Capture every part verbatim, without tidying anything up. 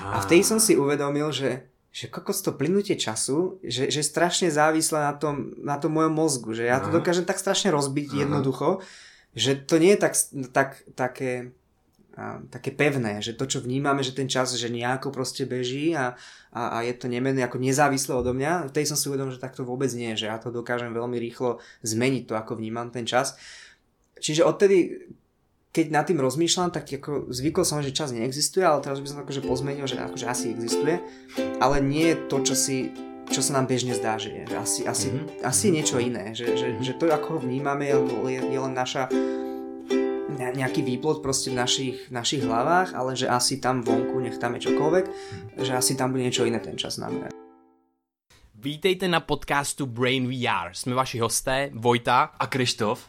A v tej som si uvedomil, že že kokos to plynutie času, že, že strašne závislé na tom, na tom mojom mozgu, že ja to dokážem tak strašne rozbiť Aha. jednoducho, že to nie je tak, tak také, a, také pevné, že to, čo vnímame, že ten čas, že nejako proste beží a, a, a je to nemenné, ako nezávislé odo mňa, v tej som si uvedomil, že tak to vôbec nie, že ja to dokážem veľmi rýchlo zmeniť to, ako vnímam ten čas. Čiže odtedy, keď nad tým rozmýšľam, tak ako zvykol som, že čas neexistuje, ale teraz by som akože pozmenil, že akože asi existuje, ale nie je to, čo si, čo sa nám bežne zdá, že je. Že asi, asi, mm-hmm. asi je niečo iné, že, že, že to, ako ho vnímame, je, je len naša nejaký výplod proste v našich, v našich hlavách, ale že asi tam vonku, nech tam je čokoľvek, že asi tam bude niečo iné ten čas znamená. Vítejte na podcastu Brain vé er. Jsme vaši hosté, Vojta a Krištof.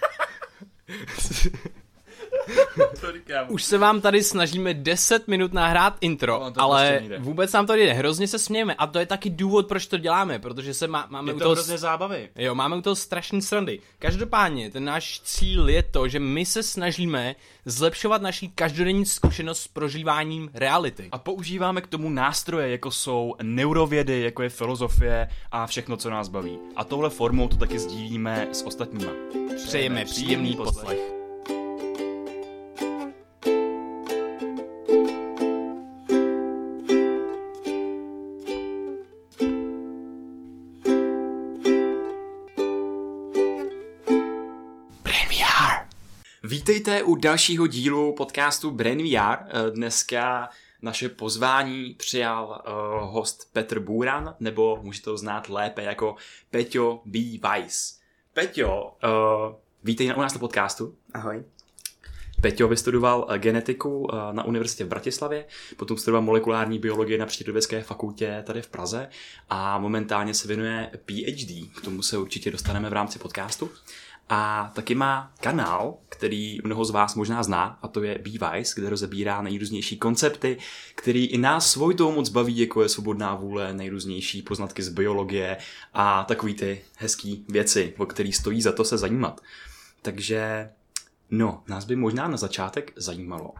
Už se vám tady snažíme deset minut nahrát intro, no, ale prostě vůbec nám to jde. Hrozně se smějeme a to je taky důvod, proč to děláme, protože se má, máme je to u toho hrozně zábavy. Jo, máme u toho strašný srandy. Každopádně, ten náš cíl je to, že my se snažíme zlepšovat naší každodenní zkušenost s prožíváním reality. A používáme k tomu nástroje, jako jsou neurovědy, jako je filozofie a všechno, co nás baví. A touhle formou to taky sdílíme s ostatníma. Přejeme příjemný poslech. Vítejte u dalšího dílu podcastu Brain vé er. Dneska naše pozvání přijal uh, host Petr Bůran, nebo můžete ho znát lépe jako Peťo B. Weiss. Peťo, uh, vítej u nás na podcastu. Ahoj. Peťo vystudoval genetiku uh, na univerzitě v Bratislavě, potom studoval molekulární biologii na Přírodovědecké fakultě tady v Praze a momentálně se věnuje PhD. K tomu se určitě dostaneme v rámci podcastu. A taky má kanál, který mnoho z vás možná zná, a to je B. Weiss, kde rozebírá nejrůznější koncepty, který i nás svojitou moc baví, jako je svobodná vůle, nejrůznější poznatky z biologie a takový ty hezký věci, o který stojí za to se zajímat. Takže, no, nás by možná na začátek zajímalo, uh,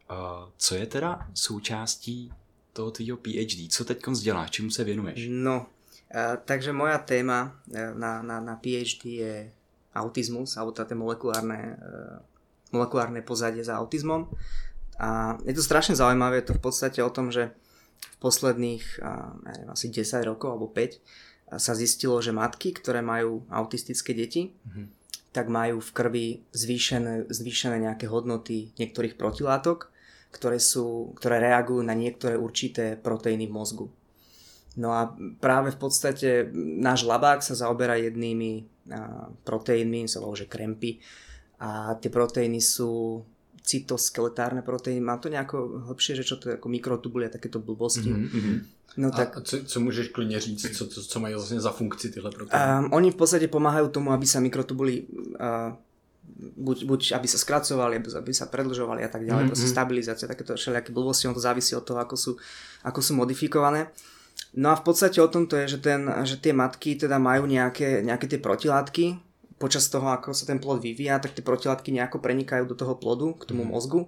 co je teda součástí toho tvýho PhD, co teď děláš, čemu se věnuješ? No, uh, takže moja téma uh, na, na, na PhD je autizmus, alebo tá molekulárne, molekulárne pozadie za autizmom. A je to strašne zaujímavé, je to v podstate o tom, že v posledných ja neviem, asi desať rokov alebo päť sa zistilo, že matky, ktoré majú autistické deti, mm-hmm. tak majú v krvi zvýšené, zvýšené nejaké hodnoty niektorých protilátok, ktoré, sú, ktoré reagujú na niektoré určité proteíny v mozgu. No a práve v podstate náš labák sa zaoberá jednými proteínmi, sa volá, že krempy. A tie proteíny sú cytoskeletárne proteíny. Má to nejako hlbšie, že čo to je ako mikrotubuly a takéto blbosti. Mm-hmm. No, a tak, co, co můžeš klidně říct, co, co, co mají vlastně za funkci tyhle proteíny? Um, oni v podstate pomáhajú tomu, aby sa mikrotubuly uh, buď, buď aby sa skracovali, aby sa predlžovali a tak ďalej. Mm-hmm. Proste stabilizácia, takéto všelijaké blbosti, on to závisí od toho, ako sú, ako sú modifikované. No a v podstate o tom to je, že, ten, že tie matky teda majú nejaké, nejaké tie protilátky. Počas toho, ako sa ten plod vyvíja, tak tie protilátky nejako prenikajú do toho plodu, k tomu mozgu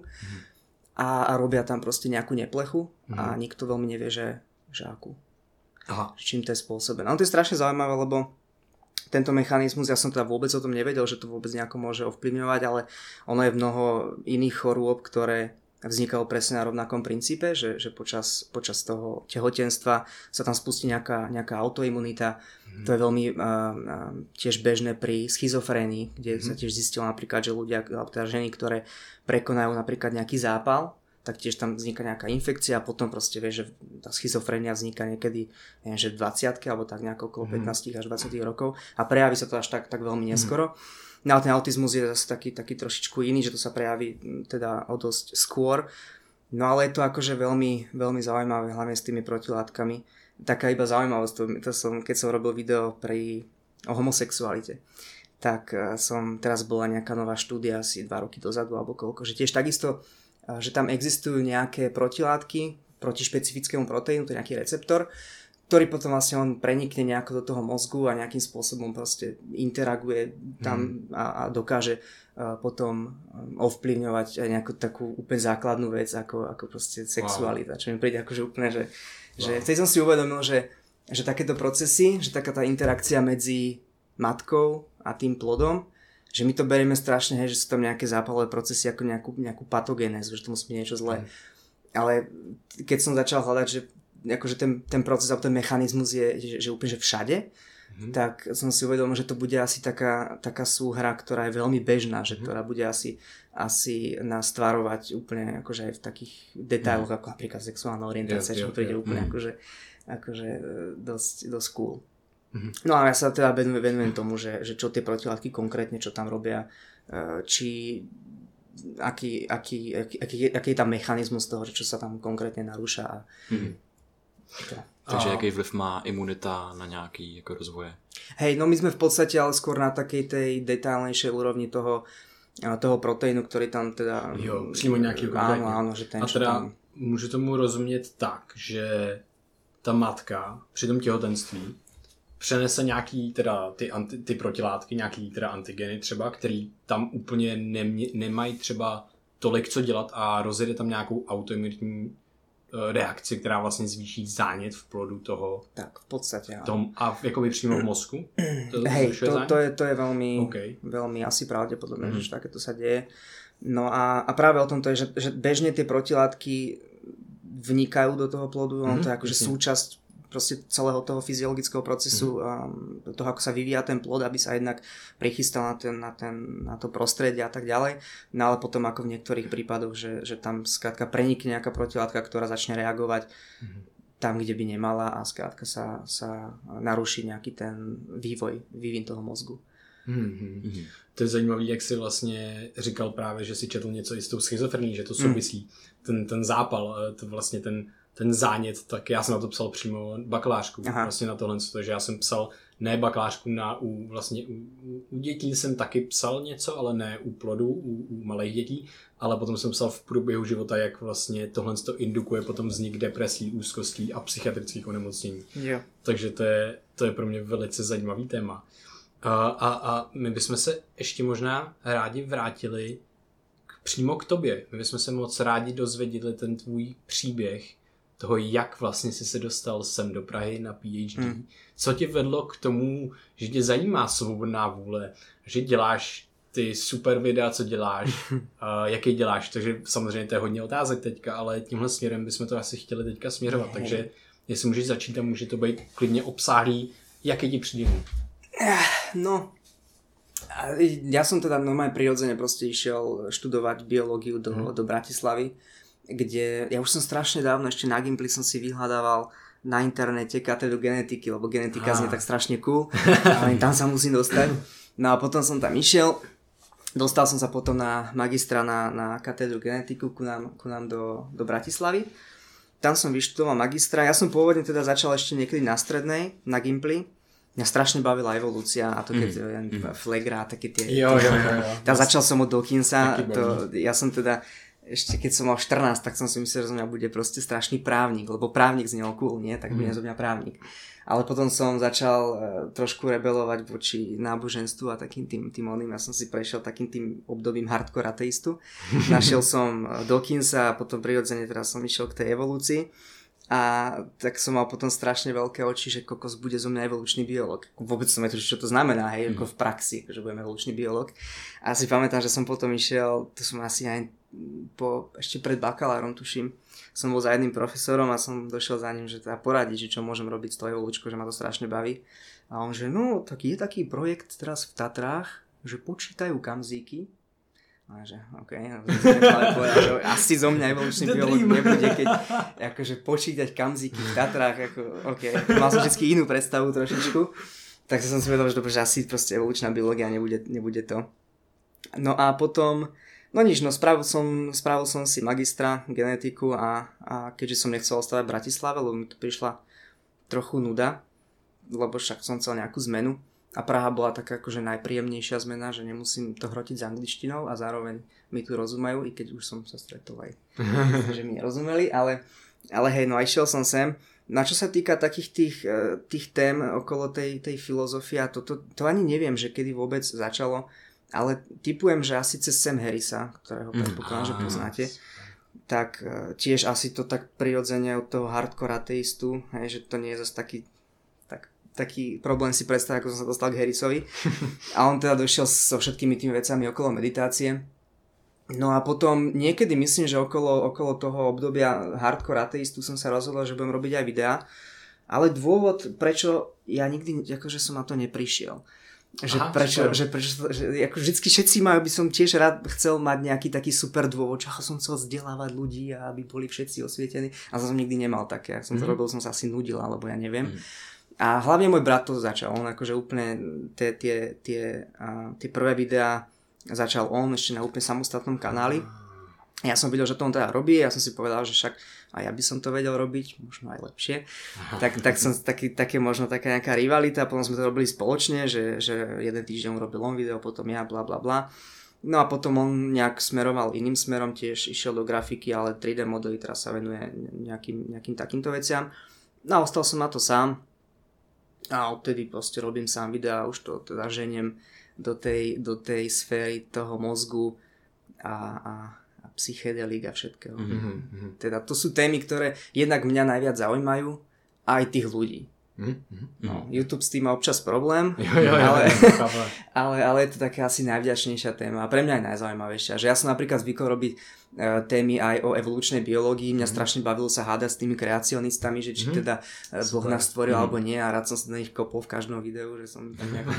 a, a robia tam proste nejakú neplechu a nikto veľmi nevie, že, že akú. Aha. Čím to je spôsobené. No to je strašne zaujímavé, lebo tento mechanizmus, ja som teda vôbec o tom nevedel, že to vôbec nejako môže ovplyvňovať, ale ono je mnoho iných chorôb, ktoré vznikalo presne na rovnakom princípe, že, že počas, počas toho tehotenstva sa tam spustí nejaká, nejaká autoimunita. Mm. To je veľmi uh, uh, tiež bežné pri schizofrénii, kde mm. sa tiež zistilo napríklad, že ľudia, alebo teda ženy, ktoré prekonajú napríklad nejaký zápal, tak tiež tam vzniká nejaká infekcia a potom proste vieš, že tá schizofrénia vzniká niekedy, neviem, že v dvadsiatke alebo tak nejako okolo mm. pätnásť až dvadsať rokov a prejaví sa to až tak, tak veľmi neskoro. Mm. No ale ten autizmus je zase taký, taký trošičku iný, že to sa prejaví teda o dosť skôr. No ale je to akože veľmi, veľmi zaujímavé, hlavne s tými protilátkami. Taká iba zaujímavosť, to, to som, keď som robil video pri, o homosexualite, tak som, teraz bola nejaká nová štúdia asi dva roky dozadu alebo koľko, že tiež takisto, že tam existujú nejaké protilátky proti špecifickému proteínu, to je nejaký receptor, ktorý potom vlastne on prenikne nejako do toho mozgu a nejakým spôsobom proste interaguje tam mm. a, a dokáže uh, potom ovplyvňovať aj nejakú takú úplne základnú vec ako, ako proste sexualita, wow. Čo mi príde akože úplne, že, wow. že vtedy som si uvedomil, že, že takéto procesy, že taká tá interakcia medzi matkou a tým plodom, že my to berieme strašne, hej, že sú tam nejaké zápalové procesy ako nejakú, nejakú patogénézu, že to musí byť niečo zlé. Mm. Ale keď som začal hľadať, že akože ten, ten proces alebo ten mechanizmus je že, že úplne že všade, mm-hmm. tak som si uvedomil, že to bude asi taká, taká súhra, ktorá je veľmi bežná, že mm-hmm. ktorá bude asi, asi nás tvarovať úplne akože aj v takých detailoch, mm-hmm. ako napríklad sexuálna orientácia, čo príde úplne mm-hmm. akože, akože dosť, dosť cool. Mm-hmm. No a ja sa teda venujem tomu, že, že čo tie protilátky konkrétne, čo tam robia, či aký, aký, aký, aký, aký je tam mechanizmus toho, že čo sa tam konkrétne narúša a mm-hmm. To. Takže a... jaký vliv má imunita na nějaký jako rozvoje? Hej, no my sme v podstate ale skôr na takej tej detailnejšej úrovni toho, toho proteínu, ktorý tam teda... Jo, přímo nějaký konkrétně. Áno, áno, že ten, a teda tam... můžu tomu rozumět tak, že ta matka při tom těhotenství přenese nějaký teda ty, anti, ty protilátky, nějaký teda antigeny třeba, který tam úplně nemě, nemají třeba tolik co dělat a rozjede tam nějakou autoimunitní reakci, která vlastně zvýší zánět v plodu toho. Tak, v podstate, tom, a jakoby přímo v mozku? To, Hej, to, to, je, to je veľmi, okay. veľmi asi pravdepodobné, mm. že takéto sa deje. No a, a práve o tom to je, že, že bežne tie protilátky vnikajú do toho plodu, mm. on to je akože súčasť proste celého toho fyziologického procesu, mm. um, toho, ako sa vyvíja ten plod, aby sa jednak prichystal na, ten, na, ten, na to prostredie a tak ďalej. No ale potom ako v niektorých prípadoch, že, že tam skrátka prenikne nejaká protilátka, ktorá začne reagovať mm. tam, kde by nemala a skrátka sa, sa naruší nejaký ten vývoj, vývin toho mozgu. Mm-hmm. Mm-hmm. To je zajímavý, jak jsi vlastně říkal právě, že si četl něco i s tou schizofrení, že to souvisí. Mm. Ten, ten zápal, to vlastně ten ten zánět, tak já jsem na to psal přímo bakalářku, Aha. vlastně na tohle, takže já jsem psal ne bakalářku na, u, vlastně u, u dětí jsem taky psal něco, ale ne u plodů, u, u malých dětí, ale potom jsem psal v průběhu života, jak vlastně tohle to indukuje potom vznik depresí, úzkostí a psychiatrických onemocnění. Jo. Takže to je, to je pro mě velice zajímavý téma. A, a, a my bychom se ještě možná rádi vrátili k, přímo k tobě. My bychom se moc rádi dozvěděli ten tvůj příběh toho, jak vlastně jsi se dostal sem do Prahy na PhD. Hmm. Co tě vedlo k tomu, že tě zajímá svobodná vůle, že děláš ty super videa, co děláš, uh, jaký děláš, takže samozřejmě to je hodně otázek teďka, ale tímhle směrem bychom to asi chtěli teďka směřovat, hmm. takže jestli můžeš začít a může to být klidně obsáhlý, jaký ti přijde. No, ja som teda normálne prirodzene proste išiel študovať biológiu do, hmm. do Bratislavy, kde ja už som strašne dávno ešte na Gimply som si vyhľadával na internete katedru genetiky, lebo genetika znie tak strašne cool, ale tam sa musím dostať. No a potom som tam išiel, dostal som sa potom na magistra na, na katedru genetiku ku nám, ku nám do, do Bratislavy. Tam som vyštudoval magistra, ja som pôvodne teda začal ešte niekedy na strednej, na Gimply. Mňa strašne bavila evolúcia a to keď mm. Flegra a také tie... Jo, jo, jo. jo. Tam začal som od Dawkinsa, to, ja som teda ešte keď som mal štrnásť, tak som si myslel, že zo mňa bude proste strašný právnik, lebo právnik znel cool, nie? Tak bude mm. zo mňa právnik. Ale potom som začal uh, trošku rebelovať voči náboženstvu a takým tým, tým oným. Ja som si prešiel takým tým obdobím hardcore ateistu. Našiel som Dawkinsa a potom prirodzene teraz som išiel k tej evolúcii. A tak som mal potom strašne veľké oči, že kokos bude zo mňa evolučný biológ. Vôbec som netušil, čo to znamená, hej, mm. ako v praxi, že budem evolučný biológ. A si pamätám, že som potom išiel, to som asi aj po, ešte pred bakalárom, tuším, som bol za jedným profesorom a som došiel za ním, že teda poradiť, že čo môžem robiť s tou evolučkou, že ma to strašne baví. A on že, no, tak je taký projekt teraz v Tatrách, že počítajú kamzíky. A že, okej, okay, asi zo mňa evolučný biológ nebude, keď akože počítať kamzíky v Tatrách, ako, okej, okay. Mal som vždy inú predstavu trošičku, tak som si vedel, že, dobre, že asi proste evolučná biológia nebude, nebude to. No a potom, no nič, no spravil som, spravil som si magistra genetiku a, a keďže som nechcel ostávať v Bratislave, lebo mi tu prišla trochu nuda, lebo však som chcel nejakú zmenu. A Praha bola taká akože najpríjemnejšia zmena, že nemusím to hrotiť s angličtinou a zároveň mi tu rozumejú, i keď už som sa stretol aj, že mi nerozumeli, ale, ale hej, no a išiel som sem Na čo sa týka takých tých, tých tém okolo tej, tej filozofie, a to, to, to ani neviem, že kedy vôbec začalo, ale tipujem, že asi cez Sam Harrisa, ktorého predpokladám, že poznáte, tak tiež asi to tak prirodzene od toho hardcore ateistu, hej, že to nie je zase taký taký problém si predstaviť, ako som sa dostal k Harrisovi. A on teda došiel so všetkými tými vecami okolo meditácie. No a potom niekedy myslím, že okolo, okolo toho obdobia hardcore ateistu som sa rozhodol, že budem robiť aj videá. Ale dôvod, prečo ja nikdy akože som na to neprišiel. Že Aha, prečo, že prečo že ako vždycky všetci majú, by som tiež rád chcel mať nejaký taký super dôvod, čo som chcel vzdelávať ľudí a aby boli všetci osvietení. A som nikdy nemal také. Ak som to mm. robil, som sa asi nudil, alebo ja neviem. Mm. A hlavne môj brat to začal, on akože úplne tie, tie, tie, uh, tie prvé videá začal on ešte na úplne samostatnom kanáli. Ja som videl, že to on teda robí, ja som si povedal, že však a ja by som to vedel robiť, možno aj lepšie. Tak, tak som taký, také možno taká nejaká rivalita, potom sme to robili spoločne, že, že jeden týždeň robil on video, potom ja, bla bla bla. No a potom on nejak smeroval iným smerom, tiež išiel do grafiky, ale tri dé modely, teraz sa venuje nejakým, nejakým takýmto veciam. No a ostal som na to sám. A odtedy proste robím sám videá, už to teda ženiem do tej, do tej sféry toho mozgu a, a, a psychedelík a všetkého. Mm-hmm. Teda to sú témy, ktoré jednak mňa najviac zaujímajú a aj tých ľudí. Mm-hmm. No, YouTube s tým má občas problém, jo, jo, jo, ale, ale, ale je to taká asi najvďačnejšia téma a pre mňa aj najzaujímavejšia. Že ja som napríklad zvykol robiť uh, témy aj o evolučnej biológii. Mňa mm-hmm. strašne bavilo sa hádať s tými kreacionistami, že či mm-hmm. teda uh, Boh nás stvoril mm-hmm. alebo nie, a rád som sa na nich kopol v každom videu, že som tak nejako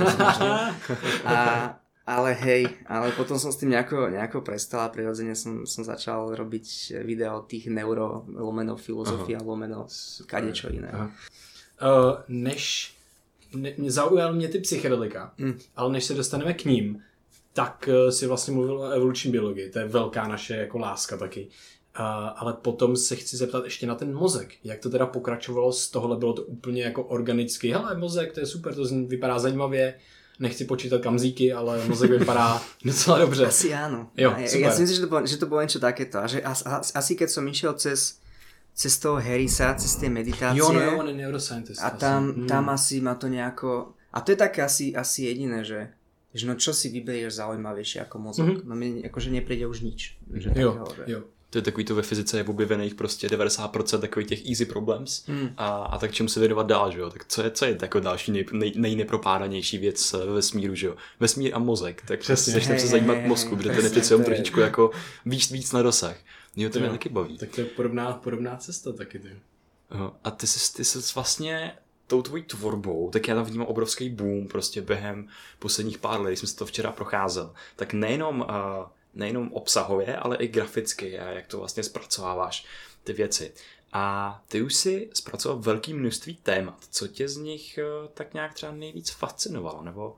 a ale hej, ale potom som s tým nejako, nejako prestal a prirodzene som, som začal robiť videa o tých neuro, lomeno filozofia, lomeno kadečo iné. Aha. Uh, než ne, zaujal mě ty psychedelika, mm. ale než se dostaneme k ním, tak uh, si vlastně mluvil o evoluční biologii, to je velká naše jako láska taky. Uh, ale potom se chci zeptat ještě na ten mozek. Jak to teda pokračovalo z tohohle? Bylo to úplně jako organicky. Hele, mozek, to je super, to vypadá zajímavě. Nechci počítat kamzíky, ale mozek vypadá docela dobře. Asi áno. Jo, ja, ja si myslím, že to bolo, že to bolo niečo takéto. A že as, as, asi keď som išiel cez cez toho Harrisa, cez tie meditácie. Jo, no jo, on je neuroscientist. A tam, asi. tam mm. asi ma to nejako... A to je také asi, asi jediné, že, že no čo si vyberieš zaujímavejšie ako mozog. Mm-hmm. No mi akože nepríde už nič. Že jo, takého, že... jo. To je takový to ve fyzice je objevených prostě devadesát procent takových těch easy problems mm. a, a tak čemu se věnovat dál, že jo? Tak co je, co je jako další nej, nej, nejnepropádanější věc ve vesmíru, že jo? Vesmír a mozek, tak přesně začneme se zajímat mozku, protože ten je přece jenom trošičku jako víc, víc na dosah. Jo, to mě taky baví. Tak to je podobná, podobná cesta taky, ty. A ty jsi, ty jsi vlastně tou tvojí tvorbou, tak já tam vnímám obrovský boom prostě během posledních pár let, když jsem si to včera procházel. Tak nejenom, uh, nejenom obsahově, ale i graficky a jak to vlastně zpracováváš ty věci. A ty už si zpracoval velké množství témat. Co tě z nich uh, tak nějak třeba nejvíc fascinovalo, nebo...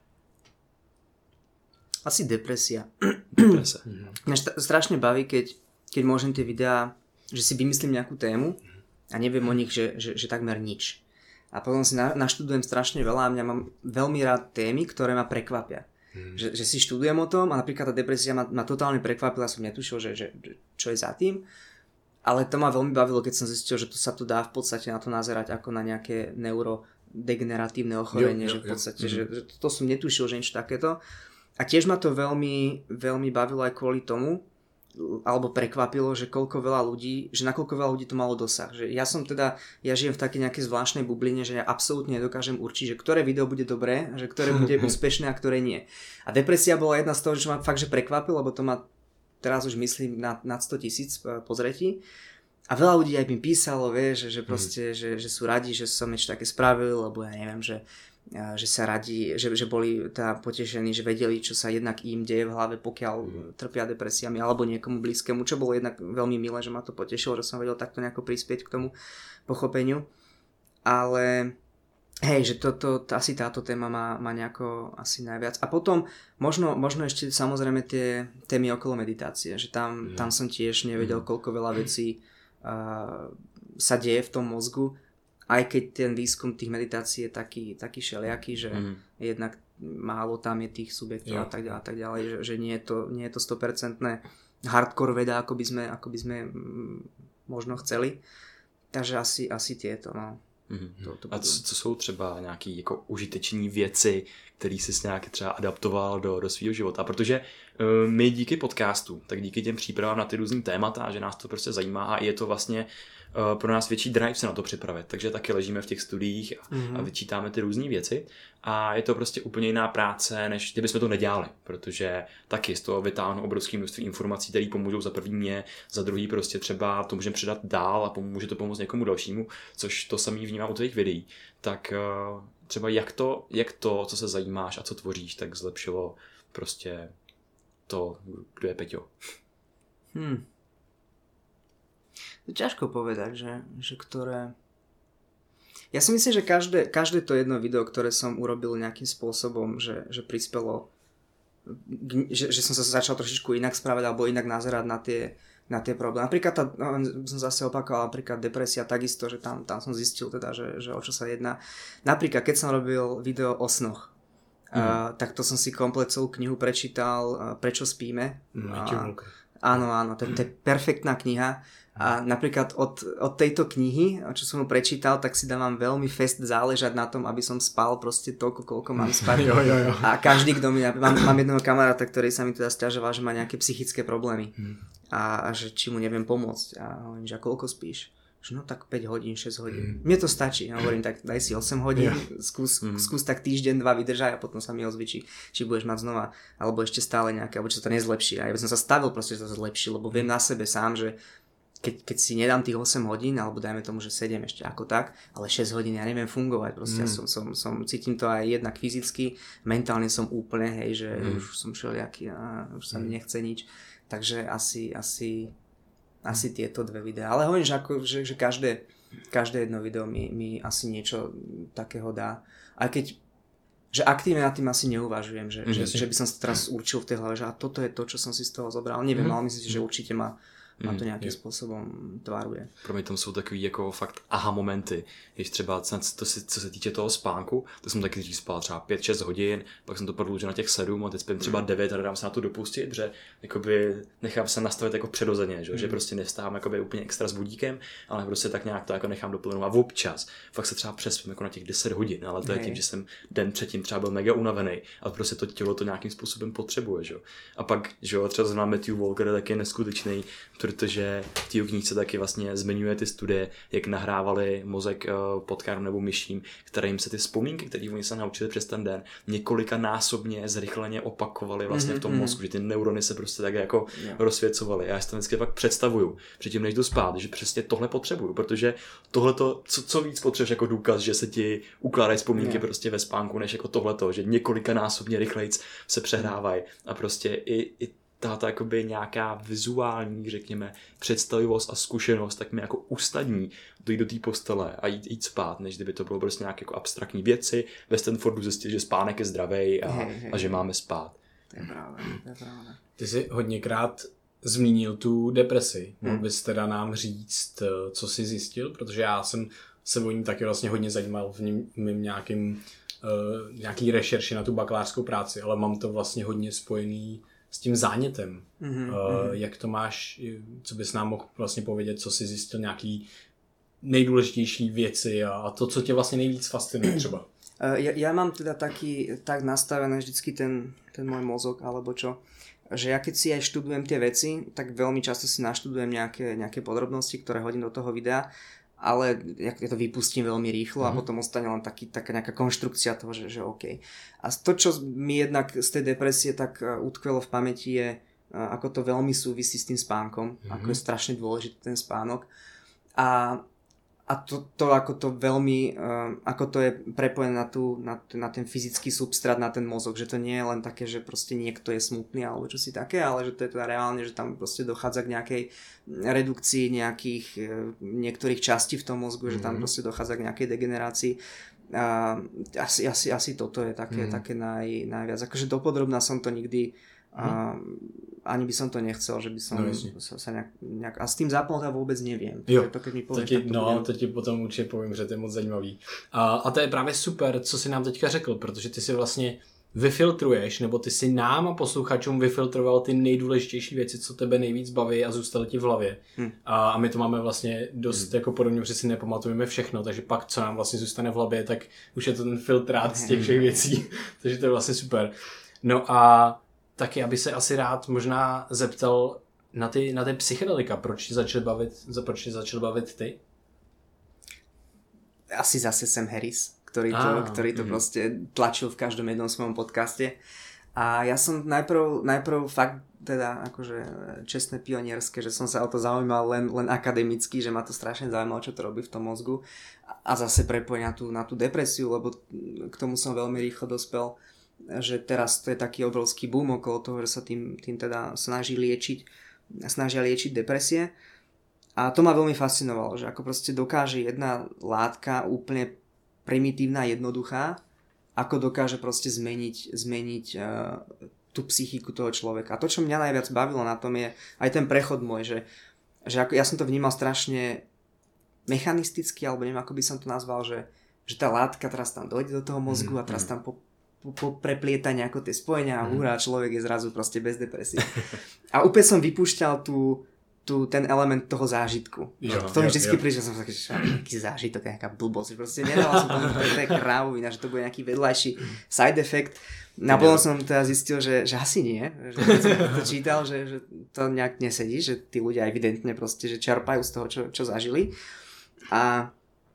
Asi depresia. Depresia. Mňa št- strašne baví, keď, keď môžem tie videá, že si vymyslím nejakú tému a neviem o nich, že, že, že takmer nič. A potom si na, naštudujem strašne veľa a mňa mám veľmi rád témy, ktoré ma prekvapia. Hmm. Že, že si študujem o tom a napríklad tá depresia ma, ma totálne prekvapila, som netušil, že, že, čo je za tým. Ale to ma veľmi bavilo, keď som zistil, že to sa to dá v podstate na to nazerať ako na nejaké neurodegeneratívne ochorenie. Jo, jo, že v podstate, jo. Že, že to som netušil, že niečo takéto. A tiež ma to veľmi, veľmi bavilo aj kvôli tomu, alebo prekvapilo, že koľko veľa ľudí, že nakoľko veľa ľudí to malo dosah. Že ja som teda, ja žijem v takej nejakej zvláštnej bubline, že ja absolútne nedokážem určiť, že ktoré video bude dobré, že ktoré bude úspešné a ktoré nie. A depresia bola jedna z toho, čo ma fakt, že prekvapilo, lebo to ma teraz už myslím nad, nad sto tisíc pozretí. A veľa ľudí aj mi písalo, vieš, že, že proste, mm. že, že sú radi, že som niečo také spravil, lebo ja neviem, že že sa radi, že, že boli teda potešení, že vedeli, čo sa jednak im deje v hlave, pokiaľ mm. trpia depresiami alebo niekomu blízkemu, čo bolo jednak veľmi milé, že ma to potešilo, že som vedel takto nejako prispieť k tomu pochopeniu. Ale hej, že toto, asi táto téma má, má nejako asi najviac. A potom možno, možno ešte samozrejme tie témy okolo meditácie, že tam, mm. tam som tiež nevedel, koľko veľa vecí uh, sa deje v tom mozgu, aj keď ten výskum tých meditácií je taký, taký šeliaký, že mm. jednak málo tam je tých subjektov a tak ďalej, a tak ďalej, že, že nie je to, nie je to sto percent hardcore veda, ako by sme, ako by sme možno chceli. takže asi, asi tieto, no. Mm-hmm. To, to a co, co jsou třeba nějaký jako užiteční věci, který jsi nějak třeba adaptoval do, do svého života? Protože uh, my díky podcastu, tak díky těm přípravám na ty různý témata, že nás to prostě zajímá a je to vlastně uh, pro nás větší drive se na to připravit. Takže taky ležíme v těch studiích a, mm-hmm. a vyčítáme ty různé věci a je to prostě úplně jiná práce, než kdybychom to nedělali, protože taky z toho vytáhnu obrovské množství informací, které pomůžou za první mě, za druhý prostě třeba to můžeme předat dál a pomůže to pomoct někomu dalšímu, což to samý vnímám u tvých videí. Tak uh, třeba jak to, jak to, co se zajímáš a co tvoříš, tak zlepšilo prostě to, kdo je Peťo. Hmm. To ťažko povedať, že, že ktoré... Ja si myslím, že každé, každé to jedno video, ktoré som urobil nejakým spôsobom, že, že prispelo, že, že som sa začal trošičku inak správať alebo inak nazerať na tie, na tie problémy. Napríklad, tá, no, som zase opakoval, napríklad depresia takisto, že tam, tam som zistil teda, že, že o čo sa jedná. Napríklad, keď som robil video o snoch, mm. uh, tak to som si komplet celú knihu prečítal, uh, Prečo spíme. Mm, uh, áno, áno, to, to je perfektná kniha. A napríklad od, od tejto knihy, čo som mu prečítal, tak si dávam veľmi fest záležať na tom, aby som spal proste toľko, koľko mám spať. jo, jo, jo. A každý, kto mi... Mám, mám jedného kamaráta, ktorý sa mi teda sťažoval, že má nejaké psychické problémy. Hmm. A, a že či mu neviem pomôcť. A hovorím, že a koľko spíš? Že no tak päť hodín, šesť hodín. Hmm. Mne to stačí. Ja hovorím, tak daj si osem hodín, yeah. skús, hmm. skús tak týždeň, dva vydržaj a potom sa mi ozví, či, či budeš mať znova, alebo ešte stále nejaké, alebo či sa to nezlepší. A ja by som sa stavil proste, že to zlepší, lebo viem na sebe sám, že Keď, keď si nedám tých osem hodín, alebo dajme tomu, že sedem ešte ako tak, ale šesť hodín ja neviem fungovať, proste mm. ja som, som, som, cítim to aj jednak fyzicky, mentálne som úplne, hej, že mm. už som všelijaký, a už sa mi nechce nič, takže asi, asi, asi tieto dve videá, ale hovorím, že, ako, že, že každé, každé jedno video mi, mi asi niečo takého dá, aj keď že aktívne nad tým asi neuvažujem, že, mm. že, že by som sa teraz určil v tej hlave, že a toto je to, čo som si z toho zobral, neviem, mm. ale myslím si, že určite ma má to nějakým mm, způsobem tvaruje. Pro mě tam jsou takový jako fakt aha momenty, když třeba to se, co se týče toho spánku, to jsem taky dřív spal třeba pět šest hodin, pak jsem to prodloužil na těch sedm a teď spím třeba devět a dám se na to dopustit, že jakoby nechám se nastavit jako přirozeně, že, mm. že prostě nevstávám jakoby úplně extra s budíkem, ale prostě tak nějak to jako nechám doplynout a občas fakt se třeba přespím jako na těch deset hodin, ale to je tím, že jsem den předtím třeba byl mega unavený, ale prostě to tělo to nějakým způsobem potřebuje, že? A pak, že třeba znám Matthew Walker, tak je neskutečný, protože v té knížce taky vlastně zmiňuje ty studie, jak nahrávali mozek potkárům nebo myším, kterým se ty vzpomínky, které oni se naučili přes ten den, několika násobně zrychleně opakovali vlastně v tom mozku, že ty neurony se prostě tak jako yeah. rozsvěcovaly. Já si to vždycky fakt představuju, předtím než jdu spát, že přesně tohle potřebuju, protože tohleto, co, co víc potřebuješ jako důkaz, že se ti ukládají vzpomínky yeah. prostě ve spánku, než jako tohleto, že několika násobně rychlejc se přehrávají a prostě i, i tato jakoby nějaká vizuální, řekněme, představivost a zkušenost, tak mi jako ustadní dojít do té postele a jít, jít spát, než kdyby to bylo prostě nějaké jako abstraktní věci. Ve Stanfordu zjistit, že spánek je zdravej a, hej, hej, a že máme spát. To je pravda, to je pravda. Ty jsi hodněkrát zmínil tu depresi. Mohl bys teda nám říct, co jsi zjistil? Protože já jsem se o ní taky vlastně hodně zajímal v mým nějakým, uh, nějaký rešerši na tu bakalářskou práci, ale mám to vlastně hodně spojený s tím zánětem. Mm-hmm. Uh, jak to máš, co bys nám mohl vlastně povědět, co jsi zjistil, nějaký nejdůležitější věci a, a to, co tě vlastně nejvíc fascinuje třeba? Uh, ja, ja mám teda taký, tak nastavený vždycky ten, ten môj mozog, alebo čo, že ja keď si aj študujem tie veci, tak veľmi často si naštudujem nejaké, nejaké podrobnosti, ktoré hodím do toho videa, ale ja to vypustím veľmi rýchlo mm. a potom ostane len taký, taká nejaká konštrukcia toho, že, že OK. A to, čo mi jednak z tej depresie tak utkvelo v pamäti je, ako to veľmi súvisí s tým spánkom, mm. ako je strašne dôležitý ten spánok. A, a to, to ako to veľmi, ako to je prepojené na, tú, na, na ten fyzický substrát, na ten mozog, že to nie je len také, že proste niekto je smutný alebo čo si také, ale že to je teda reálne, že tam proste dochádza k nejakej redukcii nejakých niektorých častí v tom mozgu, mm-hmm. že tam proste dochádza k nejakej degenerácii. A asi, asi, asi toto je také, mm-hmm. také naj, najviac. Akože dopodrobná som to nikdy a ani by som to nechcel, že by som no, sa, sa nejak, nejak... A s tým zápalom vůbec nevím. Jo, to, keď mi pověš, to ti, no, budem... to ti potom určitě povím, že to je moc zajímavý. A, a to je právě super, co jsi nám teďka řekl, protože ty si vlastně vyfiltruješ, nebo ty si nám a posluchačům vyfiltroval ty nejdůležitější věci, co tebe nejvíc baví a zůstaly ti v hlavě. Hmm. A, a my to máme vlastně dost hmm. jako podobně, protože si nepamatujeme všechno, takže pak, co nám vlastně zůstane v hlavě, tak už je to ten filtrát z těch všech věcí. Takže to je vlastně super. No a taky, aby se asi rád možná zeptal na ty, na ty psychedelika, proč ti začali bavit, proč ti začali bavit ty? Asi zase Sam Harris, ktorý to, ah, ktorý to mm. proste tlačil v každom jednom svojom podcaste. A ja som najprv, najprv fakt teda akože čestné pionierské, že som sa o to zaujímal len, len akademicky, že ma to strašne zaujímalo, čo to robí v tom mozgu. A zase prepojenia tú, na tú depresiu, lebo k tomu som veľmi rýchlo dospel, že teraz to je taký obrovský boom okolo toho, že sa tým, tým teda snaží liečiť, snažia liečiť depresie. A to ma veľmi fascinovalo, že ako proste dokáže jedna látka úplne primitívna, jednoduchá, ako dokáže proste zmeniť, zmeniť uh, tú psychiku toho človeka. A to, čo mňa najviac bavilo na tom, je aj ten prechod môj, že, že ako, ja som to vnímal strašne mechanisticky, alebo neviem, ako by som to nazval, že, že tá látka teraz tam dojde do toho mozgu a teraz tam po, po, po preplieta nejako tie spojenia a hurá, človek je zrazu proste bez depresie. A úplne som vypúšťal tú tu ten element toho zážitku. Jo, v tom jo, vždycky prišiel som taký, že nejaký zážitok, nejaká blbosť. Proste nedával som tomu, že to je krávovina, že to bude nejaký vedľajší side effect. A potom som teda zistil, že, že asi nie. Že keď som to čítal, že, že to nejak nesedí, že tí ľudia evidentne proste, že čerpajú z toho, čo, čo zažili. A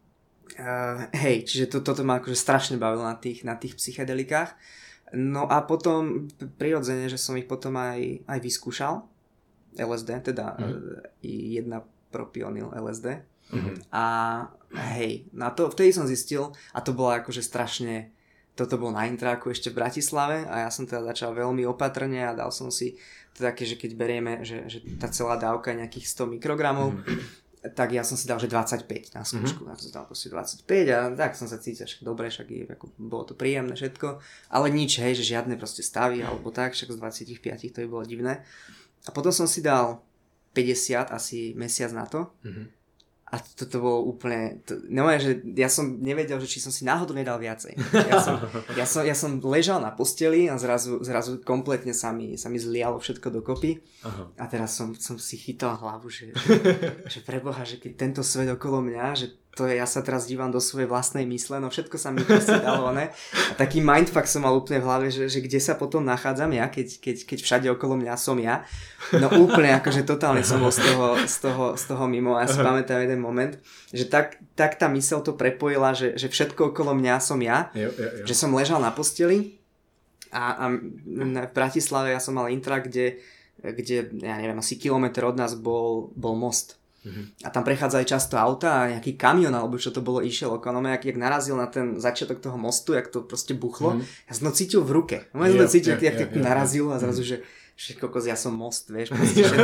uh, hej, čiže to, toto ma akože strašne bavilo na tých, na tých psychedelikách. No a potom prirodzene, že som ich potom aj, aj vyskúšal. el es dé, teda mm. jedna propionyl el es dé. Mm-hmm. A hej, na to, vtedy som zistil, a to bolo akože strašne, toto bol na intráku ešte v Bratislave a ja som teda začal veľmi opatrne a dal som si to také, že keď berieme, že, že tá celá dávka je nejakých sto mikrogramov, mm. tak ja som si dal, že dvadsaťpäť na skúšku. Mm-hmm. Ja som si dal proste dvadsaťpäť a tak som sa cítil, však dobre, však je, ako, bolo to príjemné všetko, ale nič, hej, že žiadne proste stavy alebo tak, však z dvadsaťpäť to by bolo divné. A potom som si dal päťdesiat, asi mesiac na to. Mm-hmm. A toto bolo úplne... To, neviem, že ja som nevedel, že či som si náhodou nedal viacej. Ja som, ja som, ja som ležal na posteli a zrazu, zrazu kompletne sa mi, sa mi zlialo všetko dokopy. Aha. A teraz som, som si chytal hlavu, že, že, že preboha, že keď tento svet okolo mňa, že to je, ja sa teraz dívam do svojej vlastnej mysle, no všetko sa mi proste dalo, ne? A taký mindfuck som mal úplne v hlave, že, že kde sa potom nachádzam ja, keď, keď, keď všade okolo mňa som ja. No úplne, akože totálne som bol z toho, z toho, z toho mimo. A ja si pamätám jeden moment, že tak, tak tá myseľ to prepojila, že, že všetko okolo mňa som ja, jo, jo, jo. Že som ležal na posteli a, a v Bratislave ja som mal intra, kde, kde ja neviem, asi kilometr od nás bol, bol most. Mm-hmm. A tam prechádzali často auta a nejaký kamion alebo čo to bolo išiel okolo mňa, jak, jak narazil na ten začiatok toho mostu, jak to proste buchlo, mm-hmm. ja som to cítil v ruke. Ja som to cítil, jak, jak, jak to narazilo a zrazu, že že kokos, ja som most, vieš, proste, že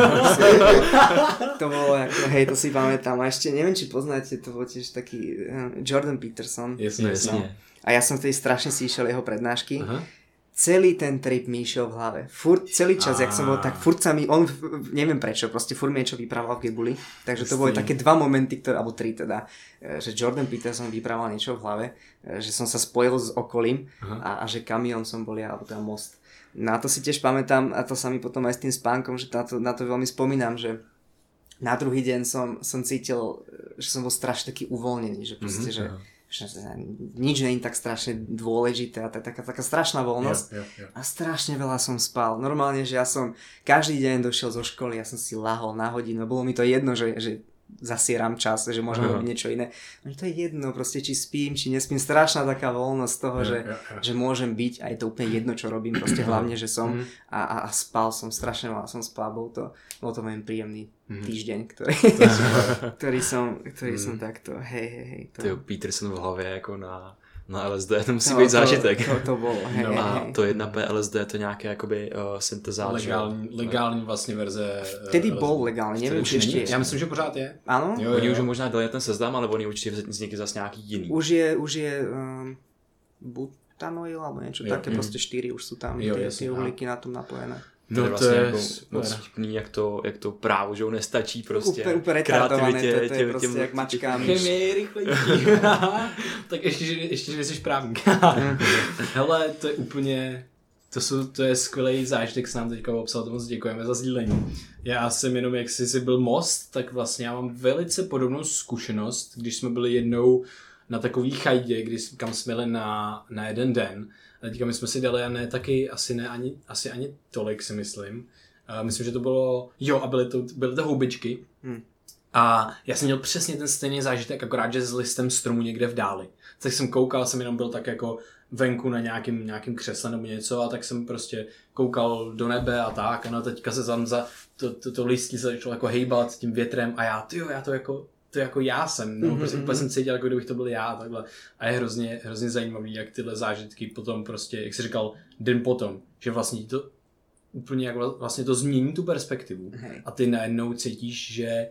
to bolo ako, hej, to si pamätám. A ešte neviem, či poznáte, to bol tiež taký uh, Jordan Peterson. Jasne, jasne. A ja som vtedy strašne si išiel jeho prednášky. Aha. Celý ten trip mi išiel v hlave. Furt, celý čas, jak som bol, tak furt sa mi, on, neviem prečo, proste furt mi niečo vyprával v gebuli. Takže to boli také dva momenty, ktoré, alebo tri teda, že Jordan Peterson vyprával niečo v hlave, že som sa spojil s okolím a, a že kamión som bol ja, alebo teda most. Na to si tiež pamätám a to sa mi potom aj s tým spánkom, že na to, na to veľmi spomínam, že na druhý deň som, som cítil, že som bol strašne taký uvoľnený, že proste, mm-hmm, že, že nič nie je tak strašne dôležité a taká, taká strašná voľnosť yeah, yeah, yeah. A strašne veľa som spal. Normálne, že ja som každý deň došiel zo školy, ja som si lahol na hodinu, bolo mi to jedno, že, že zasieram čas, že môžem robiť niečo iné. No to je jedno, proste či spím, či nespím. Strašná taká voľnosť z toho, ja, že, ja, ja. že môžem byť a je to úplne jedno, čo robím. Proste hlavne, že som a, a, a spal som, strašne veľa som spal. Bol to, bol to veľmi príjemný týždeň, ktorý, ktorý som, ktorý som takto, hej, hej, hej. To... Tyjo, Peterson v hlavě jako na... Na el es dé, to musí no, být zážitek. To, to, to bylo, hej, no, a hej. to jedna pé el es dé, to nějaké jakoby uh, syntezátor. Legální, legální vlastně verze. Vtedy uh, bol legální, nevím, či ještě je. Já myslím, že pořád je. Ano? Jo, jo. Oni už možná dali ten seznam, ale oni určitě vznikli zase nějaký jiný. Už je, už je um, butanoil, alebo niečo jo, také, jo. Proste štyri už sú tam, jo, tie, tie uhlíky na tom napojené. No, to je vlastně to je jako super. moc vtipný, jak to, jak to právo, že nestačí prostě. Úplně, úplně retardované, to, to je těm, prostě těm, jak mačkám. Chemie rychlejší. Tak ještě, že, ještě, že jsi právník. Hele, to je úplně... To, jsou, to je skvělý zážitek, s nám teďka obsal, to moc děkujeme za sdílení. Já jsem jenom, jak jsi byl most, tak vlastně já mám velice podobnou zkušenost, když jsme byli jednou na takový chajdě, kdy, kam jsme jeli na, na jeden den. A teďka my jsme si dali, a ne taky, asi ne ani, asi ani tolik si myslím. Uh, myslím, že to bylo, jo, a byly to, byly to houbičky. Hmm. A já jsem měl přesně ten stejný zážitek, akorát, že s listem stromu někde v dáli. Tak jsem koukal, jsem jenom byl tak jako venku na nějakým, nějakým křesle nebo něco a tak jsem prostě koukal do nebe a tak a no teďka se tam za to, to, to listí se začalo jako hejbat tím větrem a já, tyjo, já to jako, to jako já jsem, no, mm-hmm. prostě úplně jsem cítil, jako kdybych to byl já, takhle. A je hrozně, hrozně zajímavý, jak tyhle zážitky potom prostě, jak jsi říkal, den potom, že vlastně to úplně jak vlastně to změní tu perspektivu Hej. a ty najednou cítíš, že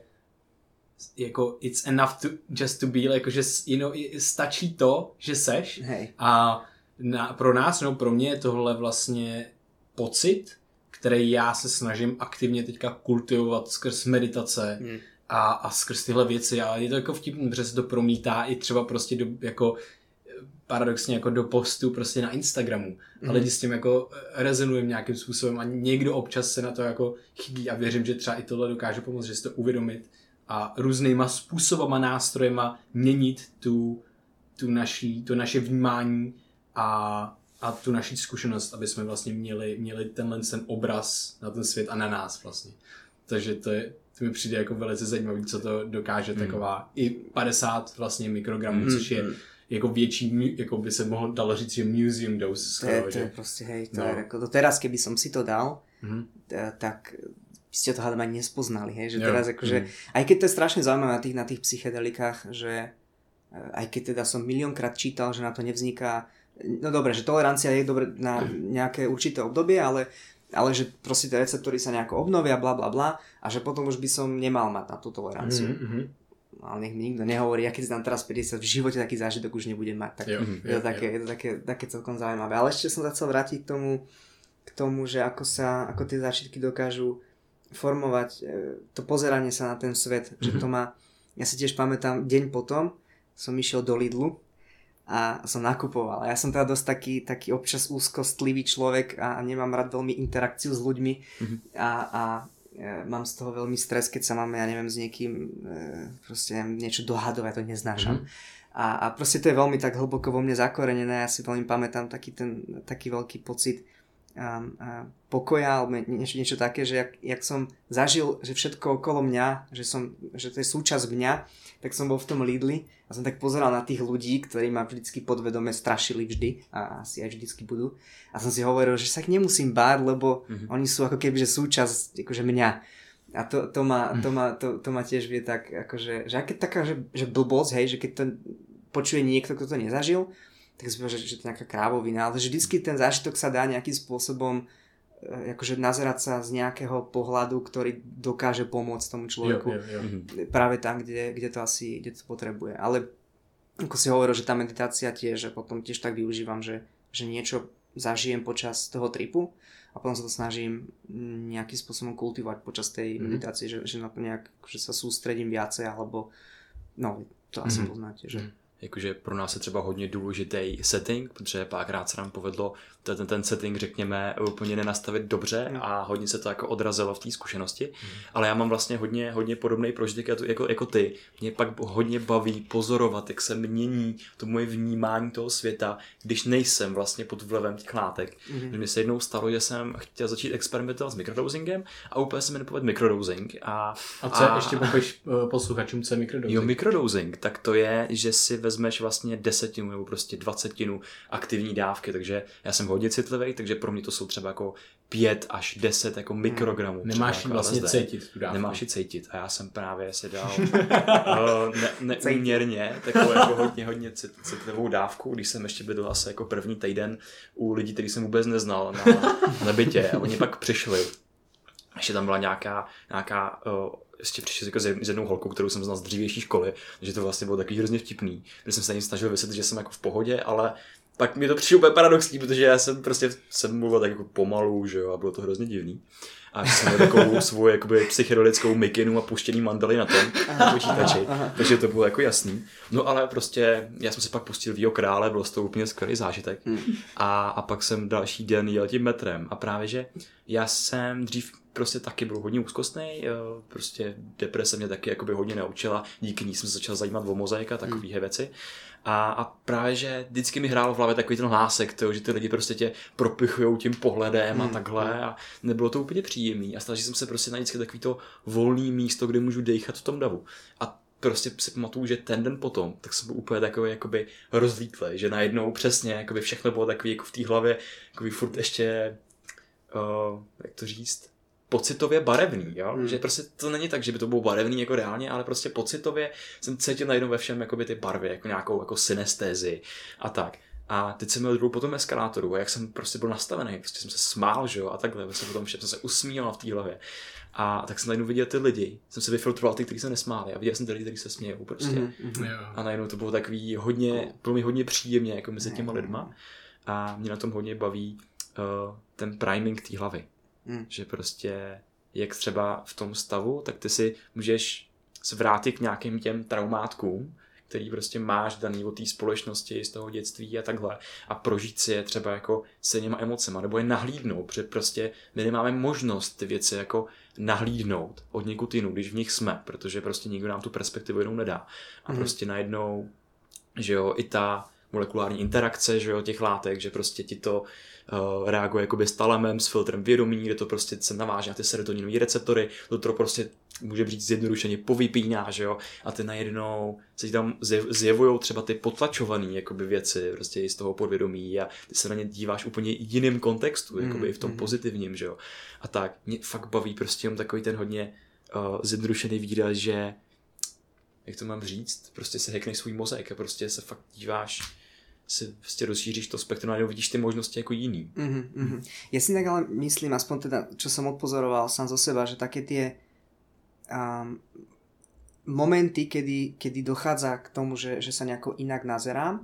jako it's enough to just to be, jako že you know, stačí to, že seš. Hej. A na, pro nás, no pro mě je tohle vlastně pocit, který já se snažím aktivně teďka kultivovat skrz meditace hmm. a, a skrz tyhle věci, ale je to jako vtipný, protože se to promítá i třeba prostě do, jako paradoxně jako do postu prostě na Instagramu, hmm. ale lidi s tím jako rezonujeme nějakým způsobem a někdo občas se na to jako chybí a věřím, že třeba i tohle dokáže pomoct, že si to uvědomit a různýma způsobama, nástrojema měnit tu, tu naší, to naše vnímání a, a tu naši zkušenost, aby jsme vlastně měli, měli tenhle ten obraz na ten svět a na nás vlastně. Takže to, je, to mi přijde jako velice zajímavý, co to dokáže hmm. taková i padesát vlastně mikrogramů, hmm. což je jako větší, jako by se mohlo dalo říct, že museum dose. Skoro, to je, to je prostě, hej, to no. je jako, to teraz, keby som si to dal, hmm. tak ste to hádam ani nespoznali, hej, že jo. teraz akože, mm. aj keď to je strašne zaujímavé na tých, na tých psychedelikách, že aj keď teda som miliónkrát čítal, že na to nevzniká, no dobre, že tolerancia je dobre na nejaké určité obdobie, ale, ale že proste tie receptory sa nejako obnovia, bla bla bla, a že potom už by som nemal mať na tú toleranciu. Mm-hmm. Ale nech mi nikto nehovorí, ja keď tam teraz päťdesiat, v živote taký zážitok už nebudem mať, tak jo, je, to jo, také, jo. je to také, také celkom zaujímavé. Ale ešte som sa chcel vrátiť k tomu, k tomu, že ako sa, ako tie zážitky dokážu formovať to pozeranie sa na ten svet, mm-hmm. že to má, ja si tiež pamätám, deň potom som išiel do Lidlu a som nakupoval. Ja som teda dosť taký, taký občas úzkostlivý človek a nemám rád veľmi interakciu s ľuďmi mm-hmm. a, a e, mám z toho veľmi stres, keď sa mám, ja neviem, s niekým e, proste neviem, niečo dohadovať, to neznášam. Mm-hmm. A, a proste to je veľmi tak hlboko vo mne zakorenené, ja si veľmi pamätám taký ten, taký veľký pocit A, a pokoja alebo niečo, niečo také, že jak, jak som zažil, že všetko okolo mňa, že, som, že to je súčasť mňa, tak som bol v tom Lidli a som tak pozeral na tých ľudí, ktorí ma vždycky podvedome strašili vždy a asi aj vždycky budú a som si hovoril, že sa ich nemusím báť, lebo mm-hmm. oni sú ako keby že súčasť akože mňa a to, to, ma, to, ma, to, to ma tiež vie tak akože, že aké taká že, že blbosť, hej, že keď to počuje niekto, kto to nezažil, tak si povedal, že, že to je nejaká krávovina, ale že vždycky ten zážitok sa dá nejakým spôsobom akože nazerať sa z nejakého pohľadu, ktorý dokáže pomôcť tomu človeku jo, jo, jo. práve tam, kde, kde to asi kde to potrebuje. Ale ako si hovoril, že tá meditácia tiež, že potom tiež tak využívam, že, že niečo zažijem počas toho tripu a potom sa to snažím nejakým spôsobom kultivovať počas tej mm-hmm. meditácie, že, že na to nejak že sa sústredím viacej, alebo no, to asi mm-hmm. poznáte, že jakože pro nás je třeba hodně důležitý setting, protože párkrát se nám povedlo ten, ten setting, řekněme, úplně nenastavit dobře mm. a hodně se to jako odrazilo v té zkušenosti, mm. ale já mám vlastně hodně, hodně podobný prožitek jako, jako, jako ty. Mě pak hodně baví pozorovat, jak se mění to moje vnímání toho světa, když nejsem vlastně pod vlivem těch látek. Mm. Mně se jednou stalo, že jsem chtěl začít experimentovat s mikrodosingem a úplně se mi nepovedl mikrodosing. A, a co a, ještě popiš posluchačům, co je mikrodosing? Jo, mikrodosing, tak to je, že si vezmeš vlastně desetinu nebo prostě dvacetinu aktivní dávky, takže já jsem hodně citlivý, takže pro mě to jsou třeba jako pět až deset jako mikrogramů. Nemáš jako vlastně L S D. Cítit tu dávku. Nemáš ji cítit a já jsem právě si dal ne, neúměrně takovou jako hodně, hodně cit, citlivou dávku, když jsem ještě bydl asi jako první týden u lidí, který jsem vůbec neznal na, na bytě a oni pak přišli. Ještě tam byla nějaká, nějaká uh, ještě přišel jako s jednou holkou, kterou jsem znal z dřívější školy, takže to vlastně bylo takový hrozně vtipný, protože jsem se na ní snažil vysvětlit, že jsem jako v pohodě, ale pak mi to přišlo úplně paradoxní, protože já jsem prostě jsem mluvil tak jako pomalu, že jo, a bylo to hrozně divný. A jsem měl takovou svou jakoby psychedelickou mikinu a puštěný mandely na tom na počítači, takže to bylo jako jasný. No ale prostě já jsem se pak pustil Vího krále, bylo to úplně skvělý zážitek. A, a pak jsem další den jel tím metrem a právě, že já jsem dřív prostě taky byl hodně úzkostnej, prostě deprese mě taky jakoby hodně naučila, díky ní jsem se začal zajímat o mozaik a takovýhle věci. A, a právě, že vždycky mi hrálo v hlavě takový ten hlásek, to, že ty lidi prostě tě propichujou tím pohledem a takhle a nebylo to úplně příjemný a snažil jsem se prostě na vždycky takový to volný místo, kde můžu dejchat v tom davu. A prostě si pamatuju, že ten den potom, tak jsem byl úplně takový jakoby rozlítlej, že najednou přesně jakoby všechno bylo takový jako v té hlavě, jakoby furt ještě, uh, jak to říct, pocitově barevný, jo? Hmm. Že prostě to není tak, že by to bylo barevný jako reálně, ale prostě pocitově jsem cítil najednou ve všem jakoby ty barvy, jako nějakou jako synestézi a tak. A teď jsem měl druhou po tom eskalátoru a jak jsem prostě byl nastavený, prostě jsem se smál, že jo, a takhle, vlastně potom všem jsem se usmíval v té hlavě. A tak jsem najednou viděl ty lidi, jsem se vyfiltroval ty, kteří se nesmáli a viděl jsem ty lidi, kteří se smějou prostě. Mm-hmm. A najednou to bylo takový hodně, bylo mi hodně příjemně jako mezi těma lidma a mě na tom hodně baví uh, ten priming té hlavy. Hmm. Že prostě jak třeba v tom stavu, tak ty si můžeš se vrátit k nějakým těm traumátkům, který prostě máš daný od té společnosti, z toho dětství a takhle a prožít si je třeba jako se něma emocema, nebo je nahlídnout, protože prostě my nemáme možnost ty věci jako nahlídnout od někud jinou, když v nich jsme, protože prostě nikdo nám tu perspektivu jenom nedá. A hmm. prostě najednou, že jo, i ta molekulární interakce, že jo, těch látek, že prostě ti to uh, reaguje jakoby s talemem, s filtrem vědomí, kde to prostě se naváže na ty serotoninové receptory, to, to prostě může být zjednodušeně povypíná, že jo, a ty najednou se ti tam zjevujou třeba ty potlačované jakoby věci, prostě i z toho podvědomí a ty se na ně díváš úplně jiným kontextu, jakoby mm, v tom mm. pozitivním, že jo. A tak mě fakt baví prostě jen takový ten hodně uh, zjednodušený výraz, že jak to mám říct, prostě se hackneš svůj mozek a prostě se fakt díváš, si prostě rozšíříš to spektrum a vidíš ty možnosti jako jiný. Mm-hmm, mm-hmm. Ja si tak ale myslím, aspoň teda, čo som odpozoroval sám zo seba, že také tie um, momenty, kedy, kedy dochádza k tomu, že, že sa nejako inak nazerám,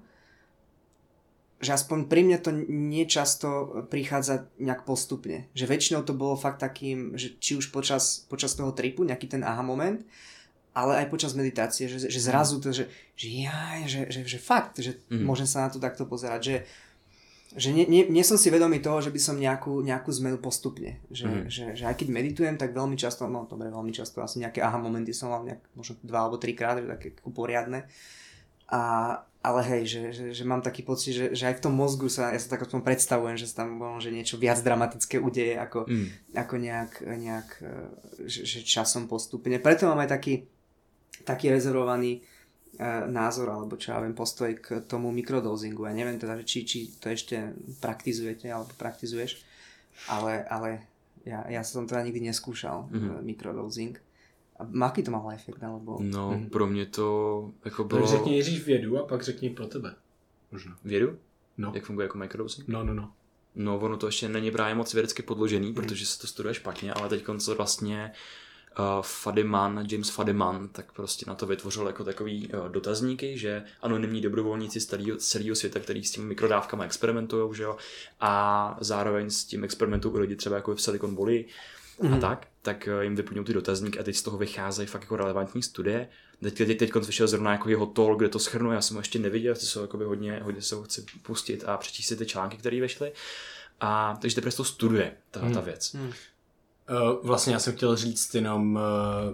že aspoň pri mne to nečasto prichádza nejak postupne. Že väčšinou to bolo fakt takým, že či už počas, počas toho tripu, nejaký ten aha moment, ale aj počas meditácie, že, že zrazu to, že, že jaj, že, že, že fakt, že mm. môžem sa na to takto pozerať, že, že nie, nie, nie som si vedomý toho, že by som nejakú, nejakú zmenu postupne, že, mm. že, že aj keď meditujem, tak veľmi často, no dobre, veľmi často, asi nejaké aha momenty som mal nejak, možno dva alebo trikrát, že také poriadne, a, ale hej, že, že, že mám taký pocit, že, že aj v tom mozgu sa, ja sa tak o tom predstavujem, že sa tam bolo, že niečo viac dramatické udeje, ako, mm. ako nejak, nejak že, že časom postupne, preto mám aj taký taký rezervovaný e, názor, alebo čo ja viem, postoj k tomu mikrodozingu. Ja neviem teda, či, či to ešte praktizujete, alebo praktizuješ, ale, ale ja, ja som teda nikdy neskúšal mm-hmm. mikrodozing. A aký to mal efekt, alebo... No, mm. pro mě to jako bylo... Tak řekni nejdřív vědu a pak řekni pro tebe. Možná. Vědu? No. Jak funguje jako mikrodozing? No, no, no. No, ono to ještě není právě moc vědecky podložený, mm. protože se to studuje špatně, ale teď to vlastně... Uh, Fadiman, James Fadiman, tak prostě na to vytvořil jako takový uh, dotazníky, že anonymní dobrovolníci z celého světa, který s tím mikrodávkama experimentujou, že jo, a zároveň s tím experimentují lidi třeba jako v Silicon Valley mm. a tak, tak uh, jim vyplňují ty dotazníky a teď z toho vycházejí fakt jako relevantní studie. Teď, teď, teď vyšel zrovna jako jeho talk, kde to shrnuje, já jsem ho ještě neviděl, ty jsou jakoby hodně, hodně se ho chci pustit a přečíst si ty články, které vyšly. A takže teprve to studuje, ta, mm. ta věc. Mm. Uh, vlastně já jsem chtěl říct jenom, uh,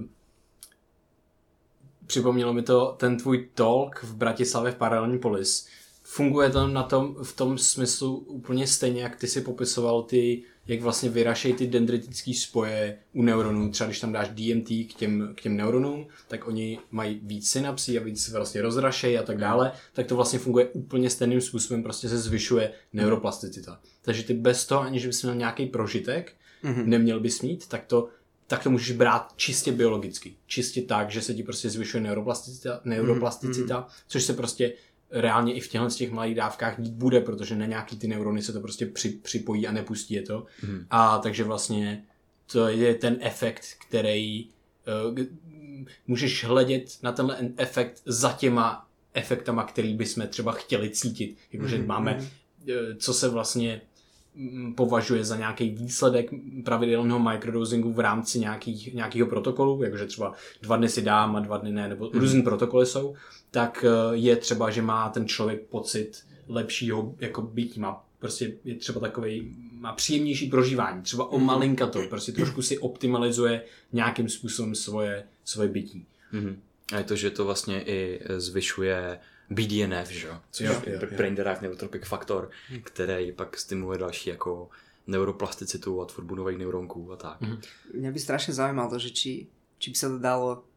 připomnělo mi to ten tvůj talk v Bratislavě v Paralelní polis. Funguje to na tom, v tom smyslu úplně stejně, jak ty si popisoval ty, jak vlastně vyrašejí ty dendritické spoje u neuronů. Třeba když tam dáš D M T k těm, k těm neuronům, tak oni mají víc synapsí a víc se vlastně rozrašejí a tak dále. Tak to vlastně funguje úplně stejným způsobem, prostě se zvyšuje neuroplasticita. Takže ty bez toho, aniž bys měl nějaký prožitek, mm-hmm. neměl bys mít, tak to, tak to můžeš brát čistě biologicky. Čistě tak, že se ti prostě zvyšuje neuroplasticita, neuroplasticita mm-hmm. což se prostě reálně i v těchto těch malých dávkách dít bude, protože na nějaký ty neurony se to prostě při, připojí a nepustí je to. Mm-hmm. A takže vlastně to je ten efekt, který uh, můžeš hledět na tenhle efekt za těma efektama, který bychom třeba chtěli cítit. Jakože mm-hmm. máme, co se vlastně považuje za nějaký výsledek pravidelného microdosingu v rámci nějakých, nějakého protokolu, jakože třeba dva dny si dám a dva dny ne, nebo mm-hmm. různý protokoly jsou, tak je třeba, že má ten člověk pocit lepšího jako bytí, má prostě je třeba takovej, má příjemnější prožívání, třeba o malinka to, prostě trošku si optimalizuje nějakým způsobem svoje, svoje bytí. Mm-hmm. A je to, že to vlastně i zvyšuje B D N F, že? Což jo, je Brain Derived Neurotrophic Factor, hmm. který pak stimuluje další jako neuroplasticitu a tvorbu nových neuronků a tak. Hmm. Mňa by strašne zaujímalo, že či, či by sa to dalo,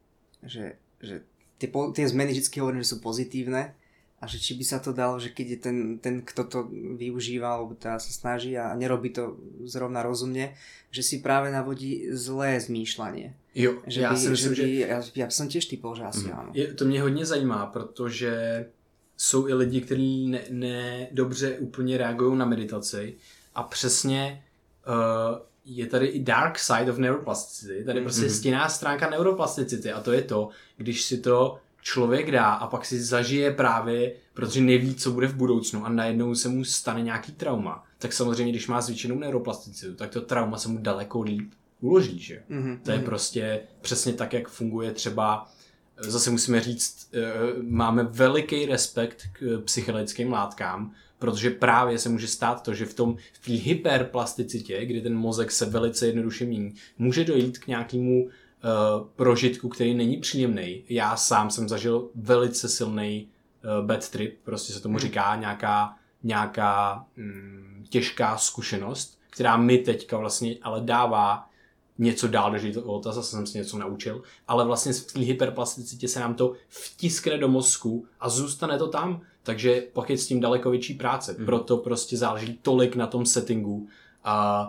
že, že tie, tie zmeny vždy hovorím, že sú pozitívne a že či by sa to dalo, že keď je ten, ten kto to využíva alebo teda sa snaží a nerobí to zrovna rozumne, že si práve navodí zlé zmýšľanie. Jo, že já by, si myslím, že... By, že... Já, já jsem těž typol, že asi mm. ano. Je, to mě hodně zajímá, protože jsou i lidi, kteří ne, ne dobře úplně reagují na meditaci a přesně uh, je tady i dark side of neuroplasticity, tady mm. prostě stinná stránka neuroplasticity a to je to, když si to člověk dá a pak si zažije právě, protože neví, co bude v budoucnu a najednou se mu stane nějaký trauma, tak samozřejmě, když má zvýšenou neuroplasticitu, tak to trauma se mu daleko líp uloží, že? Mm-hmm. To je prostě přesně tak, jak funguje třeba, zase musíme říct, máme veliký respekt k psychedelickým látkám, protože právě se může stát to, že v tom v té hyperplasticitě, kdy ten mozek se velice jednoduše mění, může dojít k nějakému uh, prožitku, který není příjemný. Já sám jsem zažil velice silný uh, bad trip, prostě se tomu říká nějaká, nějaká mm, těžká zkušenost, která mi teďka vlastně ale dává něco dál do života, zase jsem si něco naučil, ale vlastně v té hyperplasticitě se nám to vtiskne do mozku a zůstane to tam, takže pak je s tím daleko větší práce. Mm. Proto prostě záleží tolik na tom settingu a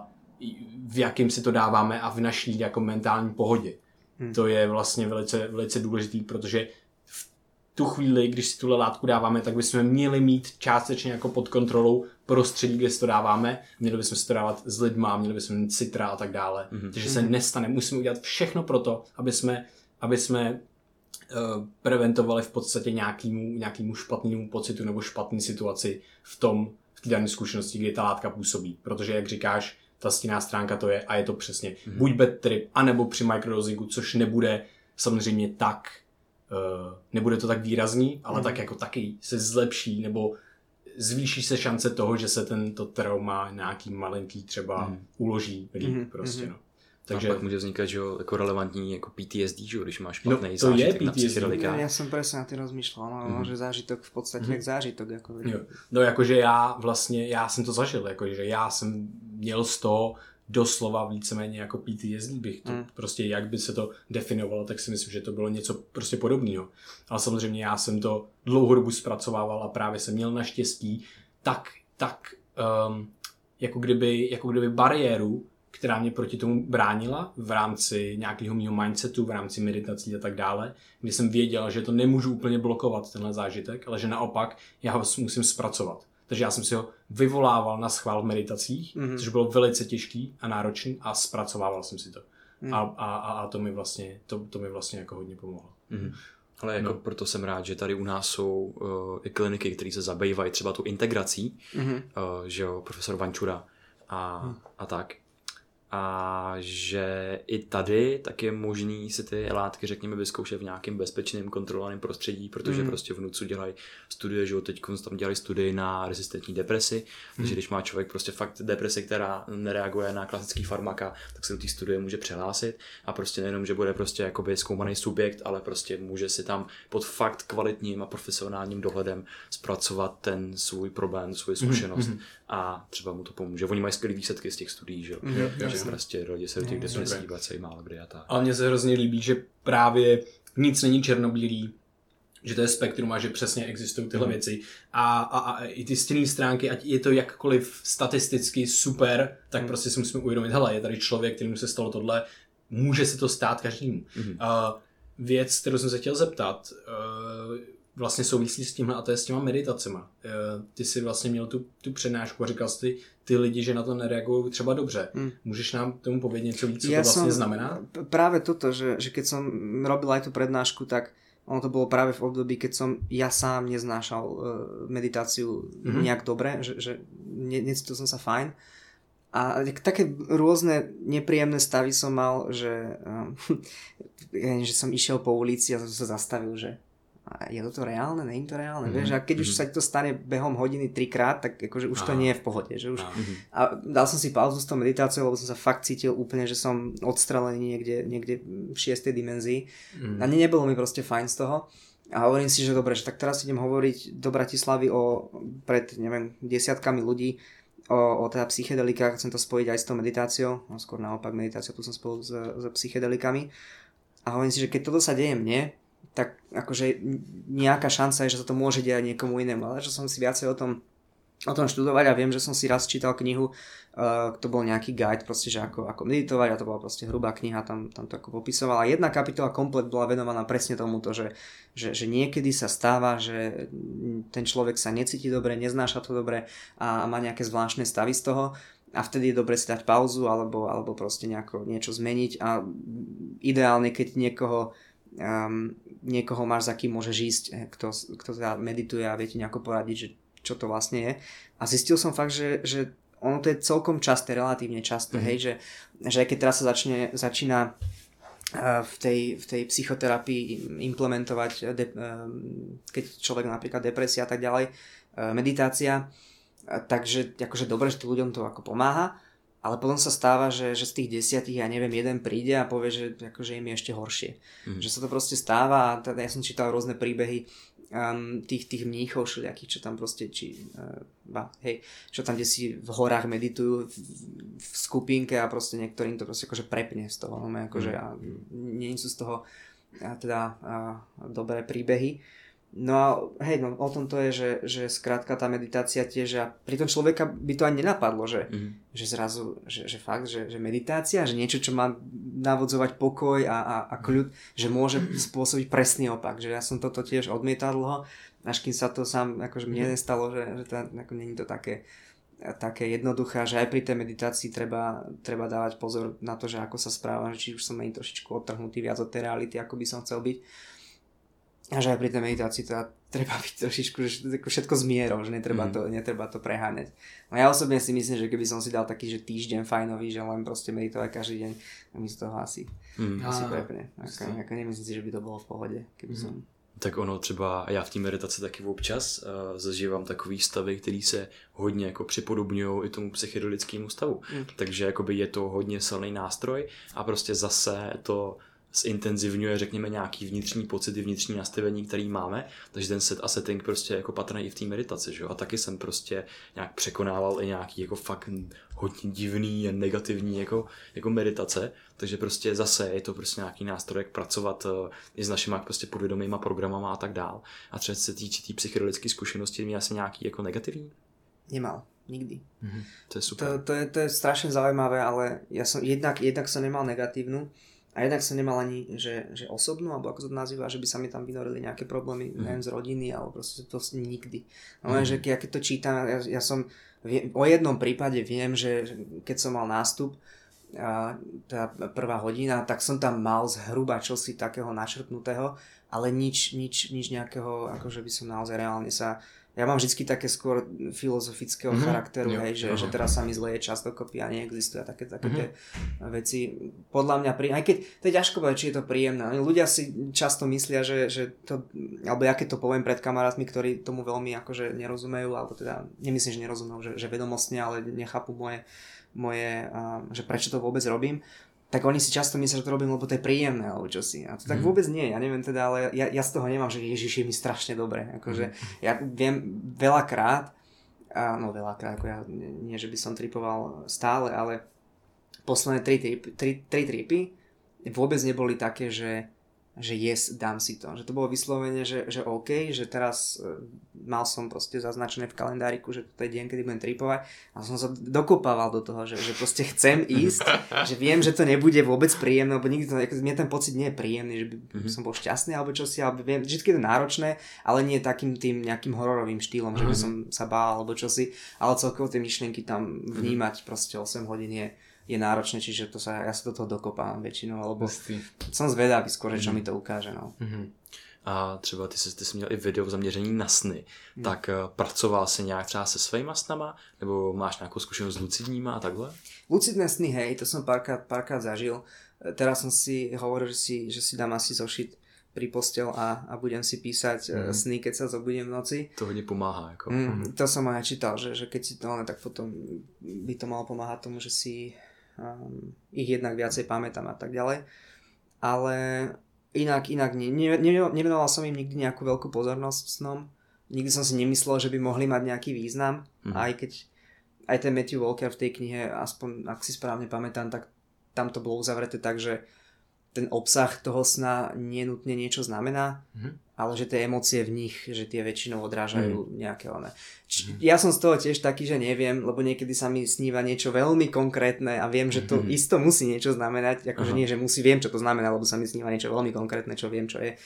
v jakým si to dáváme a v naší jako mentální pohodě. Mm. To je vlastně velice, velice důležitý, protože v tu chvíli, když si tuhle látku dáváme, tak bychom měli mít částečně jako pod kontrolou prostředí, kde si to dáváme. Měli bychom si to dávat s lidma, měli bychom mít citra a tak dále. Mm-hmm. Takže se nestane. Musíme udělat všechno pro to, aby jsme, aby jsme uh, preventovali v podstatě nějakému, nějakému špatnému pocitu nebo špatné situaci v tom, v té dané zkušenosti, kdy ta látka působí. Protože, jak říkáš, ta stinná stránka to je a je to přesně mm-hmm. buď bad trip, anebo při microdosingu, což nebude samozřejmě tak Uh, nebude to tak výrazný, ale mm. tak jako taky se zlepší nebo zvýší se šance toho, že se tento trauma nějaký malinký třeba mm. uloží líp mm. prostě, no. Takže pak může vznikat, že jo, jako relevantní jako P T S D, že jo, když máš špatný no, zážitek na psychedelika. Já jsem presne na tým rozmýšľal, no, mm. že zážitok v podstatě mm. jak zážitok. Jako... Jo. No jakože já vlastně, já jsem to zažil, jakože já jsem měl z toho doslova víceméně jako P T S D bych to mm. prostě, jak by se to definovalo, tak si myslím, že to bylo něco prostě podobného. Ale samozřejmě já jsem to dlouhou dobu zpracovával a právě jsem měl naštěstí tak, tak um, jako, kdyby, jako kdyby bariéru, která mě proti tomu bránila v rámci nějakého mýho mindsetu, v rámci meditací a tak dále, kdy jsem věděl, že to nemůžu úplně blokovat tenhle zážitek, ale že naopak já ho musím zpracovat. Takže já jsem si ho vyvolával na schvál v meditacích, mm-hmm. což bylo velice těžký a náročný a zpracovával jsem si to. Mm. A, a, a to mi vlastně, to, to mi vlastně jako hodně pomohlo. Mm. Ale jako no. Proto jsem rád, že tady u nás jsou uh, i kliniky, které se zabývají třeba tu integrací, mm-hmm. uh, že jo, profesor Vančura a, mm. a tak. A že i tady tak je možný si ty látky, řekněme, vyzkoušet v nějakém bezpečném, kontrolovaném prostředí, protože mm. prostě v NUDZu dělají studie, že jo, teď tam dělají studii na rezistentní depresi, mm. takže když má člověk prostě fakt depresi, která nereaguje na klasický farmaka, tak se do té studie může přihlásit a prostě nejenom, že bude prostě jakoby zkoumaný subjekt, ale prostě může si tam pod fakt kvalitním a profesionálním dohledem zpracovat ten svůj problém, svou zkušenost mm. a třeba mu to pomůže. Oni mají skvělý výsledky z těch studií, že jo. Mm. Prostě lidi se do těch depresí vracejí málo kdy a tak. Ale mně se hrozně líbí, že právě nic není černobílý, že to je spektrum a že přesně existují tyhle mm. věci. A, a, a i ty stinné stránky, ať je to jakkoliv statisticky super, tak mm. prostě si musíme uvědomit, hele, je tady člověk, kterému se stalo tohle, může se to stát každému. Mm. Uh, věc, kterou jsem se chtěl zeptat, uh, vlastně souvisí s tímhle a to je s těma meditacema. Ty jsi vlastně měl tu, tu přednášku a říkal jsi ty lidi, že na to nereagují třeba dobře. Hmm. Můžeš nám tomu povědět něco víc, co ja to vlastně znamená? Práve toto, že, že keď som robil aj tú prednášku, tak ono to bolo práve v období, keď som ja sám neznášal uh, meditáciu mm-hmm. nejak dobre, že, že ne, necítil som sa fajn. A také rôzne nepríjemné stavy som mal, že, um, že som išiel po ulici a som sa zastavil, že je toto reálne, nie je to reálne, mm-hmm. vieš, a keď mm-hmm. už sa to stane behom hodiny trikrát, tak akože už to nie je v pohode, že už, mm-hmm. a dal som si pauzu s tou meditáciou, lebo som sa fakt cítil úplne, že som odstrelený niekde, niekde v šiestej dimenzii mm-hmm. a ne, nebolo mi proste fajn z toho a hovorím si, že dobre, že tak teraz idem hovoriť do Bratislavy o, pred, neviem, desiatkami ľudí o, o teda psychedelikách, chcem to spojiť aj s tou meditáciou, no skôr naopak meditáciou, tu som spolu s, s psychedelikami a hovorím si, že keď toto sa deje mne, tak akože nejaká šanca je, že sa to môže diať niekomu inému, ale že som si viacej o tom, o tom študovať a viem, že som si raz čítal knihu, uh, to bol nejaký guide proste, že ako, ako meditovať a to bola proste hrubá kniha, tam, tam to ako popisovala. Jedna kapitola komplet bola venovaná presne tomuto, že, že, že niekedy sa stáva, že ten človek sa necíti dobre, neznáša to dobre a, a má nejaké zvláštne stavy z toho a vtedy je dobre si dať pauzu alebo, alebo proste nejako niečo zmeniť a ideálne, keď niekoho Um, niekoho máš, za kým môžeš ísť, kto, kto teda medituje a viete nejako poradiť, že čo to vlastne je. A zistil som fakt, že, že ono to je celkom časté, relatívne časté, mm-hmm. hej, že, že aj keď teraz sa začne, začína uh, v, tej, v tej psychoterapii implementovať, de, uh, keď človek napríklad depresia a tak ďalej, uh, meditácia, uh, takže akože dobre, že ľuďom to ako pomáha, ale potom sa stáva, že, že z tých desiatich, ja neviem, jeden príde a povie, že akože im je ešte horšie. Mm. Že sa to proste stáva a teda ja som čítal rôzne príbehy um, tých, tých mníchov všelijakých, čo tam proste, či, uh, ba, hej, čo tam kde si v horách meditujú v, v skupinke a proste niektorým to proste akože prepne z toho. No, akože, mm. a nie sú z toho a teda a, dobré príbehy. No a hej, no o tom to je, že, že skrátka tá meditácia tiež a pri tom človeka by to ani nenapadlo, že, mm-hmm. že zrazu, že, že fakt, že, že meditácia, že niečo, čo má navodzovať pokoj a, a, a kľud, že môže spôsobiť presný opak, že ja som toto tiež odmietal dlho, až kým sa to sám, akože mne nestalo, že, že to, ako nie je to také, také jednoduché, že aj pri tej meditácii treba, treba dávať pozor na to, že ako sa správam, že či už som aj trošičku odtrhnutý viac od tej reality, ako by som chcel byť. A že aj pri tej meditácii teda treba byť trošičku, že všetko s mierou, že netreba, mm. to, netreba to preháňať. No ja osobne si myslím, že keby som si dal taký, že týždeň fajnový, že len proste meditovať každý deň, tak mi z toho asi, mm. asi prepne. Ako, ako nemyslím si, že by to bolo v pohode, keby mm. som... Tak ono třeba, já v té meditaci taky občas uh, zažívám takový stavy, který se hodně jako připodobňují i tomu psychedelickému stavu. Mm. Takže jakoby je to hodně silný nástroj a prostě zase to zintenzivňuje, řekněme, nějaký vnitřní pocity, vnitřní nastavení, který máme, takže ten set a setting prostě jako patrný i v té meditaci, že jo? A taky jsem prostě nějak překonával i nějaký jako fakt hodně divný a negativní jako, jako meditace, takže prostě zase je to prostě nějaký nástroj, jak pracovat uh, i s našimi prostě podvědomýma programama a tak dál. A třeba se týče té psychedelické zkušenosti, měl jsem nějaký jako negativní? Nemal, nikdy. Mm-hmm. To je super. To, to, je, to je strašne zaujímavé, ale ja som jednak, jednak som nemal negatívnu, a jednak som nemal ani, že, že osobnú, alebo ako to nazýva, že by sa mi tam vynorili nejaké problémy, mm. neviem, z rodiny, alebo proste to nikdy. No mm. že ja keď to čítam, ja, ja som, vie, o jednom prípade viem, že keď som mal nástup, a tá prvá hodina, tak som tam mal zhruba čosi takého načrtnutého, ale nič, nič, nič nejakého, akože by som naozaj reálne sa... Ja mám vždycky také skôr filozofického mm-hmm. charakteru, jo, hej, že, že teraz sa mi zleje čas dokopy a neexistuje a také, také mm-hmm. veci. Podľa mňa, pri... aj keď to je ťažko povedať, či je to príjemné. Ľudia si často myslia, že, že to, alebo ja keď to poviem pred kamarátmi, ktorí tomu veľmi akože nerozumejú, alebo teda nemyslím, že nerozumejú, že, že vedomostne, ale nechápu moje, moje uh, že prečo to vôbec robím, tak oni si často myslia, že to robím, lebo to je príjemné, alebo čosi. A to tak vôbec nie, ja neviem teda, ale ja, ja z toho nemám, že Ježiš je mi strašne dobre. Akože ja viem veľakrát, a no veľakrát, ako ja, nie, že by som tripoval stále, ale posledné tri, tripy, tri, tri tripy vôbec neboli také, že že yes, dám si to. Že to bolo vyslovene, že, že OK, že teraz uh, mal som proste zaznačené v kalendáriku, že to je deň, kedy budem tripovať a som sa dokopával do toho, že, že proste chcem ísť, že viem, že to nebude vôbec príjemné, lebo nikdy to, mne ten pocit nie je príjemný, že by mm-hmm. som bol šťastný alebo čosi, alebo viem, vždy je to náročné, ale nie takým tým nejakým hororovým štýlom, že by som sa bál alebo čosi, ale celkovo tie myšlienky tam vnímať proste osem hodín je je náročné, čiže to sa, ja sa do toho dokopám väčšinou, alebo Vestý. Som zvedavý skôr, čo mm. mi to ukáže. No. Mm-hmm. a třeba ty jsi, ty jsi měl i video zaměření na sny, hmm. tak uh, pracoval jsi nějak třeba se svýma snama, nebo máš nějakou zkušenost s lucidníma a takhle? Lucidné sny, hej, to som párkrát, párkrát zažil. Teraz som si hovoril, že si, že si dám asi zošit pri postel a, a budem si písať mm. sny, keď sa zobudím v noci. To hodně pomáhá. Jako. Mm, to som aj čítal, že, že keď si to, tak potom by to malo pomáhať tomu, že si um, ich jednak viacej pamätám a tak ďalej. Ale inak, inak nie. Ne, ne, nevenoval som im nikdy nejakú veľkú pozornosť snom. Nikdy som si nemyslel, že by mohli mať nejaký význam. Mm. Aj keď aj ten Matthew Walker v tej knihe, aspoň ak si správne pamätám, tak tam to bolo uzavreté tak, že ten obsah toho sna nenutne niečo znamená, mm-hmm. ale že tie emócie v nich, že tie väčšinou odrážajú mm. nejaké one. Či, mm. Ja som z toho tiež taký, že neviem, lebo niekedy sa mi sníva niečo veľmi konkrétne a viem, že to mm-hmm. isto musí niečo znamenať, akože nie, že musí, viem, čo to znamená, lebo sa mi sníva niečo veľmi konkrétne, čo viem, čo je.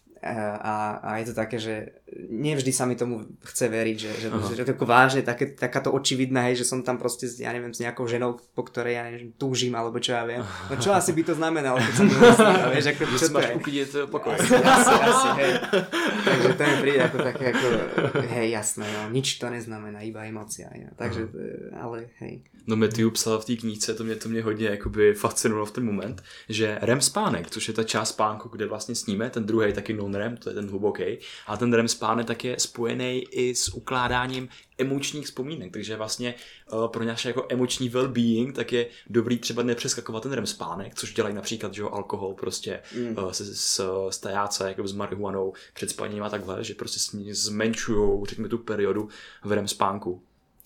A, a je to také, že nevždy sa mi tomu chce veriť, že, že, že to je vážne, také, takáto očividná, hej, že som tam proste, ja neviem, s nejakou ženou, po ktorej ja neviem, túžim, alebo čo ja viem. No čo asi by to znamenalo, keď som to nesníval, vieš, ako čo to je. Uklidieť pokoj. Asi, asi, asi, hej. Takže to mi príde ako také, ako, hej, jasné, no, nič to neznamená, iba emócia. Ja. Takže, ale hej. No Matthew psal v té knížce, to mě, to mě hodně jakoby fascinovalo v ten moment, že R E M spánek, což je ta část spánku, kde vlastně sníme, ten druhý taky non-R E M, to je ten hluboký, a ten R E M spánek tak je spojený i s ukládáním emočních vzpomínek, takže vlastně uh, pro naše jako emoční well-being tak je dobrý třeba nepřeskakovat ten R E M spánek, což dělají například, že jo, alkohol prostě mm. uh, s, s, s tajáce, jako s marihuanou před spaním a takhle, že prostě zmenšujou, řekněme, tu periodu v R E M spánku.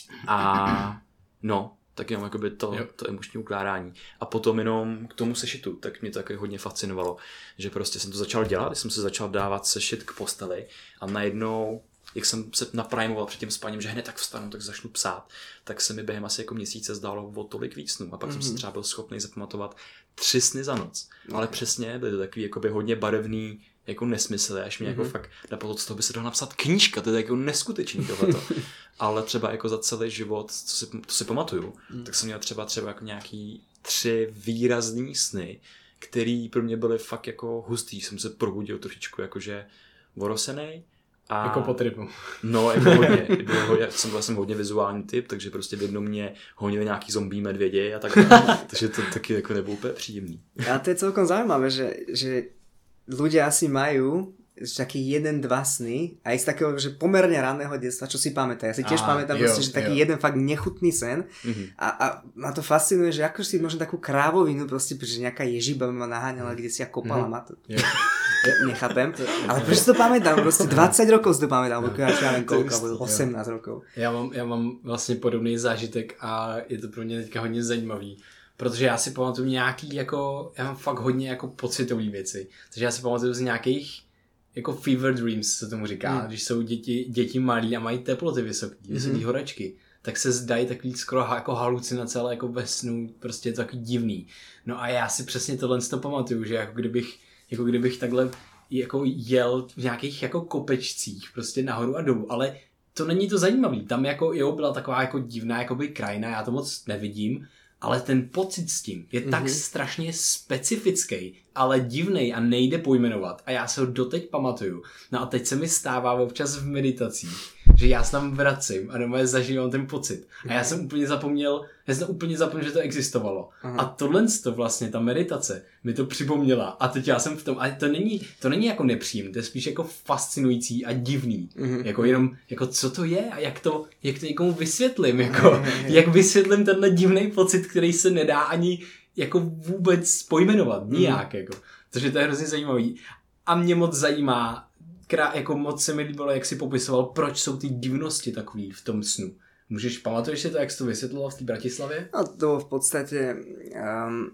A no, tak jenom jakoby to, to emoční ukládání. A potom jenom k tomu sešitu, tak mě to taky hodně fascinovalo, že prostě jsem to začal dělat, když jsem se začal dávat sešit k posteli a najednou, jak jsem se naprimoval před tím spaním, že hned tak vstanu, tak začnu psát, tak se mi během asi jako měsíce zdálo o tolik víc snů a pak mm-hmm. jsem si třeba byl schopný zapamatovat tři sny za noc. Okay. Ale přesně byly to takový jakoby hodně barevný jako nesmysl, až mě mm-hmm. jako fakt napadlo, z toho by se dalo napsat knížka, to je jako neskutečný tohleto. Ale třeba jako za celý život, co si, to si pamatuju, mm. tak jsem měl třeba třeba jako nějaký tři výrazný sny, který pro mě byly fakt jako hustý. Jsem se probudil trošičku jakože orosenej. A... Jako po tripu. No, jako hodně. Já jsem byl jsem hodně vizuální typ, takže prostě v jednom mě honili nějaký zombie medvědi a tak dále. Takže to taky jako nebylo úplně příjemný. A to je celkom zaujímavé, že, že ľudia asi majú taký jeden, dva sny aj z takého, že pomerne ranného detstva, čo si pamätá. Ja si tiež Aha, pamätám, jo, proste, že taký jo. jeden fakt nechutný sen mm-hmm. a, a ma to fascinuje, že ako si možno takú krávovinu proste, že nejaká ježiba ma naháňala, kde si ja kopala mm-hmm. ma to. Ja nechápem. Ale proč to pamätám? Proste dvadsať rokov si to pamätám, alebo ja neviem koľko, alebo osemnásť rokov. Já mám, já mám vlastně podobný zážitek a je to pro mě teďka hodně zajímavý. Protože já si pamatuju nějaký jako, já mám fakt hodně jako pocitový věci. Takže já si pamatuju z nějakých jako fever dreams, se tomu říká, hmm. když jsou děti, děti malí a mají teploty vysoký, vysoký hmm. horečky, tak se zdají takový skoro jako halucinace, ale jako ve snu, prostě je to takový divný. No a já si přesně tohle to pamatuju, že jako kdybych, jako kdybych takhle jako jel v nějakých jako kopečcích, prostě nahoru a dolů, ale to není to zajímavý. Tam jako jo, byla taková jako divná jakoby krajina, já to moc nevidím, ale ten pocit s tím je mm-hmm. tak strašně specifický, ale divnej a nejde pojmenovat. A já se ho doteď pamatuju. No a teď se mi stává občas v meditacích, že já se tam vracím a doma zažívám ten pocit. A já jsem úplně zapomněl, já jsem úplně zapomněl, že to existovalo. Aha. A tohle to vlastně, ta meditace, mi to připomněla. A teď já jsem v tom, a to není, to není jako nepříjemné, to je spíš jako fascinující a divný. Mm-hmm. Jako jenom, jako co to je a jak to, jak to někomu vysvětlím, jako, jak vysvětlím tenhle divný pocit, který se nedá ani jako vůbec pojmenovat, nijak, mm. jako. Takže to je hrozně zajímavý. A mě moc zajímá, krá, jako moc se mi líbilo, jak si popisoval, proč jsou ty divnosti takový v tom snu. Můžeš, pamatuješ si to, jak jsi to vysvětloval v té Bratislavě? No to v podstate um,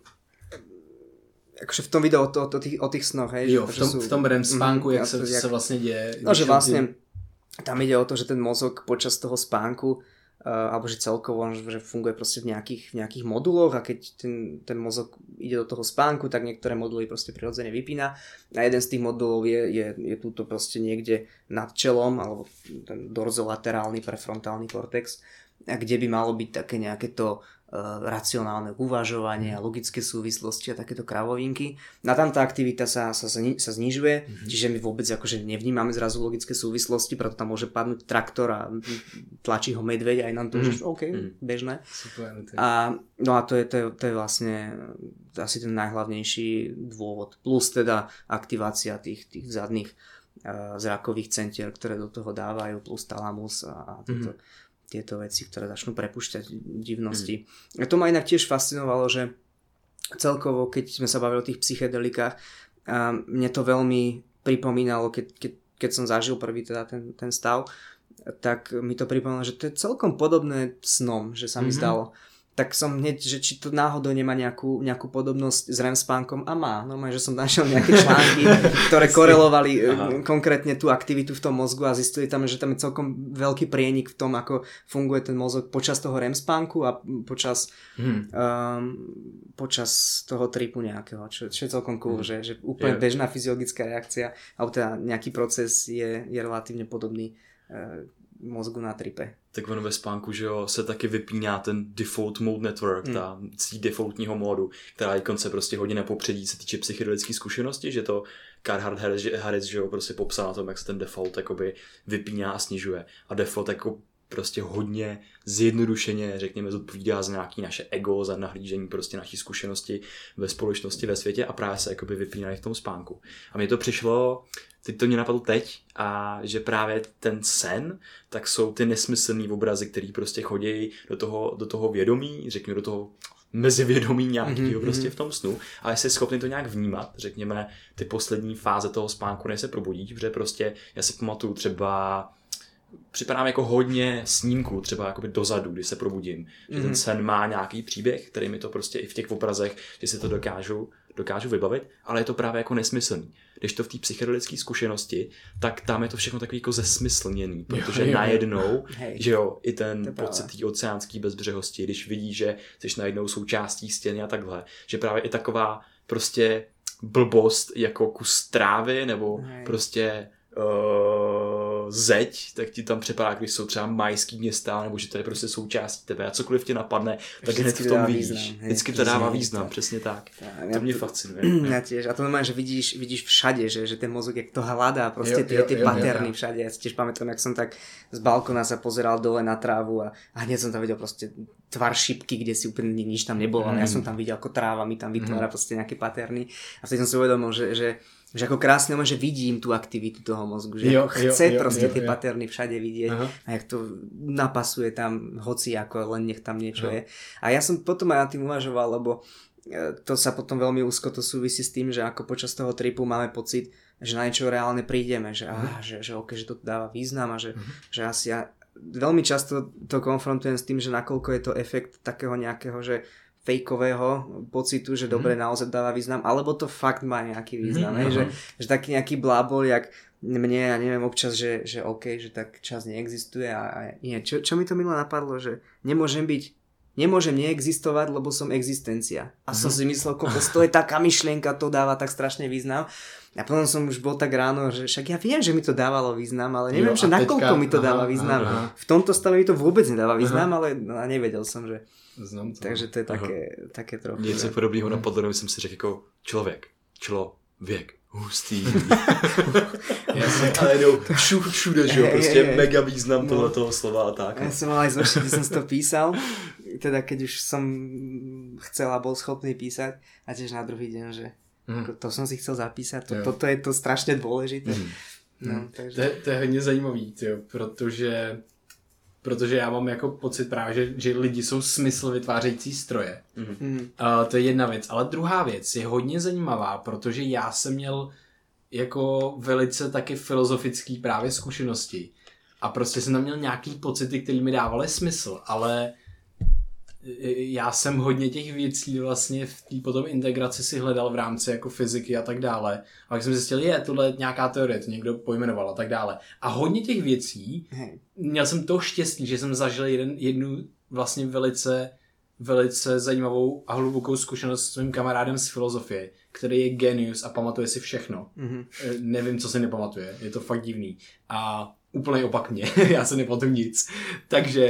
akože v tom videu o, to, o, tých, o tých snoch, hej? Jo, v tom, sú, v tom R E M spánku, mm, jak, se, jak se vlastně děje. No, že vlastně tam ide o to, že ten mozog počas toho spánku Uh, alebo že celkovo že funguje proste v nejakých, v nejakých moduloch a keď ten, ten mozog ide do toho spánku, tak niektoré moduly proste prirodzene vypína a jeden z tých modulov je, je, je túto proste niekde nad čelom alebo ten dorzolaterálny prefrontálny kortex, a kde by malo byť také nejaké to racionálne uvažovanie a logické súvislosti a takéto kravovinky. Na tam tá aktivita sa, sa, sa znižuje, mm-hmm. čiže my vôbec akože nevnímame zrazu logické súvislosti, preto tam môže padnúť traktor a tlačí ho medveď aj nám to, mm-hmm. že OK, mm-hmm. bežné. Super, a, no a to je, to, je, to je vlastne asi ten najhlavnejší dôvod. Plus teda aktivácia tých, tých zadných uh, zrakových centier, ktoré do toho dávajú, plus talamus a, a toto. Mm-hmm. tieto veci, ktoré začnú prepúšťať divnosti. Mm. A to ma inak tiež fascinovalo, že celkovo, keď sme sa bavili o tých psychedelikách, mne to veľmi pripomínalo, keď, keď, keď som zažil prvý teda ten, ten stav, tak mi to pripomínalo, že to je celkom podobné snom, že sa mi mm-hmm. zdalo. Tak som hneď, že či to náhodou nemá nejakú, nejakú podobnosť s REM spánkom a má. No že som našiel nejaké články, ktoré korelovali Aha. konkrétne tú aktivitu v tom mozgu a zistili tam, že tam je celkom veľký prienik v tom, ako funguje ten mozog počas toho REM spánku a počas, hmm. um, počas toho tripu nejakého, čo, čo je celkom cool, hmm. že, že úplne je. Bežná fyziologická reakcia alebo teda nejaký proces je, je relatívne podobný uh, mozgu na tripe. Tak ono ve spánku, že jo, se taky vypíná ten default mode network, mm. ta síť defaultního módu, která je konce prostě hodně na popředí, se týče psychedelické zkušenosti, že to Carhart Harris, že jo, prostě popsal na tom, jak se ten default jakoby vypíná a snižuje. A default jako prostě hodně zjednodušeně, řekněme, zodpovídá za nějaký naše ego, za nahlížení prostě naší zkušenosti ve společnosti, ve světě a právě se jakoby vypínají v tom spánku. A mně to přišlo, teď to mě napadlo teď, a že právě ten sen, tak jsou ty nesmyslný obrazy, který prostě chodí do toho, do toho vědomí, řekněme do toho mezivědomí nějakého mm-hmm. prostě v tom snu, ale jsi schopný to nějak vnímat, řekněme ty poslední fáze toho spánku, než se probudíš, protože prostě já si pamatuju třeba připadám jako hodně snímků, třeba jakoby dozadu, když se probudím, mm-hmm. že ten sen má nějaký příběh, který mi to prostě i v těch obrazech, že si to dokážu, dokážu vybavit, ale je to právě jako nesmyslný. Když to v té psychedelické zkušenosti, tak tam je to všechno takový jako zesmyslněný, protože jo, jo, najednou, hej. že jo, i ten pocit té oceánské bezbřehosti, když vidíš, že jsi najednou součástí stěny a takhle, že právě i taková prostě blbost jako kus trávy nebo hej. prostě Uh, zeď, tak ti tam připadá, když jsou třeba majský města, nebo že to je prostě součástí tebe a cokoliv tě napadne, tak hned v tom vidíš. Význam, Vždycky to dává význam, tak. Přesně tak. tak to mě to, fascinuje. Ja tiež. A to znamená, že vidíš, vidíš všade, že, že ten mozog, jak to hľadá, proste jo, tie, tie jo, paterny jo, jo. všade. Ja si tiež pamätám, jak som tak z balkóna sa pozeral dole na trávu a, a hneď som tam videl proste tvar šipky, kde si úplne nič tam nebolo, mm. ale ja som tam videl, ako tráva mi tam vytvára mm. proste nejaké paterny. A vtedy som si uvedomil, že, že že ako krásne, že vidím tú aktivitu toho mozgu, že jo, chce jo, proste jo, tie jo. paterny všade vidieť Aha. a jak to napasuje tam hoci ako, len nech tam niečo Aha. je. A ja som potom aj na tým uvažoval, lebo to sa potom veľmi úzko to súvisí s tým, že ako počas toho tripu máme pocit, že na niečo reálne prídeme, že, á, že, že, okay, že to dáva význam a že, že asi ja veľmi často to konfrontujem s tým, že nakoľko je to efekt takého nejakého, že fejkového pocitu, že dobre mm. naozaj dáva význam, alebo to fakt má nejaký význam, mm, že, že taký nejaký blábol, jak mne, ja neviem občas, že, že OK, že tak čas neexistuje a, a nie. Čo, čo mi to milo napadlo, že nemôžem byť, nemôžem neexistovať, lebo som existencia. A mm. som si myslel, kokos, to je taká myšlienka, to dáva tak strašne význam. A potom som už bol tak ráno, že však ja viem, že mi to dávalo význam, ale neviem, jo, že nakoľko mi to aha, dáva význam. Aha. V tomto stave mi to vôbec nedáva význam, aha. ale no, nevedel som, že Znam to. Takže to je také, také trochu. Něco podobného napadlo, jsem si řekl jako člověk, člověk, hustý. Ale jdou všude, všude, že jo, prostě je, je, mega význam no. tohle toho slova a tak. Ja som mal aj zošiť, kde som si to písal, teda keď už som chcel a bol schopný písať a tiež na druhý deň, že mm. to som si chcel zapísať, to, toto je to strašně dôležité. Mm. No, takže... to, je, to je hodně zajímavý, tyjo, protože Protože já mám jako pocit právě, že, že lidi jsou smysl vytvářející stroje. Mm-hmm. Uh, to je jedna věc. Ale druhá věc je hodně zajímavá, protože já jsem měl jako velice taky filozofický právě zkušenosti. A prostě jsem tam měl nějaký pocity, které mi dávaly smysl. Ale já jsem hodně těch věcí vlastně v té potom integraci si hledal v rámci jako fyziky a tak dále. A pak jsem zjistil, je, tohle je nějaká teorie, to někdo pojmenoval a tak dále. A hodně těch věcí, hey. měl jsem to štěstí, že jsem zažil jeden, jednu vlastně velice, velice zajímavou a hlubokou zkušenost s svým kamarádem z filozofie, který je genius a pamatuje si všechno. Mm-hmm. Nevím, co si nepamatuje, je to fakt divný. A úplný opak mě, já se nepamatuju nic. Takže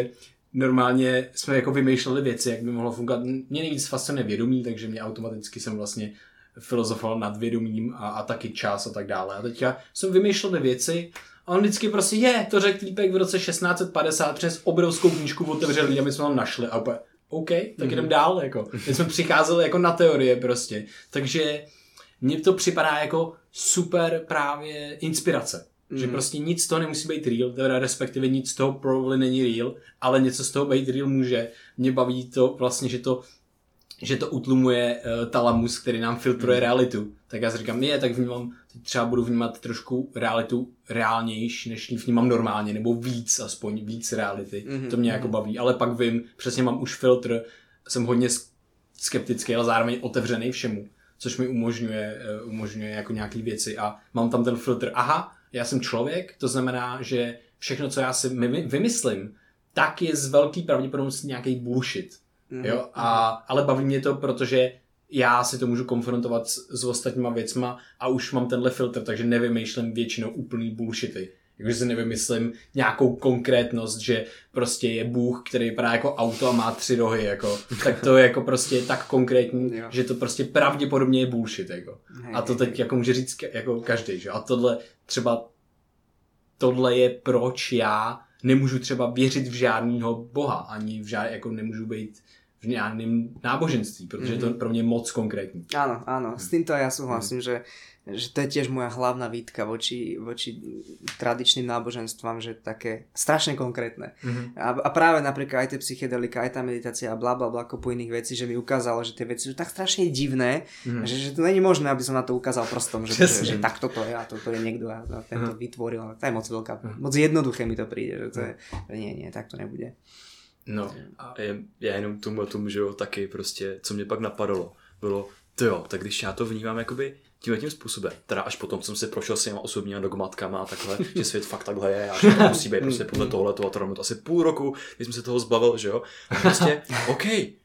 normálně jsme jako vymýšleli věci, jak by mohlo fungovat. Mě nejvíc fascinuje vědomí, takže mě automaticky jsem vlastně filozofoval nad vědomím a, a taky čas a tak dále. A teďka jsem vymýšlel věci a on vždycky prostě je, to řekl týpek v roce šestnáct set padesát, přes obrovskou knížku otevřeli a my jsme tam našli a úplně, OK, tak mm-hmm. jdem dál, jako. My jsme přicházeli jako na teorie prostě. Takže mně to připadá jako super právě inspirace. Mm. Že prostě nic z toho nemusí být real, teda respektive nic z toho probably není real, ale něco z toho být real může. Mě baví to vlastně, že to že to utlumuje uh, talamus, který nám filtruje mm. realitu. Tak já si říkám, je, tak vnímám, teď třeba budu vnímat trošku realitu reálnější, než ji vnímám normálně, nebo víc, aspoň víc reality. Mm-hmm. To mě jako baví, ale pak vím, přesně mám už filtr, jsem hodně skeptický, ale zároveň otevřený všemu, což mi umožňuje, uh, umožňuje jako nějaký věci a mám tam ten filtr, aha, já jsem člověk, to znamená, že všechno, co já si vymyslím, tak je z velký pravděpodobností nějaký bullshit. Mm-hmm. Jo? A, ale baví mě to, protože já si to můžu konfrontovat s, s ostatníma věcma a už mám tenhle filtr, takže nevymýšlím většinou úplný bullshity. Jakože si nevymyslím nějakou konkrétnost, že prostě je Bůh, který vypadá jako auto a má tři rohy, jako. Tak to je jako prostě tak konkrétní, že to prostě pravděpodobně je bullshit, jako. A to teď jako může říct jako každý, že? A tohle třeba tohle je proč já nemůžu třeba věřit v žádného boha, ani v žád, jako nemůžu být v žádném náboženství, protože mm-hmm. to je pro mě moc konkrétní. Áno, áno, s týmto ja súhlasím, mm. že, že to je tiež moja hlavná výtka voči, voči tradičným náboženstvám, že také strašne konkrétne. Mm-hmm. A, a práve napríklad aj tie psychedelika, aj tá meditácia a bla bla bla, kopu iných vecí, že mi ukázalo, že tie veci sú tak strašne divné, mm-hmm. že, že to není možné, aby som na to ukázal prstom, že, že, že takto to je a toto je niekto a tento mm-hmm. vytvoril. To je moc veľká, mm-hmm. moc jednoduché mi to príde, že to je, že nie, nie, tak to nebude. No, a já jenom tomu, tomu, že jo, taky prostě, co mě pak napadalo, bylo, to jo, tak když já to vnímám jakoby tímhle tím způsobem, teda až potom jsem se prošel s těma osobníma dogmatkama a takhle, že svět fakt takhle je a že to musí být prostě podle tohoto a to asi půl roku, když jsem se toho zbavil, že jo, a prostě, OK,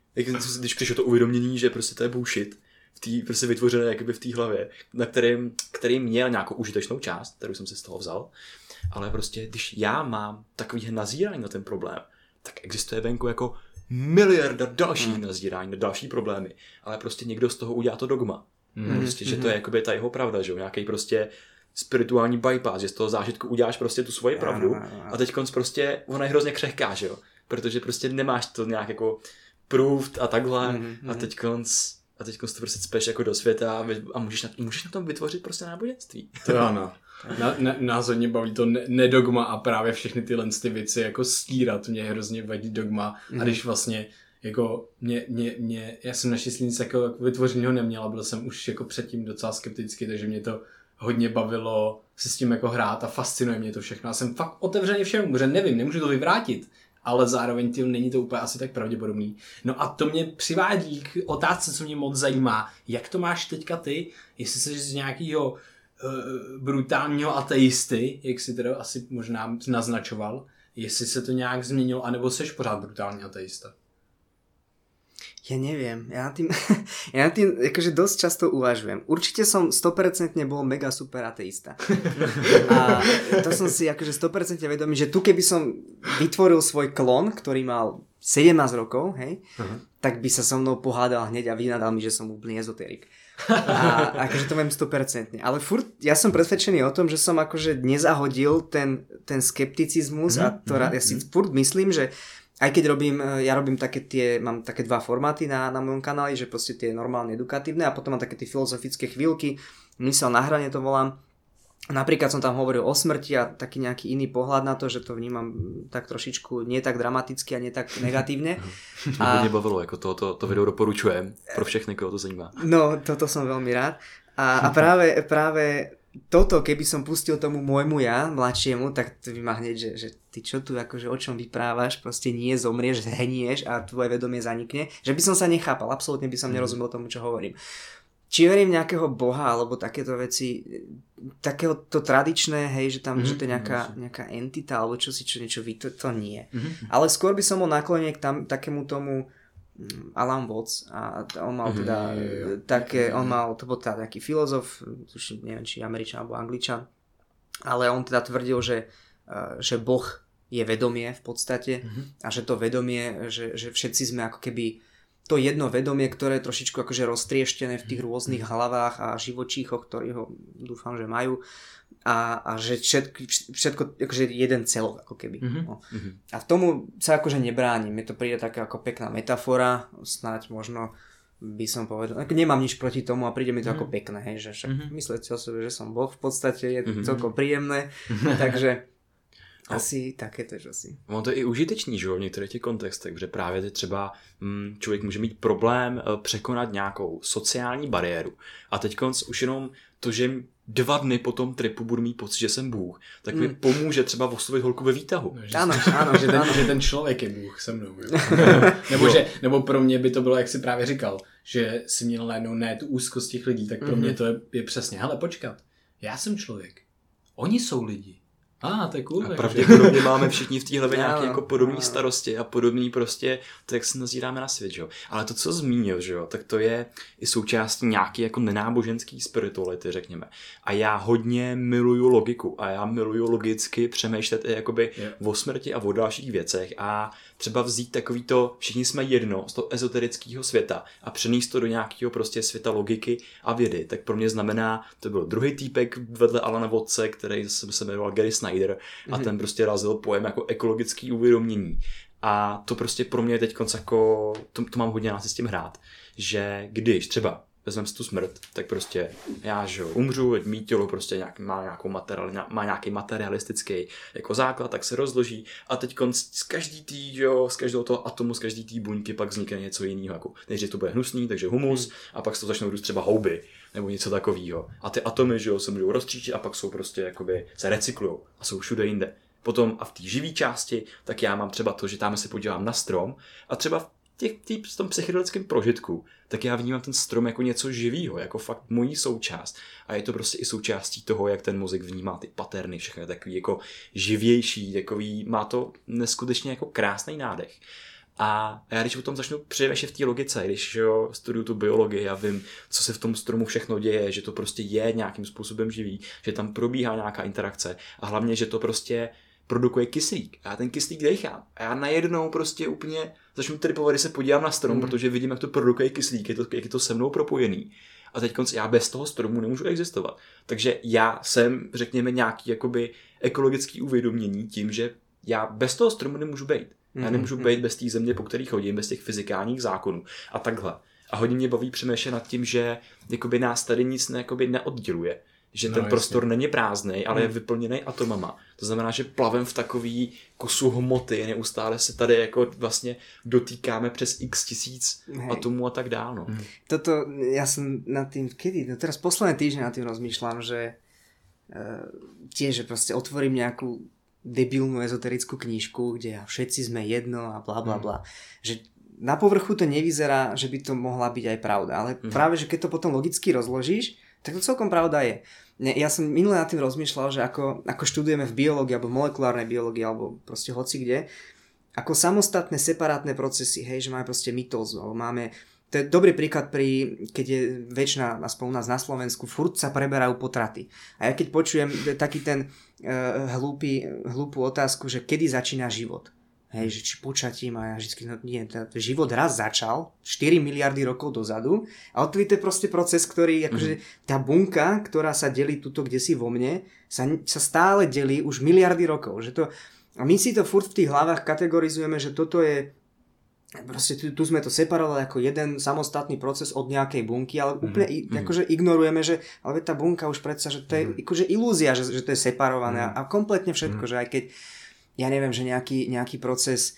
když přišlo to uvědomění, že prostě to je bullshit, v té prostě vytvořené jakoby v té hlavě, na kterým, který měl nějakou užitečnou část, kterou jsem si z toho vzal, ale prostě, když já mám takový nazírání na ten problém, tak existuje venku jako miliarda dalších hmm. nazírání na další problémy, ale prostě někdo z toho udělá to dogma. Hmm. Prostě, že to je jakoby ta jeho pravda, že jo, nějaký prostě spirituální bypass, že z toho zážitku uděláš prostě tu svoji pravdu a teď konc prostě ona je hrozně křehká, že jo, protože prostě nemáš to nějak jako proved a takhle hmm. a teď konc a teď konc to prostě cpeš jako do světa a, a můžeš, na, můžeš na tom vytvořit prostě náboženství. To ano. Na, na, nás hodně baví to ne, nedogma a právě všechny tyhle ty věci jako stírat. Mě hrozně vadí dogma mm. a když vlastně jako mě, mě, mě já jsem naštěstí nic jako vytvořeného neměl a byl jsem už jako předtím docela skeptický, takže mě to hodně bavilo se s tím jako hrát a fascinuje mě to všechno. A jsem fakt otevřený všemu, protože nevím, nemůžu to vyvrátit, ale zároveň tím není to úplně asi tak pravděpodobný. No a to mě přivádí k otázce, co mě moc zajímá. Jak to máš teďka ty, jestli jsi z nějakého brutálního ateisty, jak si teda asi možná naznačoval, jestli se to nějak změnilo, anebo seš pořád brutální ateista? Ja neviem, ja nad tým, ja nad tým akože dosť často uvažujem. Určite som sto percent bol mega super ateista. A to som si akože sto percent vedomý, že tu keby som vytvoril svoj klon, ktorý mal sedemnásť rokov, hej, uh-huh. tak by sa so mnou pohádal hneď a vynadal mi, že som úplný ezoterik. A akože to viem sto percent. Ale furt, ja som presvedčený o tom, že som akože nezahodil ten, ten skepticizmus mm-hmm. a to, ja si furt myslím, že aj keď robím, ja robím také tie, mám také dva formáty na, na mojom kanáli, že proste tie normálne edukatívne a potom mám také tie filozofické chvíľky, mysel na hrane to volám. Napríklad som tam hovoril o smrti a taký nejaký iný pohľad na to, že to vnímam tak trošičku nie tak dramaticky a nie tak negatívne. To mě hodně bavilo, jako to, to, to video doporučujem pro všechny, koho to zajímá. No, toto som veľmi rád. A, a práve, práve toto, keby som pustil tomu môjmu ja, mladšiemu, tak to by ma hneď, že, že ty čo tu, akože o čom vyprávaš, proste nie, zomrieš, zhenieš a tvoje vedomie zanikne. Že by som sa nechápal, absolútne by som nerozumel tomu, čo hovorím. Či verím nejakého boha, alebo takéto veci, takého to tradičné, hej, že tam mm-hmm. že to je nejaká, nejaká entita, alebo čo si čo niečo ví, to, to nie. Mm-hmm. Ale skôr by som bol naklonený k tam, takému tomu Alan Watts a on mal teda mm-hmm. také, on mal, to bol teda nejaký filozof, tuším, neviem, či Američan alebo Angličan, ale on teda tvrdil, že, že Boh je vedomie v podstate mm-hmm. a že to vedomie, že, že všetci sme ako keby to jedno vedomie, ktoré je trošičku akože roztrieštené v tých rôznych hlavách a živočíchoch, ktorí ho dúfam, že majú a, a že všetko, všetko akože jeden celok ako keby. Mm-hmm. No. A v tomu sa akože nebránim. Mne to príde taká ako pekná metafora, snáď možno by som povedal, nemám nič proti tomu a príde mi to mm-hmm. ako pekné, hej, že však mm-hmm. myslieť si o sebe, že som Boh v podstate je mm-hmm. celkom príjemné, takže asi také tež asi. Ono to je i užitečný, že v některých těch kontextech, protože právě teď třeba hm, člověk může mít problém překonat nějakou sociální bariéru a teď už jenom to, že dva dny po tom tripu budu mít pocit, že jsem Bůh, tak mi mm. pomůže třeba oslovit holku ve výtahu. No, že, ano, ano, že, ten, že ten člověk je Bůh se mnou. nebo, že, nebo pro mě by to bylo, jak jsi právě říkal, že si měl najednou ne tu úzkost těch lidí, tak pro mm-hmm. mě to je, je přesně, hele počkat, já jsem člověk, oni jsou lidi. Ah, to je cool, a pravděpodobně máme všichni v té hlavě nějaké jako podobné starosti a podobný prostě, to jak se nazíráme na svět, že jo. Ale to, co zmínil, že jo, tak to je i součástí nějaký jako nenáboženský spirituality, řekněme. A já hodně miluju logiku a já miluju logicky přemýšlet i jakoby yeah. o smrti a o dalších věcech a třeba vzít takový to, všichni jsme jedno z toho ezoterického světa a přenést to do nějakého prostě světa logiky a vědy. Tak pro mě znamená, to byl druhý týpek vedle Alana Watse, který se jmenoval Gary Snyder a ten prostě razil pojem jako ekologický uvědomění. A to prostě pro mě teď jako, to, to mám hodně nás s tím hrát, že když třeba vezmeme si tu smrt, tak prostě já, že umřu, mý tělo prostě nějak, má, nějakou materiál, má nějaký materialistický jako základ, tak se rozloží a teď z každý tý, jo, z každého toho atomu, z každý tý buňky pak vznikne něco jiného. Jako, nejdřív to bude hnusný, takže humus a pak se to začnou růst třeba houby nebo něco takového. A ty atomy, že jo, se můžou rozstříčit a pak jsou prostě jakoby se recyklujou a jsou všude jinde. Potom a v té živé části, tak já mám třeba to, že tam se podívám na strom a třeba v těch, tý, v tom psychedelickém prožitku, tak já vnímám ten strom jako něco živýho, jako fakt mojí součást. A je to prostě i součástí toho, jak ten mozek vnímá ty paterny, všechno je takový jako živější, takový, má to neskutečně jako krásný nádech. A já když o tom začnu přemýšlet v té logice, když jo, studuju tu biologii a vím, co se v tom stromu všechno děje, že to prostě je nějakým způsobem živý, že tam probíhá nějaká interakce a hlavně, že to prostě produkuje kyslík. A já ten kyslík dechám. A já najednou prostě úplně začnu tripovat, když se podívám na strom, mm. protože vidím, jak to produkuje kyslík, je to, jak je to se mnou propojený. A teď já bez toho stromu nemůžu existovat. Takže já jsem, řekněme, nějaký jakoby ekologický uvědomění tím, že já bez toho stromu nemůžu být. Já nemůžu být bez té země, po který chodím, bez těch fyzikálních zákonů a takhle. A hodně mě baví přemýšlet nad tím, že jakoby nás tady nic ne, jakoby neodděluje. Že no, ten prostor není prázdnej, ale hmm. je vyplněný atomama. To znamená, že plavem v takový kusu hmoty, neustále se tady jako vlastně dotýkáme přes x tisíc Hej. atomů a tak dál. No. Hmm. Toto, ja som nad tým, kedy? No teraz posledné týždne nad tým rozmýšľam, že uh, tiež, že proste otvorím nejakú debilnú ezoterickú knižku, kde všetci sme jedno a bla bla bla. Mm. Že na povrchu to nevyzerá, že by to mohla byť aj pravda, ale mm. práve, že keď to potom logicky rozložíš, tak to celkom pravda je. Ja som minulé nad tým rozmýšľal, že ako, ako študujeme v biológii alebo molekulárnej biológii alebo proste hoci kde, ako samostatné separátne procesy, hej, že máme proste mitózu, alebo máme. To je dobrý príklad, pri, keď je väčšina, aspoň u nás na Slovensku, furt sa preberajú potraty. A ja keď počujem taký ten uh, hlúpy, hlúpu otázku, že kedy začína život. Hej, že či počatím a ja vždycky, no nie, ten život raz začal štyri miliardy rokov dozadu a odtedy to je proste proces, ktorý, akože tá bunka, ktorá sa delí tuto kdesi vo mne, sa, sa stále delí už miliardy rokov. Že to, a my si to furt v tých hlavách kategorizujeme, že toto je proste tu, tu sme to separovali ako jeden samostatný proces od nejakej bunky, ale úplne mm-hmm. akože ignorujeme, že ale tá bunka už predsa, že to je mm-hmm. akože ilúzia, že, že to je separované mm-hmm. a kompletne všetko, mm-hmm. že aj keď ja neviem, že nejaký, nejaký proces,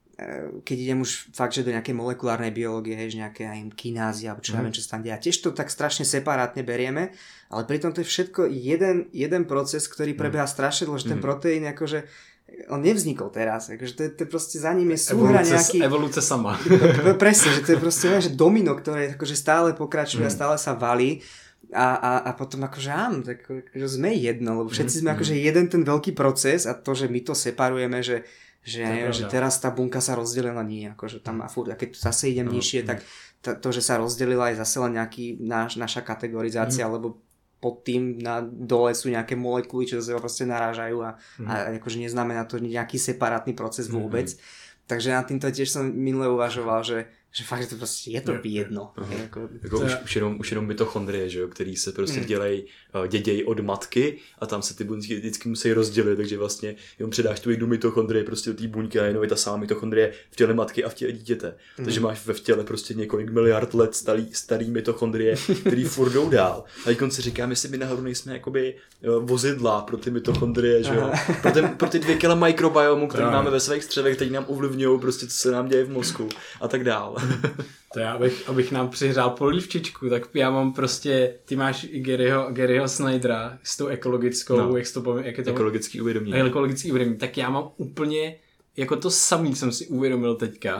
keď idem už fakt, že do nejakej molekulárnej biológie, hej, že nejaké aj kinázy, alebo čo mm-hmm. neviem, čo sa tam deje. Tiež to tak strašne separátne berieme, ale pritom to je všetko jeden, jeden proces, ktorý prebieha strašne dlho, že ten proteín akože on nevznikol teraz, akože to je, to je proste za ním je súhra nejaký... Evolúcia sama. Presne, že to je proste že domino, ktoré akože stále pokračuje mm. a stále sa valí a, a, a potom akože áno, tak akože sme jedno, lebo všetci sme mm. akože jeden ten veľký proces a to, že my to separujeme, že, že, neviem, že teraz tá bunka sa rozdelila nie, akože tam a furt, a keď zase idem mm. nižšie, tak to, to, že sa rozdelila je zase len nejaký náš, naša kategorizácia, mm. lebo pod tým na dole sú nejaké molekuly, čo sa proste narážajú a, mm. a akože neznamená to nejaký separátny proces vôbec. Mm. Takže na týmto tiež som minule uvažoval, že že fakt, že to prostě je to jedno. Je jako, jako už, už, jenom, už jenom mitochondrie, že jo, který se prostě mm. dělají, dědějí od matky a tam se ty buňky vždycky musí rozdělit, takže vlastně jenom předáš tu jednu mitochondrii prostě do té buňky a jenom je ta samá mitochondrie v těle matky a v těle dítěte. Mm. Takže máš ve vtěle prostě několik miliard let starý, starý mitochondrie, který furt jdou dál. A teď si říkám, jestli by nahoru nejsme jakoby vozidla pro ty mitochondrie, že jo. Pro, ten, pro ty dvě kila mikrobiomu, který máme ve svých střevech, který nám ovlivňují prostě, co se nám děje v mozku a tak dál. To já, abych, abych nám přihřál polívčičku, tak já mám prostě, ty máš Garyho, Garyho Snydera s tou ekologickou, no. jak, to, jak je to? Ekologický uvědomění. Ekologický uvědomění, tak já mám úplně, jako to samý jsem si uvědomil teďka.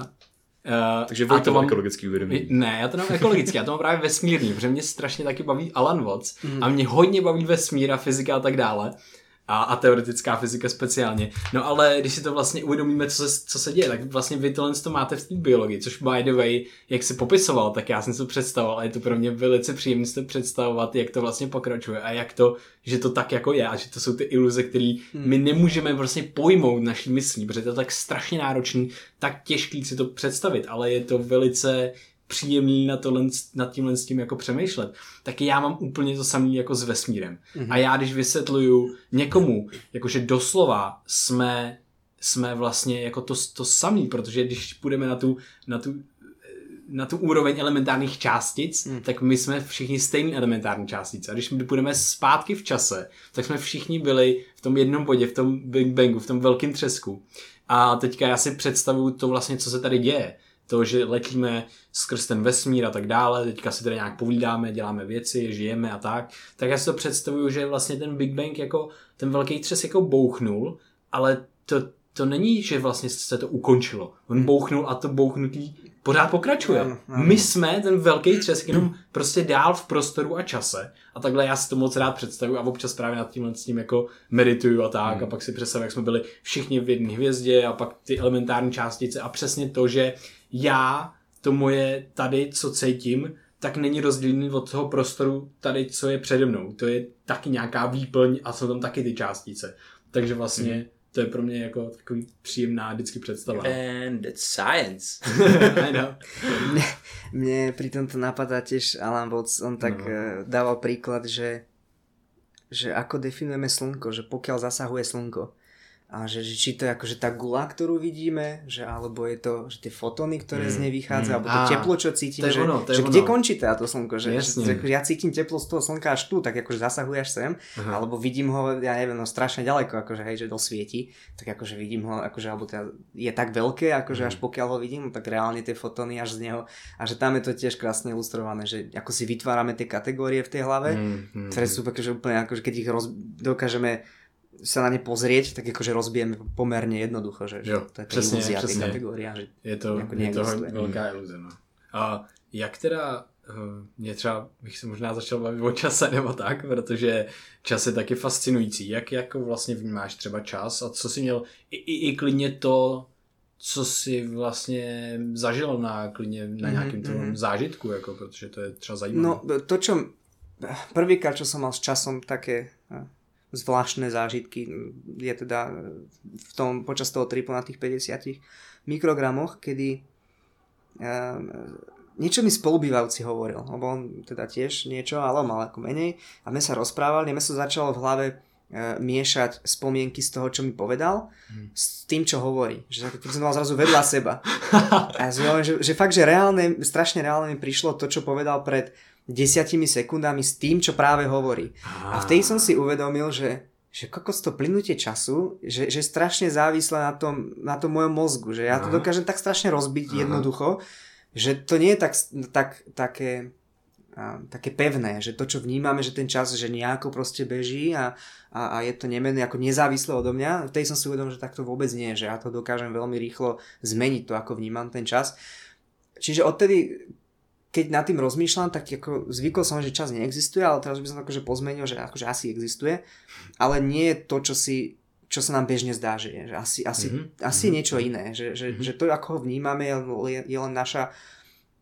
Uh, Takže Vojto mám ekologický uvědomění. Ne, já to mám ekologický, já to mám právě vesmírný, protože mě strašně taky baví Alan Watts mm. a mě hodně baví vesmír a fyzika a tak dále. A, a teoretická fyzika speciálně. No ale když si to vlastně uvědomíme, co se, co se děje, tak vlastně vy tohle to máte v té biologii, což by the way, jak si popisoval, tak já jsem si to představoval a je to pro mě velice příjemné si to představovat, jak to vlastně pokračuje a jak to, že to tak jako je a že to jsou ty iluze, které hmm. my nemůžeme vlastně pojmout naší myslí, protože to je tak strašně náročný, tak těžký si to představit, ale je to velice příjemný na tohle, nad tímhle s tím jako přemýšlet, tak já mám úplně to samé jako s vesmírem. Mm-hmm. A já když vysvětluju někomu, jakože doslova jsme, jsme vlastně jako to, to samý, protože když půjdeme na tu, na tu, na tu úroveň elementárních částic, mm. tak my jsme všichni stejný elementární částice. A když my půjdeme zpátky v čase, tak jsme všichni byli v tom jednom bodě, v tom Big Bangu, v tom velkém třesku. A teďka já si představuju to vlastně, co se tady děje. To, že letíme skrz ten vesmír a tak dále, teďka si tady nějak povídáme, děláme věci, žijeme a tak, tak já si to představuju, že vlastně ten Big Bang jako, ten velký třes jako bouchnul, ale to, to není, že vlastně se to ukončilo. On bouchnul a to bouchnutí pořád pokračuje. My jsme ten velký třesk jenom prostě dál v prostoru a čase a takhle já si to moc rád představuju a občas právě nad tímhle s tím jako medituju a tak a pak si představuju, jak jsme byli všichni v jedné hvězdě a pak ty elementární částice a přesně to, že já, to moje tady, co cítím, tak není rozdílný od toho prostoru tady, co je přede mnou. To je taky nějaká výplň a jsou tam taky ty částice. Takže vlastně mm. to je pro mě jako takový příjemná vždycky představa. And it's science. I know. Mne, mne pri tomto napadá tiež Alan Watts, on tak no. dával príklad, že, že ako definujeme slnko, že pokiaľ zasahuje slnko. A že, že či to je akože tá gula, ktorú vidíme, že alebo je to že tie fotóny, ktoré mm, z nej vychádzajú, mm, alebo to teplo, čo cítim, že, ono, že kde končí táto slnko, že, že, že ja cítim teplo z toho slnka až tu, tak akože zasahuje až sem, aha. alebo vidím ho, ja neviem, no strašne ďaleko, akože hej, že dosvieti, tak akože vidím ho, akože, alebo teda je tak veľké, akože mm. až pokiaľ ho vidím, tak reálne tie fotóny až z neho, a že tam je to tiež krásne ilustrované, že ako si vytvárame tie kategórie v tej hlave, mm, mm, ktoré sú akože úplne, akože keď ich roz, dokážeme sa na ne pozrieť, tak akože rozbijeme pomerne jednoducho, že, jo, že to je tá přesně, ilúzia přesně. tej kategórie, že je to, je to velká iluze. No. A jak teda, mě třeba, bych se možná začal bavit o čase nebo tak, protože čas je taky fascinující. Jak jako vlastně vnímáš třeba čas a co jsi měl, i, i, i klidně to, co jsi vlastně zažil na klidně na nějakým mm-hmm. tvojom zážitku, jako, protože to je třeba zajímavé. No to, čo prvýkrát, čo som mal s časom také zvláštne zážitky, je teda v tom, počas toho tripu na tých päťdesiatich mikrogramoch, kedy uh, niečo mi spolubývajúci hovoril, lebo on teda tiež niečo, ale on mal ako menej a my sa rozprávali, a mi sa začalo v hlave uh, miešať spomienky z toho, čo mi povedal, hmm. s tým, čo hovorí. Že som mal zrazu vedľa seba. A že, že fakt, že reálne, strašne reálne mi prišlo to, čo povedal pred desiatimi sekundami s tým, čo práve hovorí. A vtedy som si uvedomil, že, že kokos to plynutie času, že, že strašne závislé na tom, na tom mojom mozgu, že ja to dokážem tak strašne rozbiť Aha. jednoducho, že to nie je tak, tak, také, a, také pevné, že to, čo vnímame, že ten čas, že nejako proste beží a, a, a je to nemenné, ako nezávislé odo mňa. Vtedy som si uvedomil, že tak to vôbec nie je, že ja to dokážem veľmi rýchlo zmeniť, to ako vnímam ten čas. Čiže odtedy keď nad tým rozmýšľam, tak ako zvykol som, že čas neexistuje, ale teraz by som akože pozmenil, že akože asi existuje, ale nie je to, čo si, čo sa nám bežne zdá, že je. Že asi, asi, mm-hmm. asi niečo iné. Že, že, mm-hmm. že to, ako ho vnímame, je, je len naša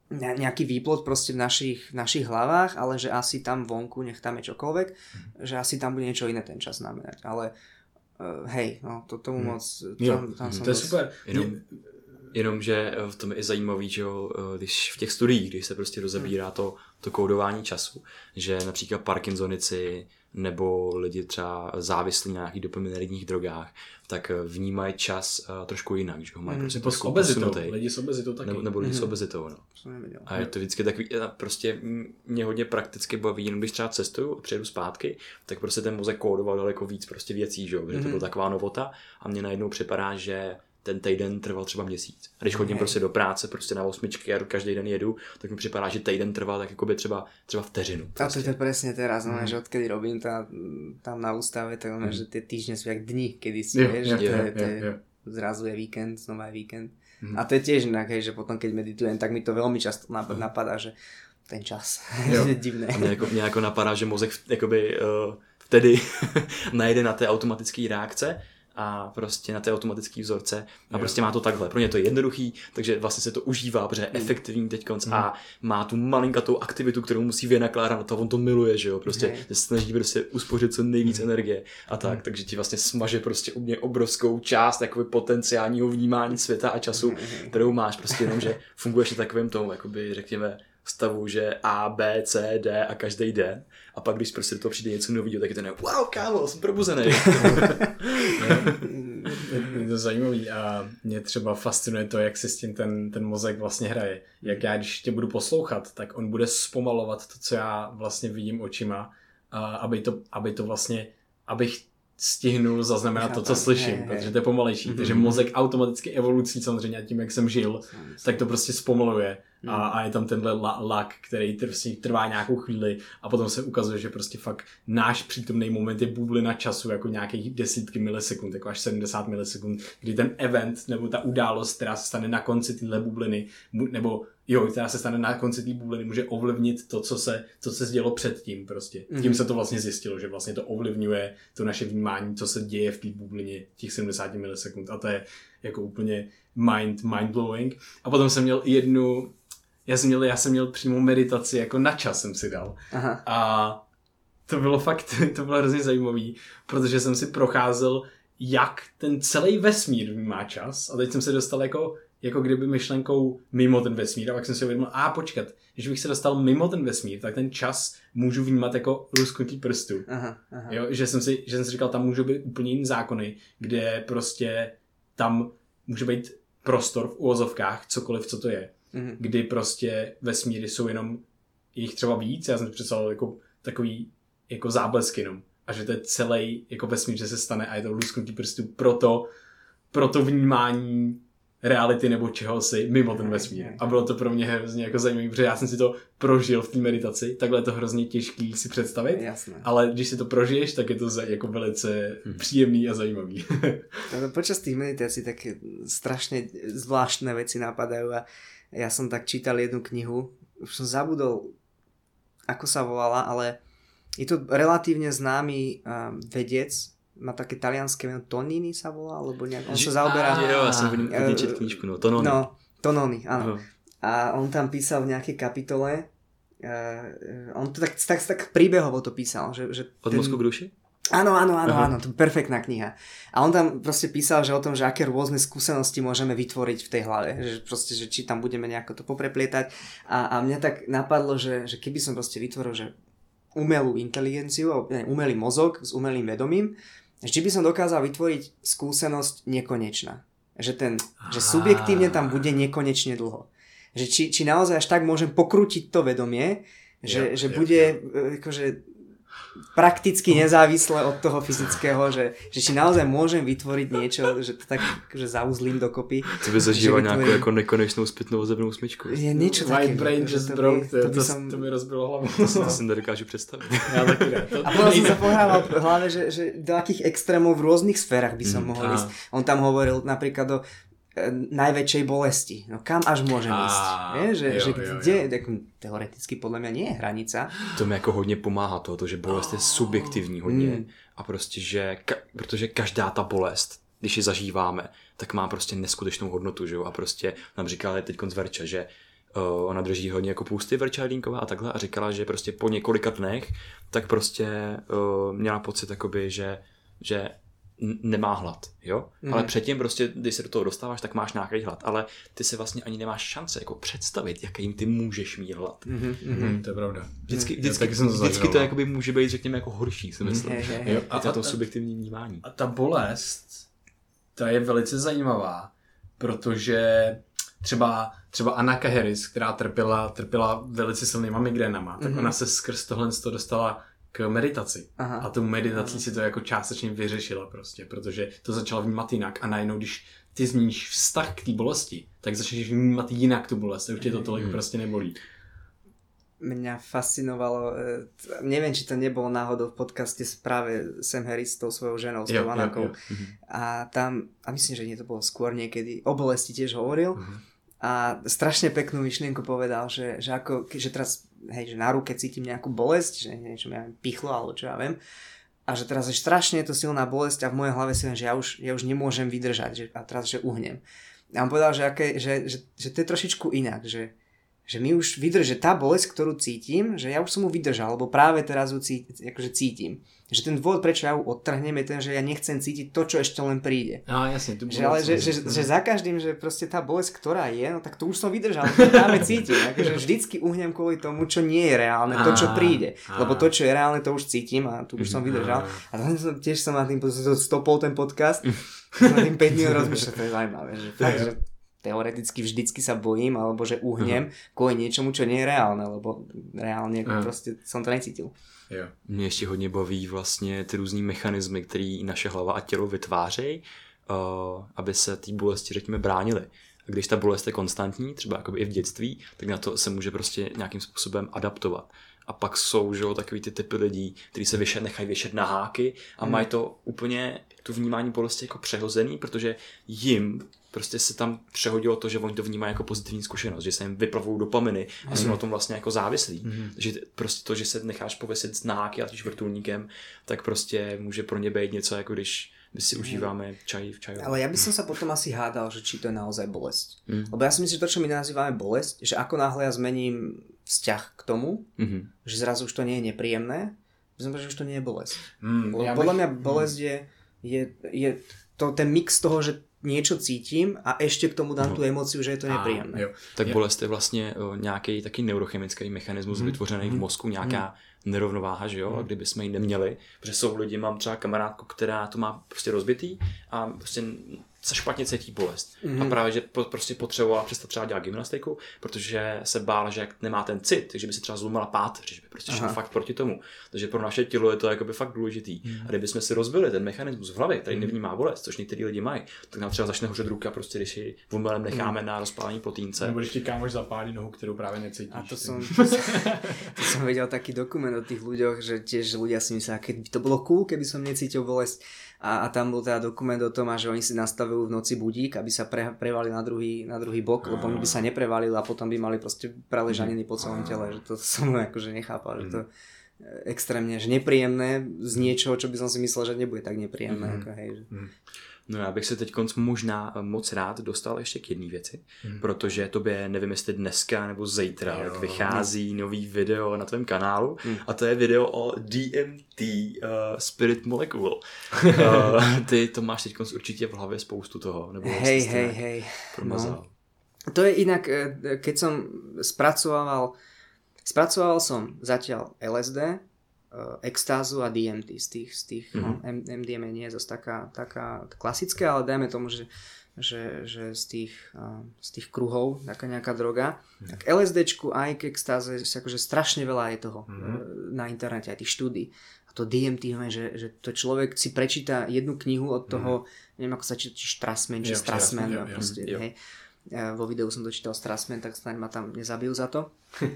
nejaký výplod proste v našich, v našich hlavách, ale že asi tam vonku, nech tam je čokoľvek, hmm. že asi tam bude niečo iné ten čas znamenať. Ale uh, hej, no to tomu hmm. moc... Tam, tam hmm. To je dost... super. Jenom, jenom, že v tom je zajímavý, že jo, když v těch studiích, když se prostě rozebírá to, to kódování času, že například Parkinsonici nebo lidi třeba závislí na nějakých dopaminergních drogách, tak vnímají čas uh, trošku jinak, že ho mají mm, prostě s obezitou, lidi s obezitou taky. Nebo, nebo lidi mm. s obezitou, no. A je to vždycky takový, prostě mě hodně prakticky baví, jenom když třeba cestuju a přijedu zpátky, tak prostě ten mozek kódoval daleko víc prostě věcí, že jo, protože mm. to byla taková novota a mně najednou připadá, že ten týden trval třeba měsíc. A když chodím okay. prostě do práce, prostě na osmičky a každý den jedu, tak mi připadá, že týden trvá tak jakoby třeba, třeba vteřinu. Prostě. A to je to presne teraz, no, mm. že odkedy robím tá, tam na ústave, tak mm. že tie týždne sú jak dni, kedy si, yeah, vieš, yeah, že to yeah, je, to je, yeah, yeah. zrazu je víkend, znova je víkend. Mm. A to je tiež inak, hej, že potom keď meditujem, tak mi to veľmi často napadá, že ten čas je divné. A mě jako, mě jako napadá, že mozek jakoby uh, vtedy najde na té automatické reakce a prostě na té automatické vzorce a jo. prostě má to takhle. Pro ně to je jednoduchý, takže vlastně se to užívá, protože je efektivní teďkonc mm. a má tu malinkatou aktivitu, kterou musí vynakládat na to, on to miluje, že jo, prostě se snaží prostě uspořit co nejvíc mm. energie a tak, mm. takže ti vlastně smaže prostě u mě obrovskou část jakoby potenciálního vnímání světa a času, mm. kterou máš, prostě jenom, že funguješ na takovém tomu, jakoby řekněme, stavu, že A, B, C, D a každý den. A pak, když prostě do toho přijde něco nového, tak je to ne, wow, kámo, jsem probuzený. Je to zajímavý a mě třeba fascinuje to, jak se s tím ten, ten mozek vlastně hraje. Jak já, když tě budu poslouchat, tak on bude zpomalovat to, co já vlastně vidím očima, a aby, to, aby to vlastně, abych stihnul zaznamenat to, co slyším, je, je. protože to je pomalejší. Mm-hmm. Takže mozek automaticky evolucí samozřejmě tím, jak jsem žil, tak to prostě zpomaluje. Mm. A, a je tam tenhle lak, který prostě trvá nějakou chvíli a potom se ukazuje, že prostě fakt náš přítomný moment je bublina času jako nějakých desítky milisekund, jako až sedmdesát milisekund, kdy ten event nebo ta událost, která se stane na konci téhle bubliny, nebo jo, která se stane na konci té bubliny, může ovlivnit to, co se, co se dělo předtím prostě. Mm. Tím se to vlastně zjistilo, že vlastně to ovlivňuje to naše vnímání, co se děje v té bublině těch sedmdesát milisekund a to je jako úplně mind, mind-blowing. A potom jsem měl jednu Já jsem, měl, já jsem měl přímo meditaci, jako na čas jsem si dal. Aha. A to bylo fakt, to bylo hrozně zajímavý, protože jsem si procházel, jak ten celý vesmír vnímá čas. A teď jsem se dostal jako, jako kdyby myšlenkou mimo ten vesmír. A pak jsem si uvědomil, a počkat, když bych se dostal mimo ten vesmír, tak ten čas můžu vnímat jako lusknutí prstů. Aha, aha. Jo, že, jsem si, že jsem si říkal, tam můžou být úplně jiný zákony, kde prostě tam může být prostor v uvozovkách, cokoliv, co to je. Mm-hmm. Kdy prostě vesmíry jsou jenom jich třeba víc, já jsem představil jako takový jako záblesk jenom. A že to je celý jako vesmír, že se stane a je to lusknutí prstů proto, proto vnímání reality nebo čehosi mimo ten vesmír. A bylo to pro mě hrozně jako zajímavé, protože já jsem si to prožil v té meditaci, takhle je to hrozně těžký si představit, jasné. Ale když si to prožiješ, tak je to jako velice hmm. příjemný a zajímavý. Počas tých meditácií také strašne zvláštne veci napadajú a ja som tak čítal jednu knihu, už som zabudol, ako sa volala, ale je to relatívne známy um, vedec, má také talianské meno, Tonini sa volá, alebo nejak, on sa zaoberá... Jo, ja som vidím čet knižku, no, Tononi. No, Tononi, áno. Uh-huh. A on tam písal v nejakej kapitole, uh, on to tak, tak, tak príbehovo to písal, že... že Od ten... mozku k duši? Áno, áno, áno, áno, to je perfektná kniha. A on tam proste písal, že o tom, že aké rôzne skúsenosti môžeme vytvoriť v tej hlave, že proste, že či tam budeme nejako to popreplietať. A, a mňa tak napadlo, že, že keby som proste vytvoril, že umelú inteligenciu, ne, umelý mozog s umelým vedomím, či by som dokázal vytvoriť skúsenosť nekonečná. Že, ten, že subjektívne tam bude nekonečne dlho. Že či, či naozaj až tak môžem pokrútiť to vedomie, že, jo, že jo, bude jo. akože prakticky nezávisle od toho fyzického, že, že či naozaj môžem vytvoriť niečo, že to tak že zauzlím dokopy. To by zažíval vytvorím... nějakou jako nekonečnou zpětnou zebnou smyčku. Je niečo no, také. My brain just broke, to, to, to, som... to mi rozbilo hlavu. To, to si nedokážu představit. Já taky ne. To, a potom som sa pohrával v hlave, že, že do akých extrémov v rôznych sférach by som mm, mohol ísť. On tam hovoril napríklad do najväčšej bolesti. No kam až môžem ísť? Je, že, jo, že kde, jo, jo. Tak, teoreticky podľa mňa nie je hranica. To mi jako hodně pomáhá to, že bolest je subjektivní hodně mm. a prostě, že ka- protože každá ta bolest, když ji zažíváme, tak má prostě neskutečnou hodnotu, že jo? A prostě nám říkali teď z Verča, že Uh, ona drží hodně jako půsty Verčelínková a takhle a říkala, že prostě po několika dnech tak prostě uh, měla pocit jakoby, že, že nemá hlad, jo? Mm. Ale předtím prostě, když se do toho dostáváš, tak máš nějaký hlad, ale ty se vlastně ani nemáš šance jako představit, jakým ty můžeš mít hlad. Mm-hmm, mm-hmm, to je pravda. Vždycky, vždycky, vždycky, to, vždycky to jakoby může být, řekněme, jako horší, si myslím. Mm, je, je. Jo? A, a to subjektivní vnímání. A ta bolest, ta je velice zajímavá, protože třeba, třeba Anaka Harris, která trpěla, trpěla velice silnýma migrénama, tak mm-hmm. ona se skrz tohle dostala k meditaci. Aha. A tu meditací Aha. si to jako částečně vyřešila prostě, protože to začala vnímat jinak a najednou, když ty změníš vztah k té bolesti, tak začneš vnímat jinak tu bolest a už tě to tolik mm. prostě nebolí. Mňa fascinovalo, neviem, či to nebolo náhodou v podcaste práve Sam Harris s tou svojou ženou, s tou Anakou. A tam, a myslím, že nie to bolo skôr niekedy, o bolesti tiež hovoril. Uh-huh. A strašne peknú myšlienku povedal, že, že, ako, že teraz, hej, že na ruke cítim nejakú bolesť, že niečo mi ja viem, pichlo, alebo čo ja viem. A že teraz je strašne je to silná bolesť a v mojej hlave si viem, že ja už, ja už nemôžem vydržať, že, a teraz, že uhnem. A on povedal, že, aké, že, že, že to je trošičku inak, že že mi už vydrží, že tá bolesť, ktorú cítim, že ja už som mu vydržal, lebo práve teraz ju cítim, akože cítim. Že ten dôvod, prečo ja ju odtrhnem, je ten, že ja nechcem cítiť to, čo ešte len príde. No jasne. Tu že, ale že, že, že za každým, že proste tá bolesť, ktorá je, no tak to už som vydržal, to práve cítim. Akože vždycky uhnem kvôli tomu, čo nie je reálne, to, čo príde. Lebo to, čo je reálne, to už cítim a tu už som vydržal. A tiež som na tým stopol ten podcast, na tým päť minút rozmýšľal, to je zaujímavé, že fakt, že teoreticky vždycky sa bojím, alebo že uhnem uh-huh. kvôli niečomu, čo nie je reálne, lebo reálne uh-huh. prostě som to necítil. Jo. Mě ještě hodně baví vlastně ty různý mechanismy, které naše hlava a tělo vytvářejí, uh, aby se té bolesti, řekněme, bránily. A když ta bolest je konstantní, třeba jakoby i v dětství, tak na to se může prostě nějakým způsobem adaptovat. A pak jsou, že jo, takový ty typy lidí, kteří se vyšet, nechají vyšet na háky a hmm. mají to úplně, tu vnímání bolesti jako přehozený, protože jim prostě se tam přehodilo to, že oni to vnímají jako pozitivní zkušenost, že se jim vyplavují dopaminy a jsou mm. na tom vlastně jako závislí. Mm. Takže prostě to, že se necháš pověsit na háky a tím vrtulníkem, tak prostě může pro ně být něco, jako když my si užíváme čaj v čaju. Ale ja by som sa potom asi hádal, že či to je naozaj bolesť. Mm. Lebo ja si myslím, že to, čo my nazývame bolesť, že ako náhle ja zmením vzťah k tomu, mm-hmm. že zrazu už to nie je nepríjemné, znamená, že už to nie je bolesť. Mm, ja podľa bych... mňa bolesť je, je, je to ten mix toho, že niečo cítim a ešte k tomu dám no. tu emóciu, že je to nepríjemné. Jo. Tak bolest je vlastně nějaký taky neurochemický mechanismus mm. vytvořený mm. v mozku, nějaká mm. nerovnováha, že jo, mm. a kdyby jsme ji neměli, protože jsou lidi, mám třeba kamarádku, která to má prostě rozbitý a prostě se špatně cítí bolest. Mm. A právě, že prostě potřebovala přestat třeba dělat gymnastiku, protože se bála, že jak nemá ten cit, takže by si třeba zlomila páteř, že by prostě šlo fakt proti tomu. Takže pro naše tělo je to jakoby fakt důležitý. Mm. A kdybychom si rozbili ten mechanismus v hlavě, který nevnímá bolest, což některý lidi mají, tak nám třeba začne hořet ruka, prostě když ji omylem necháme mm. na rozpálení plotínce. Nebo když ti kámoš zapálí nohu, kterou právě necítíš. A to som, to som videl taký dokument o tých ľuďoch, že tiež ľudia si myslia, keby to bolo cool, keby som necítil bolesť. A, a tam bol teda dokument o tom, že oni si nastavujú v noci budík, aby sa pre, prevali na druhý, na druhý bok, lebo oni by sa neprevalili a potom by mali proste preležaniny po celom tele, že to som akože nechápal, že to extrémne že nepríjemné z niečoho, čo by som si myslel, že nebude tak nepríjemné. Mm-hmm. Ako, hej, že... No já bych se teď možná moc rád dostal ještě k jedné věci, hmm. protože tobě, nevím jestli dneska nebo zítra, jo, jak vychází no. nový video na tvém kanálu hmm. a to je video o D M T uh, Spirit Molecule. uh, ty to máš teď určitě v hlavě spoustu toho. Nebo hej, hej, hej. No. To je inak, keď som spracoval, spracoval som zatiaľ L S D, extázu a D M T z tých, z tých mm-hmm. no, M D M A nie je zase taká, taká klasická, ale dajme tomu, že, že, že z, tých, uh, z tých kruhov taká nejaká droga. Mm-hmm. Tak LSDčku aj k extáze akože strašne veľa je toho mm-hmm. na internete, aj tých štúdí. A to D M T, že, že to človek si prečíta jednu knihu od toho, mm-hmm. neviem ako sa číta, či Strassman, či Strassman, ja, proste, ja, hej. Ja vo videu som dočítal Strassman, tak snáď ma tam nezabijú za to.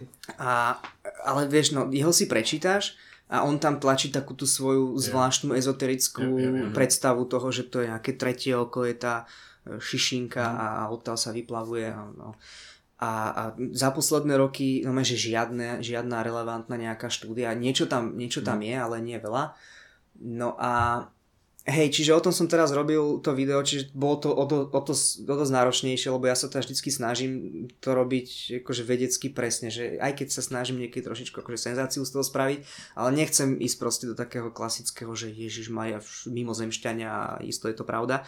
A, ale vieš, no, jeho si prečítaš a on tam tlačí takú tú svoju zvláštnu ezoterickú yeah, yeah, yeah. predstavu toho, že to je nejaké tretie oko, je tá šišinka mm. a odtiaľ sa vyplavuje. A, no. a, a za posledné roky, no že žiadne, žiadna relevantná nejaká štúdia, niečo tam, niečo tam mm. je, ale nie veľa. No a Hej, čiže o tom som teraz robil to video, čiže bolo to o to, o to, o to náročnejšie, lebo ja sa teda vždycky snažím to robiť akože vedecky presne, že aj keď sa snažím niekedy trošičku akože senzáciu z toho spraviť, ale nechcem ísť proste do takého klasického, že Ježiš Maria mimozemšťania a isto je to pravda.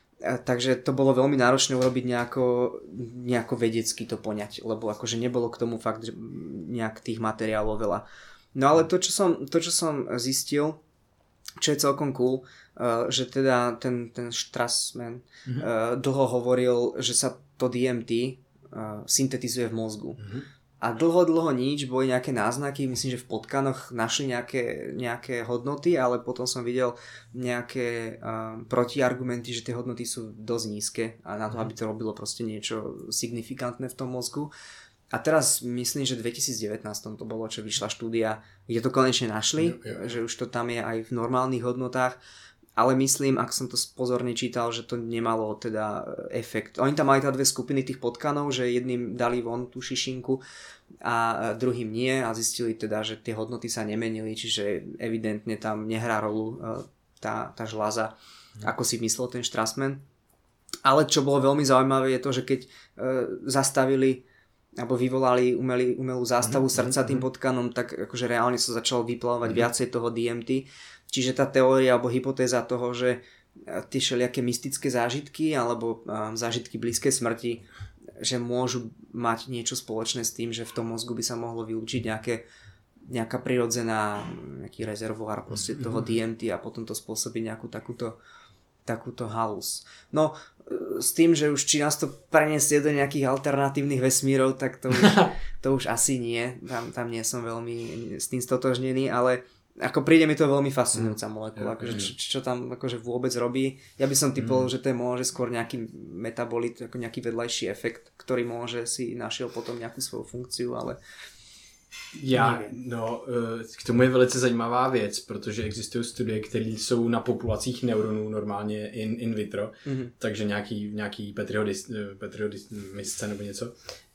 Takže to bolo veľmi náročné urobiť nejako, nejako vedecky to poňať, lebo akože nebolo k tomu fakt že nejak tých materiálov veľa. No ale to, čo som, to, čo som zistil, čo je celkom cool, uh, že teda ten, ten Strassman mm-hmm. uh, dlho hovoril, že sa to D M T uh, syntetizuje v mozgu. Mm-hmm. A dlho, dlho nič, boli nejaké náznaky, myslím, že v potkanoch našli nejaké, nejaké hodnoty, ale potom som videl nejaké uh, protiargumenty, že tie hodnoty sú dosť nízke a na to, aby to robilo proste niečo signifikantné v tom mozgu. A teraz myslím, že v dvetisícdevätnásť to bolo, čo vyšla štúdia, kde to konečne našli, jo, jo, jo. Že už to tam je aj v normálnych hodnotách, ale myslím, ak som to pozorne čítal, že to nemalo teda efekt. Oni tam mali teda dve skupiny tých potkanov, že jedným dali von tú šišinku a druhým nie a zistili teda, že tie hodnoty sa nemenili, čiže evidentne tam nehrá rolu tá, tá žľaza, no. Ako si myslel ten Strassman. Ale čo bolo veľmi zaujímavé je to, že keď e, zastavili alebo vyvolali umelý, umelú zástavu mm-hmm. srdca tým potkanom, tak akože reálne sa začalo vyplavovať mm-hmm. viacej toho D M T. Čiže tá teória alebo hypotéza toho, že tie všelijaké mystické zážitky alebo um, zážitky blízkej smrti, že môžu mať niečo spoločné s tým, že v tom mozgu by sa mohlo vylúčiť nejaké, nejaká prirodzená nejaký rezervoár proste mm-hmm. toho D M T a potom to spôsobí nejakú takúto takúto halus. No, s tým, že už či nás to preniesie do nejakých alternatívnych vesmírov, tak to už, to už asi nie. Tam, tam nie som veľmi s tým stotožnený, ale ako príde mi to veľmi fascinujúca molekula, akože čo, čo tam akože vôbec robí. Ja by som typoval, mm. že to je môže skôr nejaký metabolit, ako nejaký vedľajší efekt, ktorý môže si našiel potom nejakú svoju funkciu, ale Já, no, k tomu je velice zajímavá věc, protože existují studie, které jsou na populacích neuronů normálně in, in vitro, mm-hmm. takže nějaký, nějaký Petriho, Petriho misce nebo něco.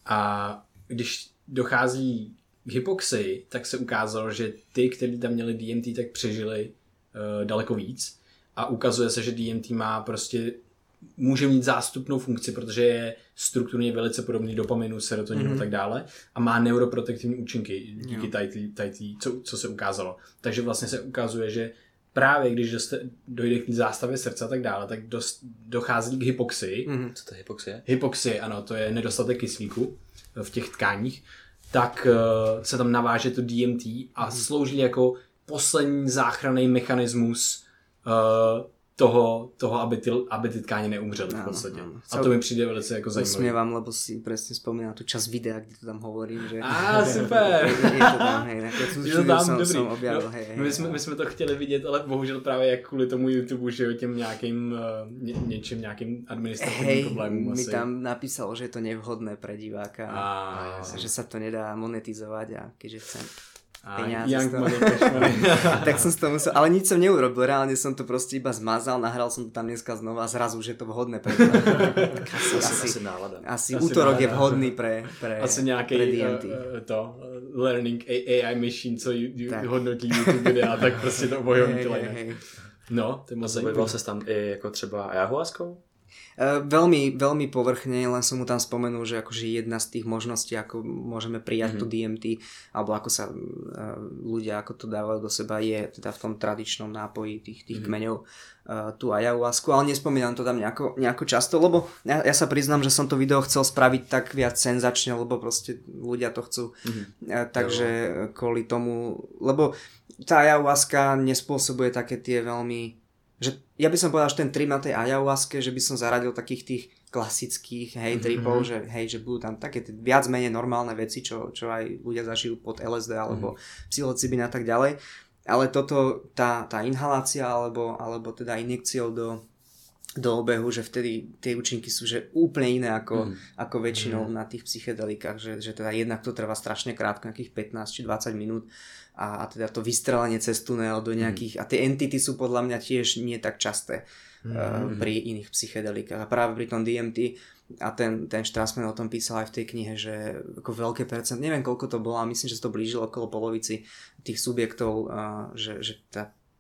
A když dochází k hypoxii, tak se ukázalo, že ty, kteří tam měli D M T, tak přežili uh, daleko víc. A ukazuje se, že D M T má prostě může mít zástupnou funkci, protože je strukturně velice podobný dopaminu, serotoninu mm-hmm. a tak dále a má neuroprotektivní účinky díky tady, co, co se ukázalo. Takže vlastně se ukazuje, že právě když doste, dojde k zástavě srdce a tak dále, tak dost, dochází k hypoxii. Mm-hmm. Co to je hypoxie? Hypoxie, ano, to je nedostatek kyslíku v těch tkáních. Tak uh, se tam naváže to D M T a mm-hmm. slouží jako poslední záchranný mechanismus uh, toho, toho aby, ty, aby ty tkáně neumřely v podstatě. Áno, áno. A to mi přijde velice jako zajímavé. Usmievam, lebo si presne spomínam tú časť videa, kde to tam hovorím, že... Á, super! je, je to tam, hej, keď som, je to tam, som, dobrý. som objavil, no, hej, hej. My jsme, my jsme to chtěli vidět, ale bohužel právě jak kvůli tomu YouTube, že jo, těm nějakým, ně, něčím, nějakým administrativním hej, problémům asi. mi tam napísalo, že je to nevhodné pre diváka. Á, že sa to nedá monetizovať a keďže chcem a peniaze. Young money, cash money. Tak som z toho musel, ale nič som neurobil, reálne som to proste iba zmazal, nahral som to tam dneska znova a zrazu, že je to vhodné pre tak asi, asi, asi nálada. Asi, asi útorok nálada. Je vhodný pre, pre, asi nějaký pre D M T. Uh, to uh, learning A I machine, co ju, ju, hodnotí YouTube videa, tak prostě to obojím hey, hey, hey. No, to je moc zajímavé. Zabýval ses tam i jako třeba ayahuaskou? Uh, veľmi, veľmi povrchne, len som mu tam spomenul, že akože jedna z tých možností, ako môžeme prijať mm-hmm. to D M T, alebo ako sa uh, ľudia ako to dávajú do seba, je teda v tom tradičnom nápoji tých, tých mm-hmm. kmeňov uh, tú ayahuasku, ale nespomínam to tam nejako, nejako často, lebo ja, ja sa priznám, že som to video chcel spraviť tak viac senzačne, lebo proste ľudia to chcú, mm-hmm. uh, takže jo. Kvôli tomu, lebo tá ayahuaska nespôsobuje také tie veľmi že ja by som povedal, že ten trip na tej ayahuaske, že by som zaradil takých tých klasických hej, tripov, mm-hmm. že hej, že budú tam také viac menej normálne veci, čo, čo aj ľudia zažijú pod L S D alebo mm-hmm. psilocybin a tak ďalej. Ale toto, tá, tá inhalácia alebo, alebo teda injekciou do, do obehu, že vtedy tie účinky sú že úplne iné ako, mm. ako väčšinou mm. na tých psychedelikách, že, že teda jednak to trvá strašne krátko, nejakých pätnásť či dvadsať minút a, a teda to vystrelenie cez tunel do nejakých, mm. a tie entity sú podľa mňa tiež nie tak časté mm. uh, pri iných psychedelikách a práve pri tom D M T a ten, ten Strassman o tom písal aj v tej knihe, že ako veľké percent, neviem koľko to bolo, ale myslím, že to blížilo okolo polovici tých subjektov, uh, že, že tá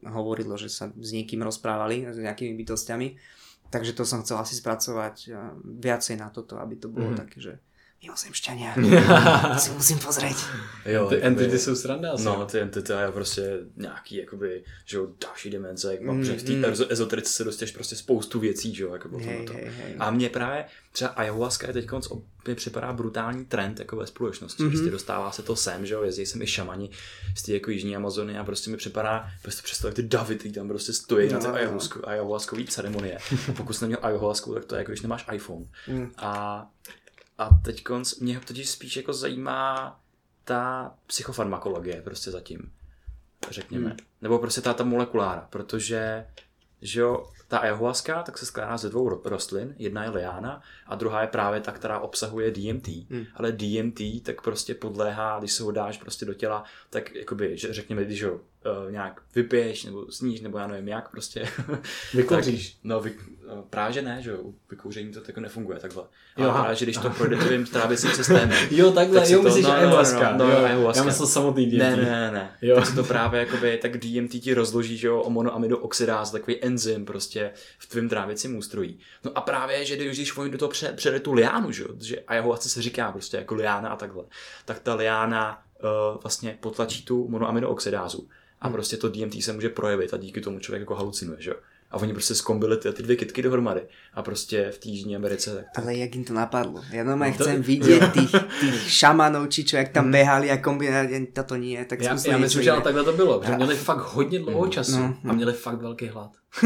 hovorilo, že sa s niekým rozprávali, s nejakými bytostiami. Takže to som chcel asi spracovať viacej na toto, aby to bolo mm. také, že mimozemšťania, si musím pozrieť. Jo, ty entity jsou sranda asi. No, ty entity a prostě nějaký, jakoby, že jo, další dimenze, jak mám, mm, že v té mm. ezoterice se dostáš prostě spoustu věcí, že jo, jako hey, to. Hey, hey. A mně právě třeba ayahuasca je teďkonc mi připadá brutální trend jako ve společnosti, mm-hmm. prostě dostává se to sem, že jo, jezdí sem i šamani z té jako jižní Amazony a prostě mi připadá, prostě představ, jak ty davy, ty tam prostě stojí no, na té ayahuasku, ayahuaskový ceremonie. A pokud jsi neměl ayahuasku, tak to je jako, když nemáš iPhone. Mm. A A teď mě totiž spíš jako zajímá ta psychofarmakologie prostě zatím, řekněme. Hmm. Nebo prostě ta, ta molekulára, protože že jo, ta ayahuasca tak se skládá ze dvou rostlin, jedna je liána a druhá je právě ta, která obsahuje D M T. Hmm. Ale D M T tak prostě podléhá, když se ho dáš prostě do těla, tak jakoby, že řekněme, když ho uh, nějak vypiješ nebo sníš, nebo já nevím jak prostě. Vykouříš. No vy, uh, právě že ne, že jo, vykouření to jako nefunguje takhle. Ale jo, právě, že když to projde tvým trávicím systémem. Jo, takhle, tak jo, myslíš no, ayahuasca. No, no, no, ayahuasca. Já myslel samotný D M T. Ne, ne, ne. Jo. Tak se to právě jakoby, tak D M T ti rozloží, že jo, o monoamidooxidáz, takový enzym prostě v tvém trávicím ústrojí. No a právě, že když oni do toho přede tu liánu, že jo, že ayahuasca se říká prostě jako liána a takhle, tak ta liána uh, vlastně potlačí tu monoamidooxidázu a hmm. prostě to D M T se může projevit a díky tomu člověk jako halucinuje, že jo. A oni prostě zkombili ty, ty dvě kytky dohromady. A prostě v té Jižní Americe... Tak to... Ale jak jim to napadlo? Ja normálne no to... chcem vidieť tých, tých šamanov, či čo, jak tam behali a kombinovali, toto nie. Tak já, já myslím, že ale takhle to bylo. Že měli fakt hodně dlouho času no, no. a měli fakt velký hlad.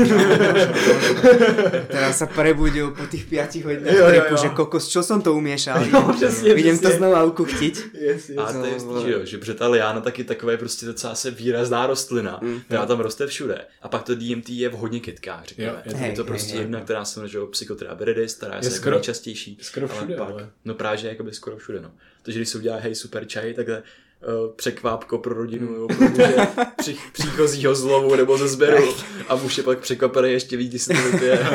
Teraz sa prebudil po tých piatich hodinách trepu, že kokos, čo som to umiešal? Jo, přesně, idem přesně. to znova ukuchtiť. Yes, yes. A to je jistý, že jo, že protože ta liána taky takové prostě docela se výrazná rostlina, mm. která tam roste všude. A pak to D M T je v hodně kytkách, řekněme. Jo, je, je to prostě hej, jedna, která se jmenuje Psychotria viridis, která je, je skoro, nejčastější. Skoro všude, ale. Pak, no právě, že jakoby skoro všude, no. Takže když se udělá hej super čaj, takhle Uh, překvápko pro rodinu nebo pro muže při, příchozího z lovu nebo ze sběru a muž je pak překvapený ještě víc, když se to vypije.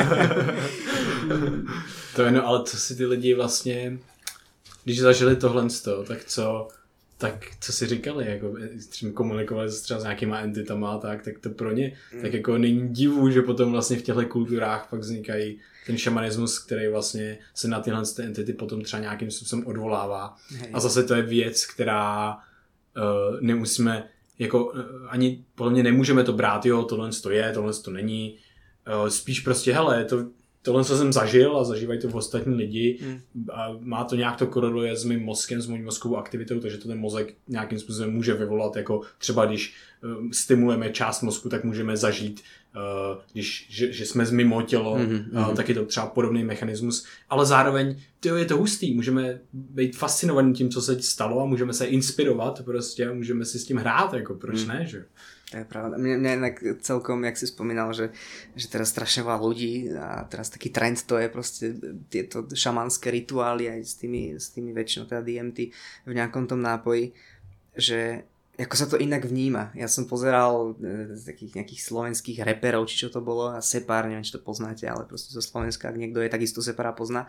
To je no, ale co si ty lidi vlastně, když zažili tohle z toho, tak co, tak co si říkali, jako třeba komunikovali se třeba s nějakýma entitama, tak, tak to pro ně, mm. tak jako není divu, že potom vlastně v těchto kulturách pak vznikají ten šamanismus, který vlastně se na tyhle entity potom třeba nějakým způsobem odvolává. Hej. A zase to je věc, která Uh, nemusíme, jako uh, ani podle mě nemůžeme to brát, jo, tohle to je, tohle to není. Uh, spíš prostě, hele, to, tohle co jsem zažil a zažívají to v ostatní lidi mm. a má to nějak to koreluje s mým mozkem, s mojí mozkovou aktivitou, takže to ten mozek nějakým způsobem může vyvolat, jako třeba když uh, stimulujeme část mozku, tak můžeme zažít, uh, když, že, že jsme mimo tělo, mm-hmm. uh, tak je to třeba podobný mechanismus, ale zároveň tyjo, je to hustý, můžeme být fascinovaní tím, co se stalo a můžeme se inspirovat prostě a můžeme si s tím hrát, jako proč mm. ne, že? To je pravda. Mne, mne inak celkom, jak si spomínal, že, že teraz strašne veľa ľudí a teraz taký trend to je proste tieto šamanské rituály aj s tými, s tými väčšinou teda D M T v nejakom tom nápoji, že ako sa to inak vníma. Ja som pozeral z takých nejakých slovenských reperov, či čo to bolo, a Separ, neviem, či to poznáte, ale proste zo Slovenska, ak niekto je, takisto Separa pozná.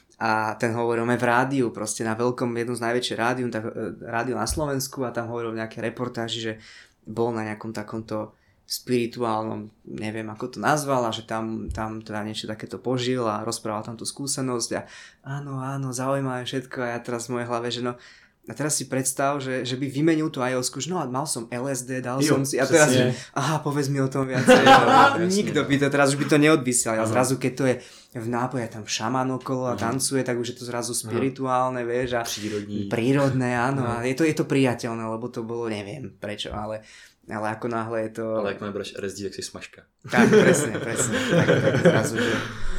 A ten hovoril v rádiu, proste na veľkom, jednom z najväčších rádiu, tak, rádiu na Slovensku a tam hovoril nejaké reportáži, že bol na nejakom takomto spirituálnom, neviem ako to nazval, a že tam, tam teda niečo takéto požil a rozprával tam tú skúsenosť a áno, áno, zaujímavé všetko a ja teraz v mojej hlave, že no a teraz si predstav, že, že by vymenil tú ayahuasku, že no a mal som L S D, dal jo, som si a teraz, že, aha, povedz mi o tom viacej. Nikto by to, teraz už by to neodvysiel. A zrazu keď to je v nápoji, tam šaman okolo a tancuje, tak už je to zrazu spirituálne, vieš, a prírodní. Prírodné, áno. A je to, je to priateľné, lebo to bolo, neviem prečo, ale ale ako náhle je to... Ale ak máš R S D, tak si smažka. Tak, presne, presne. Tak, tak zrazu, že...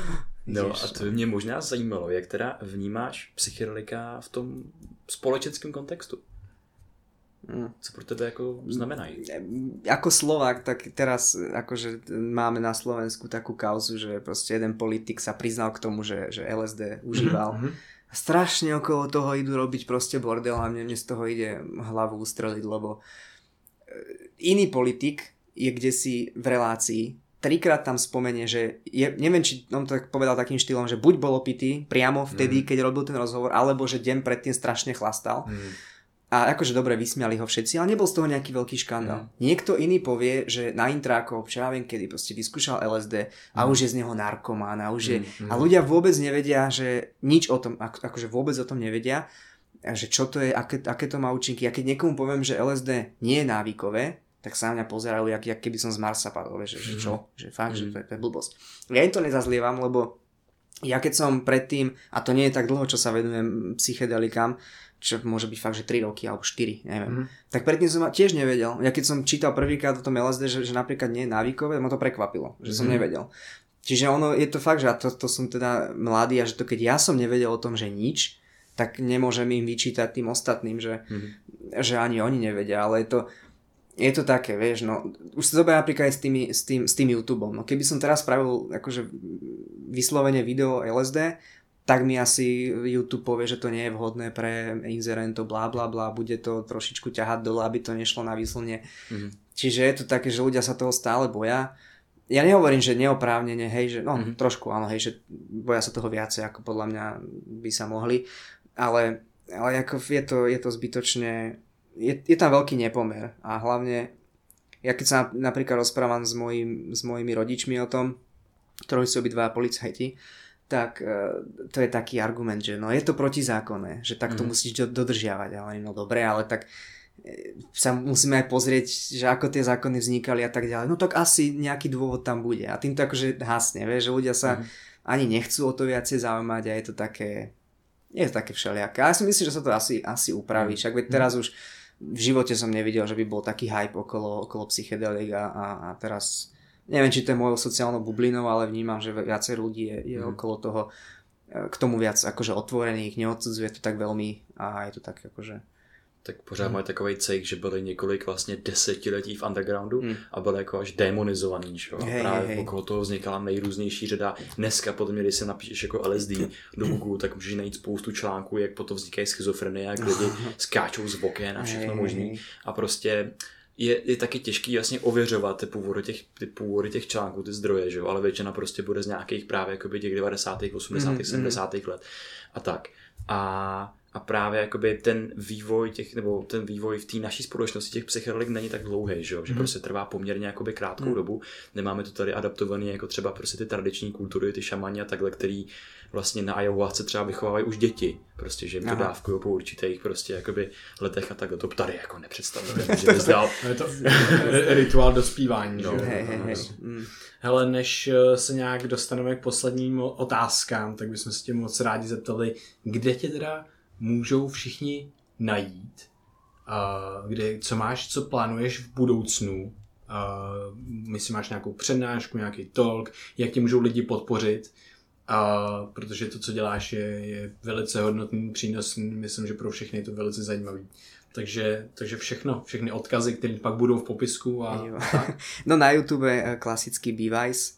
No a to by mě možná zajímalo, jak teda vnímáš psychedelika v tom společenském kontextu? Hmm. Co pro tebe jako znamenají? Ako Slovák, tak teraz akože máme na Slovensku takú kauzu, že proste jeden politik sa priznal k tomu, že, že L S D užíval. Mm-hmm. Strašne okolo toho idú robiť proste bordel a mne, mne z toho ide hlavu ustreliť, lebo iný politik je kdesi v relácii, trikrát tam spomenie, že je, neviem, či on to tak povedal takým štýlom, že buď bol opitý priamo vtedy, mm. keď robil ten rozhovor, alebo že deň predtým strašne chlastal. Mm. A akože dobre, vysmiali ho všetci, ale nebol z toho nejaký veľký škandál. Mm. Niekto iný povie, že na intrákoch, čo ja viem kedy, proste vyskúšal el es dé a mm. už je z neho narkomán a už je... Mm. A ľudia vôbec nevedia, že nič o tom, akože vôbec o tom nevedia, že čo to je, aké, aké to má účinky. A keď niekomu poviem, že el es dé nie je návykové, tak sa na mňa pozerajú, jak, jak keby som z Marsa padol, že, že čo, že fakt, mm. že to je, to je blbosť. Ja im to nezazlievam, lebo ja keď som predtým, a to nie je tak dlho, čo sa venujem psychedelikám, čo môže byť fakt, že tri roky alebo štyri, neviem. Mm-hmm. Tak predtým som tiež nevedel. Ja keď som čítal prvýkrát o tom el es dé, že, že napríklad nie je návykové, ma to prekvapilo, že som mm-hmm. nevedel. Čiže ono je to fakt, že to, to som teda mladý a že to keď ja som nevedel o tom, že nič, tak nemôžem im vyčítať tým ostatným, že, mm-hmm. že ani oni nevedia, ale je to, je to také, vieš, no, už sa dobre napríklad aj s, tými, s, tým, s tým YouTubeom. No keby som teraz spravil akože vyslovene video el es dé, tak mi asi YouTube povie, že to nie je vhodné pre inzerentov, blá, blá, blá, bude to trošičku ťahať dole, aby to nešlo na výslne. Mm-hmm. Čiže je to také, že ľudia sa toho stále boja. Ja nehovorím, že neoprávnene, hej, že no mm-hmm. trošku áno, hej, že boja sa toho viacej, ako podľa mňa by sa mohli, ale, ale ako je to, je to zbytočne, je, je tam veľký nepomer a hlavne, ja keď sa napríklad rozprávam s, mojim, s mojimi rodičmi o tom, ktorí sú obidva policajti, tak to je taký argument, že no je to protizákonné, že tak to mm. musíš dodržiavať, ale no dobre, ale tak sa musíme aj pozrieť, že ako tie zákony vznikali a tak ďalej. No tak asi nejaký dôvod tam bude a týmto akože hasne, vieš, že ľudia sa mm. ani nechcú o to viacej zaujímať a je to také, je to také všelijaké. A ja si myslím, že sa to asi, asi upraví, však veď teraz už v živote som nevidel, že by bol taký hype okolo, okolo psychedelik a, a, a teraz neviem, či to je mojou sociálnou bublinou, ale vnímam, že viacej ľudí je, je mm. okolo toho k tomu viac akože otvorených, neodsudzuje to tak veľmi a je to tak akože... Tak pořád mm. mají takovej cejk, že byli několik vlastně desetiletí v undergroundu mm. a byli jako až demonizovaný, že? A hej, právě hej. okolo toho vznikala nejrůznější řada. Dneska podle mě, když se napíšeš jako el es dé do Google, tak můžeš najít spoustu článků, jak potom vznikají schizofrenie, jak lidi skáčou z oken a všechno možný. A prostě Je, je taky těžký vlastně ověřovat ty původy těch, ty původy těch článků, ty zdroje, že jo? Ale většina prostě bude z nějakých právě jakoby těch devadesátých, osmdesátých, mm, sedmdesátých let a tak. A, a právě jakoby ten vývoj těch, nebo ten vývoj v té naší společnosti těch psychedelik není tak dlouhý, že jo? Že mm. prostě trvá poměrně jakoby krátkou mm. dobu. Nemáme to tady adaptovaný jako třeba prostě ty tradiční kultury, ty šamani a takhle, který vlastně na ayahuasce třeba vychovávají už děti, prostě, že jim to dávkují po určitých prostě jakoby letech a takhle. To tady jako nepředstavujeme, že bys dal. Je to rituál dospívání. No. Hej, hej, hej. Hele, než se nějak dostaneme k posledním otázkám, tak bychom se tě moc rádi zeptali, kde tě teda můžou všichni najít, uh, kde, co máš, co plánuješ v budoucnu, uh, myslím, máš nějakou přednášku, nějaký talk, jak tě můžou lidi podpořit, uh, protože to, co děláš, je, je velice hodnotný, přínosný, myslím, že pro všechny je to velice zajímavý. Takže, takže všechno, všechny odkazy, které pak budou v popisku. A, a tak. No na YouTube klasický Bevice,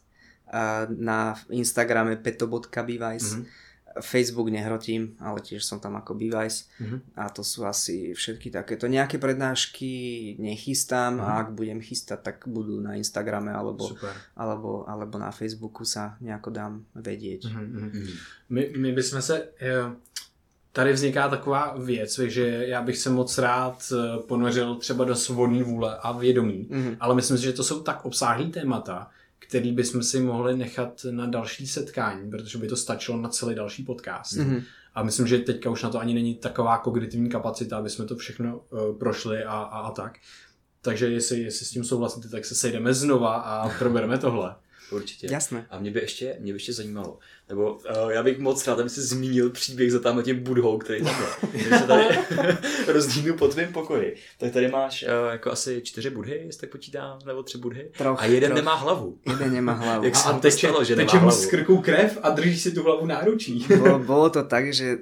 na Instagrame peto bodka bevice, mm-hmm. Facebook nehrotím, ale tiež som tam ako Bevice mm-hmm. a to sú asi všetky takéto. Nejaké prednášky nechystám mm-hmm. a ak budem chystať, tak budú na Instagrame alebo, alebo, alebo na Facebooku sa nejako dám vedieť. Mm-hmm. My, my bychom se... Jo. Tady vzniká taková věc, že já bych se moc rád ponořil třeba do svobodné vůle a vědomí, mm-hmm. ale myslím si, že to jsou tak obsáhlý témata, který bychom si mohli nechat na další setkání, protože by to stačilo na celý další podcast. Mm-hmm. A myslím, že teďka už na to ani není taková kognitivní kapacita, aby jsme to všechno uh, prošli a, a, a tak. Takže jestli, jestli s tím souhlasíte, tak se sejdeme znova a probereme tohle. Určitě. Jasné. A mě by ještě, mě by ještě zajímalo, nebo uh, já bych moc rád, aby si zmínil příběh za tamhle tím budhou, který tam je. Když se tady rozdínu po tvém pokoji, tak tady máš uh, jako asi čtyři budhy, jestli tak počítám, nebo tři budhy. Troch, a jeden troch. nemá hlavu. Jeden nemá hlavu. Jak a teče, stalo, že teče mu z krku krev a drží si tu hlavu náručí. Bolo, bolo to tak, že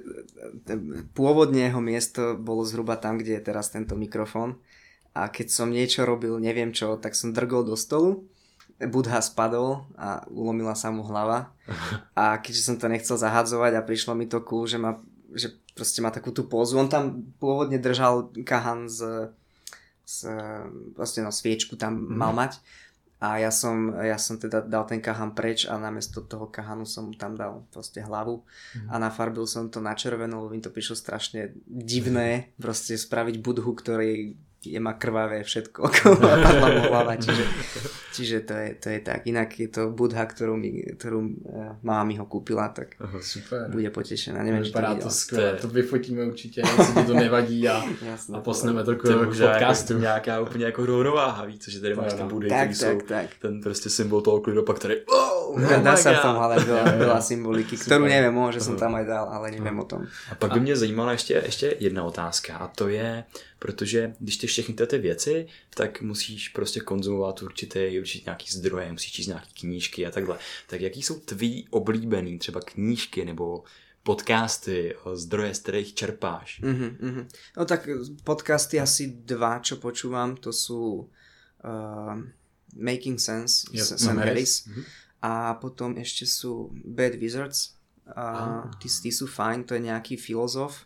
pôvodne jeho miesto bolo zhruba tam, kde je teraz tento mikrofón. A keď som niečo robil, neviem čo, tak som drgol do stolu. Budha spadol a ulomila sa mu hlava a keďže som to nechcel zahadzovať a prišlo mi to cool, že, ma, že proste má takú tú pózu, on tam pôvodne držal kahan z, z vlastne no, sviečku tam mm. mal mať A ja som, ja som teda dal ten kahan preč a namiesto toho kahanu som tam dal proste hlavu mm. a nafarbil som to na červeno, lebo mi to prišlo strašne divné, proste spraviť budhu, ktorý je má krvavé všetko okolo a padla mu hlava, čiže, čiže to, je, to je tak. Inak je to Budha, ktorú, mi, ktorú uh, máma mi ho kúpila, tak Aha, super. Bude potešená. Neviem, či to vypadá to skvěle, to vyfotíme určitě, jestli ti to nevadí a, Jasné, a posneme to k to podcastu. Jako, nějaká úplně jako rovnováha, víc, že tady máš ty Budy, tak, který tak, jsou tak. ten prostě symbol toho klidu, pak tady oh, Dá, dá oh sa v tom ale veľa, veľa symboliky, Super. ktorú neviem, možno som tam aj dal, ale neviem o tom. A pak by mě zajímala ještě, ještě jedna otázka a to je, protože když ty všechny ty věci, tak musíš prostě konzumovat určitě, určitě nějaký zdroje, musíš číst nějaký knížky a takhle. Tak jaký jsou tvý oblíbený třeba knížky nebo podcasty, zdroje, z kterých čerpáš? Uh-huh, uh-huh. No tak podcasty asi dva, čo počúvam, to sú uh, Making Sense, Yep. Sam No, Harris Mhm. a potom ešte sú Bad Wizards, a Ah. tí, tí sú fajn, to je nejaký filozof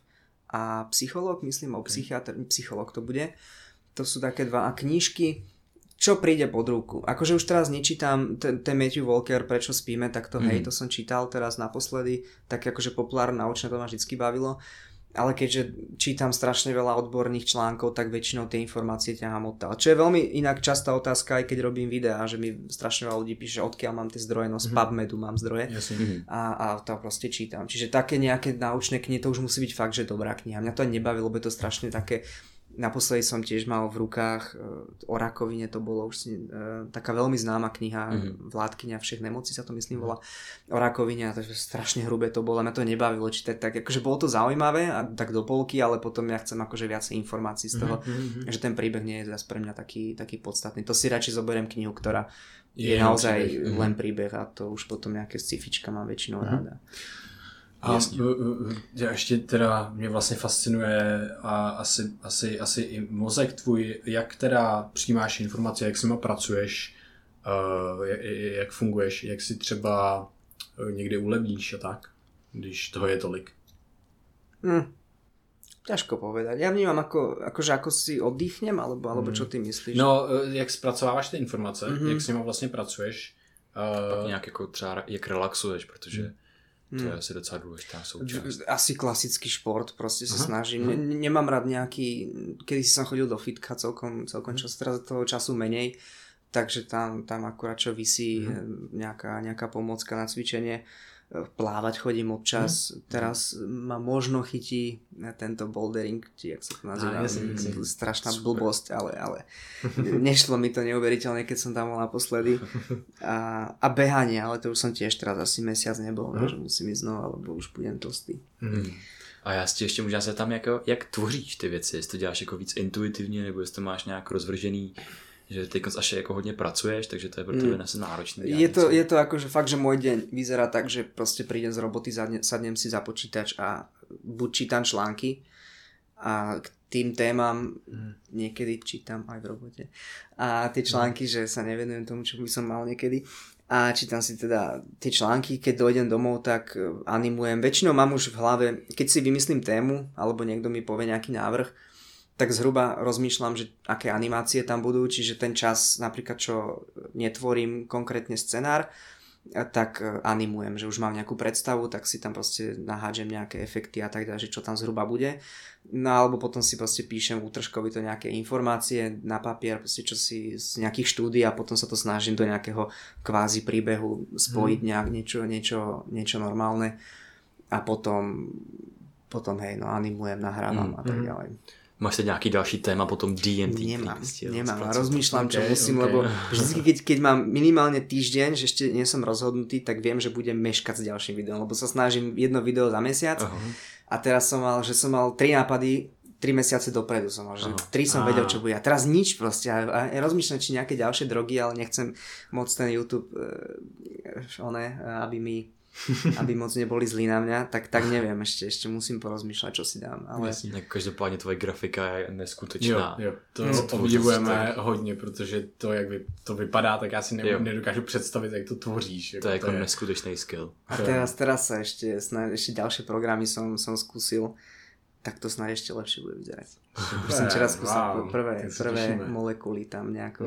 a psychológ, myslím, o psychiatr, psychológ to bude. To sú také dva a knížky, čo príde pod ruku. Akože už teraz nečítam ten, ten Matthew Walker, Prečo spíme, tak to mm. hej, to som čítal teraz naposledy, tak akože populárne naučné to ma vždycky bavilo, ale keďže čítam strašne veľa odborných článkov, tak väčšinou tie informácie ťahám odtiaľ. Čo je veľmi inak častá otázka, aj keď robím videá, že mi strašne veľa ľudí píše, odkiaľ mám tie zdroje, no z PubMedu mám zdroje Jasne. a, a to proste čítam. Čiže také nejaké naučné knihy, to už musí byť fakt, že dobrá kniha. Mňa to aj nebaví, lebo je to strašne také. Naposledy som tiež mal v rukách uh, o rakovine, to bolo už uh, taká veľmi známa kniha, mm-hmm. Vládkyňa všech nemocí sa to myslím volá, o rakovine a to strašne hrubé to bolo, mňa to nebavilo čítať tak, akože bolo to zaujímavé a tak do polky, ale potom ja chcem akože viacej informácií z toho, mm-hmm. že ten príbeh nie je zase pre mňa taký, taký podstatný. To si radšej zoberiem knihu, ktorá je, je naozaj príbeh. len príbeh a to už potom nejaké sci-fička mám väčšinou mm-hmm. ráda. A já ještě teda mě vlastně fascinuje a asi, asi, asi i mozek tvůj, jak teda přijímáš informace, jak s nima pracuješ, uh, jak, jak funguješ, jak si třeba někdy ulevíš a tak, když toho je tolik. Hm. Ťažko povedať. Ja vnímam ako, akože ako si oddychnem, alebo, alebo čo ty myslíš? No, jak zpracováváš ty informace, mm-hmm. jak s nima vlastně pracuješ. Uh, Pak nějak jako třeba jak relaxuješ, protože to je asi docela důležitá součást. Asi klasický šport, proste sa Aha. snažím. Ne, nemám rád nejaký, kedy si som chodil do fitka celkom, celkom čas, teraz toho času menej, takže tam, tam akurát čo visí mm. nejaká, nejaká pomôcka na cvičenie. Plávať chodím občas, mm. teraz ma možno chytí tento bouldering, či jak sa to nazýva, ah, strašná Super. blbosť, ale, ale nešlo mi to neuveriteľne, keď som tam bol naposledy. A, a behanie, ale to už som tiež teraz asi mesiac nebol, mm. že musím ísť znova, lebo už budem tlstý. Mm. A já si ještě možná se tam jako, jak tvoříš ty věci, jestli to děláš jako víc intuitivně, nebo jestli to máš nějak rozvržený, že teď až jako hodně pracuješ, takže to je pro tebe mm. náročné. Je to, je to akože fakt, že môj deň vyzerá tak, že proste prídem z roboty, zadne, sadnem si za počítač a buď čítam články a k tým témam mm. niekedy čítam aj v robote. A tie články, mm. že sa nevenujem tomu, čo by som mal niekedy. A čítam si teda tie články, keď dojdem domov, tak animujem. Väčšinou mám už v hlave, keď si vymyslím tému, alebo niekto mi povie nejaký návrh, tak zhruba rozmýšľam, že aké animácie tam budú, čiže ten čas napríklad, čo netvorím konkrétne scenár, tak animujem, že už mám nejakú predstavu, tak si tam proste nahádžem nejaké efekty a tak ďalej, že čo tam zhruba bude. No alebo potom si proste píšem útržkovito nejaké informácie na papier, proste čo si z nejakých štúdií a potom sa to snažím do nejakého kvázi príbehu spojiť hmm. nejak niečo, niečo, niečo normálne a potom, potom hej, no animujem, nahrávam hmm. a tak ďalej. Máš teď nějaký další téma potom D and D? Nemám, nemám. A rozmýšľam, čo okay, musím, okay. lebo vždy, keď, keď mám minimálne týždeň, že ešte nie som rozhodnutý, tak viem, že budem meškať s ďalším videom, lebo sa snažím jedno video za mesiac uh-huh. a teraz som mal, že som mal tri nápady, tri mesiace dopredu som mal, že uh-huh. tri som vedel, čo bude. A teraz nič proste. A ja rozmýšľam, či nejaké ďalšie drogy, ale nechcem moc ten YouTube, uh, one, aby mi aby moc neboli zlí na mňa, tak, tak neviem, ešte, ešte musím porozmýšľať, čo si dám. Ale... Jasně, každopádně tvoje grafika je neskutečná. Jo, jo, to hmm. obdivujeme hodně, protože to, jak vy, to vypadá, tak já si ne, nedokážu představit, jak to tvoříš. To je jako to je... neskutečný skill. A teraz, teraz sa ešte, snáď, ešte ďalšie programy som, som skúsil, tak to snáď ešte lepšie bude vyzerať. Už som včera skúsil wow, prvé, prvé molekuly tam nejako hmm.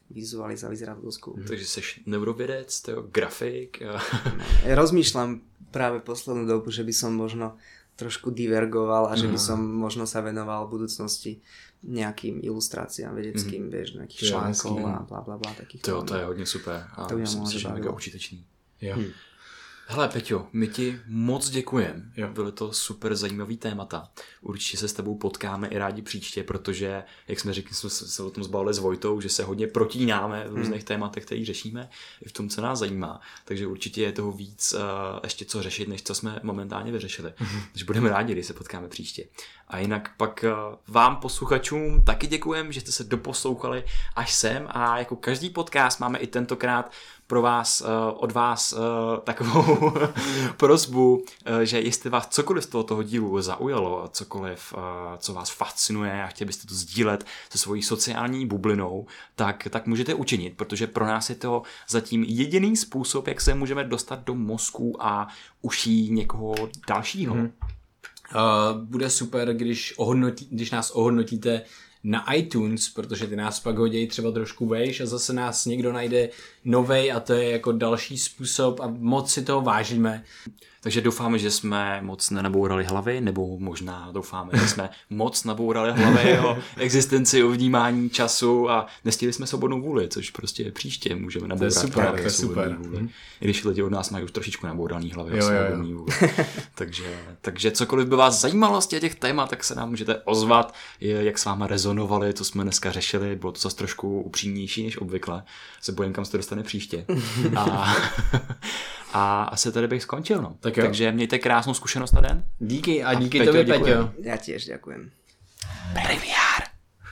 vizualiza, vyzerá to dosť cool. Takže jsi neurovědec, to grafik. Ja rozmýšľam práve poslednú dobu, že by som možno trošku divergoval a že by som možno sa venoval v budúcnosti nejakým ilustráciám vedeckým, mm. vieš, nejakých článkov a bla bla bla takých. To, to je hodně super a to myslím si, že mega užitečný. Jo. Hm. Hele Peťo, my ti moc děkujeme. Byly to super zajímavý témata. Určitě se s tebou potkáme i rádi příště, protože, jak jsme řekli, jsme se o tom zbavili s Vojtou, že se hodně protínáme v různých hmm. tématech, které řešíme, i v tom, co nás zajímá. Takže určitě je toho víc uh, ještě co řešit, než co jsme momentálně vyřešili. Hmm. Takže budeme rádi, když se potkáme příště. A jinak pak uh, vám posluchačům taky děkujeme, že jste se doposlouchali až sem a jako každý podcast máme i tentokrát pro vás, od vás takovou prosbu, že jestli vás cokoliv z tohoto dílu zaujalo, cokoliv, co vás fascinuje a chtěli byste to sdílet se svojí sociální bublinou, tak, tak můžete učinit, protože pro nás je to zatím jediný způsob, jak se můžeme dostat do mozku a uší někoho dalšího. Hmm. Uh, bude super, když, ohodnotí, když nás ohodnotíte na iTunes, protože ty nás pak hodějí třeba trošku vejš a zase nás někdo najde novej a to je jako další způsob a moc si toho vážíme. Takže doufáme, že jsme moc nenabourali hlavy, nebo možná doufáme, že jsme moc nabourali hlavy o existenci, o vnímání času a nestihli jsme svobodnou vůli, což prostě příště můžeme nabourat. To je super, to je super. Vůli. I když lidi od nás mají už trošičku nabouraný hlavy o svobodný vůli. takže, takže cokoliv by vás zajímalo z těch témat, tak se nám můžete ozvat, jak s váma rezonovali, co jsme dneska řešili, bylo to zase trošku upřímnější než obvykle. Se bojím, kam se to dostane příště. a, a asi tady bych skončil, no. Tak Takže mějte krásnou zkušenost na den. Díky a díky a tobě, Peťo. Ja tiež ďakujem. Privia.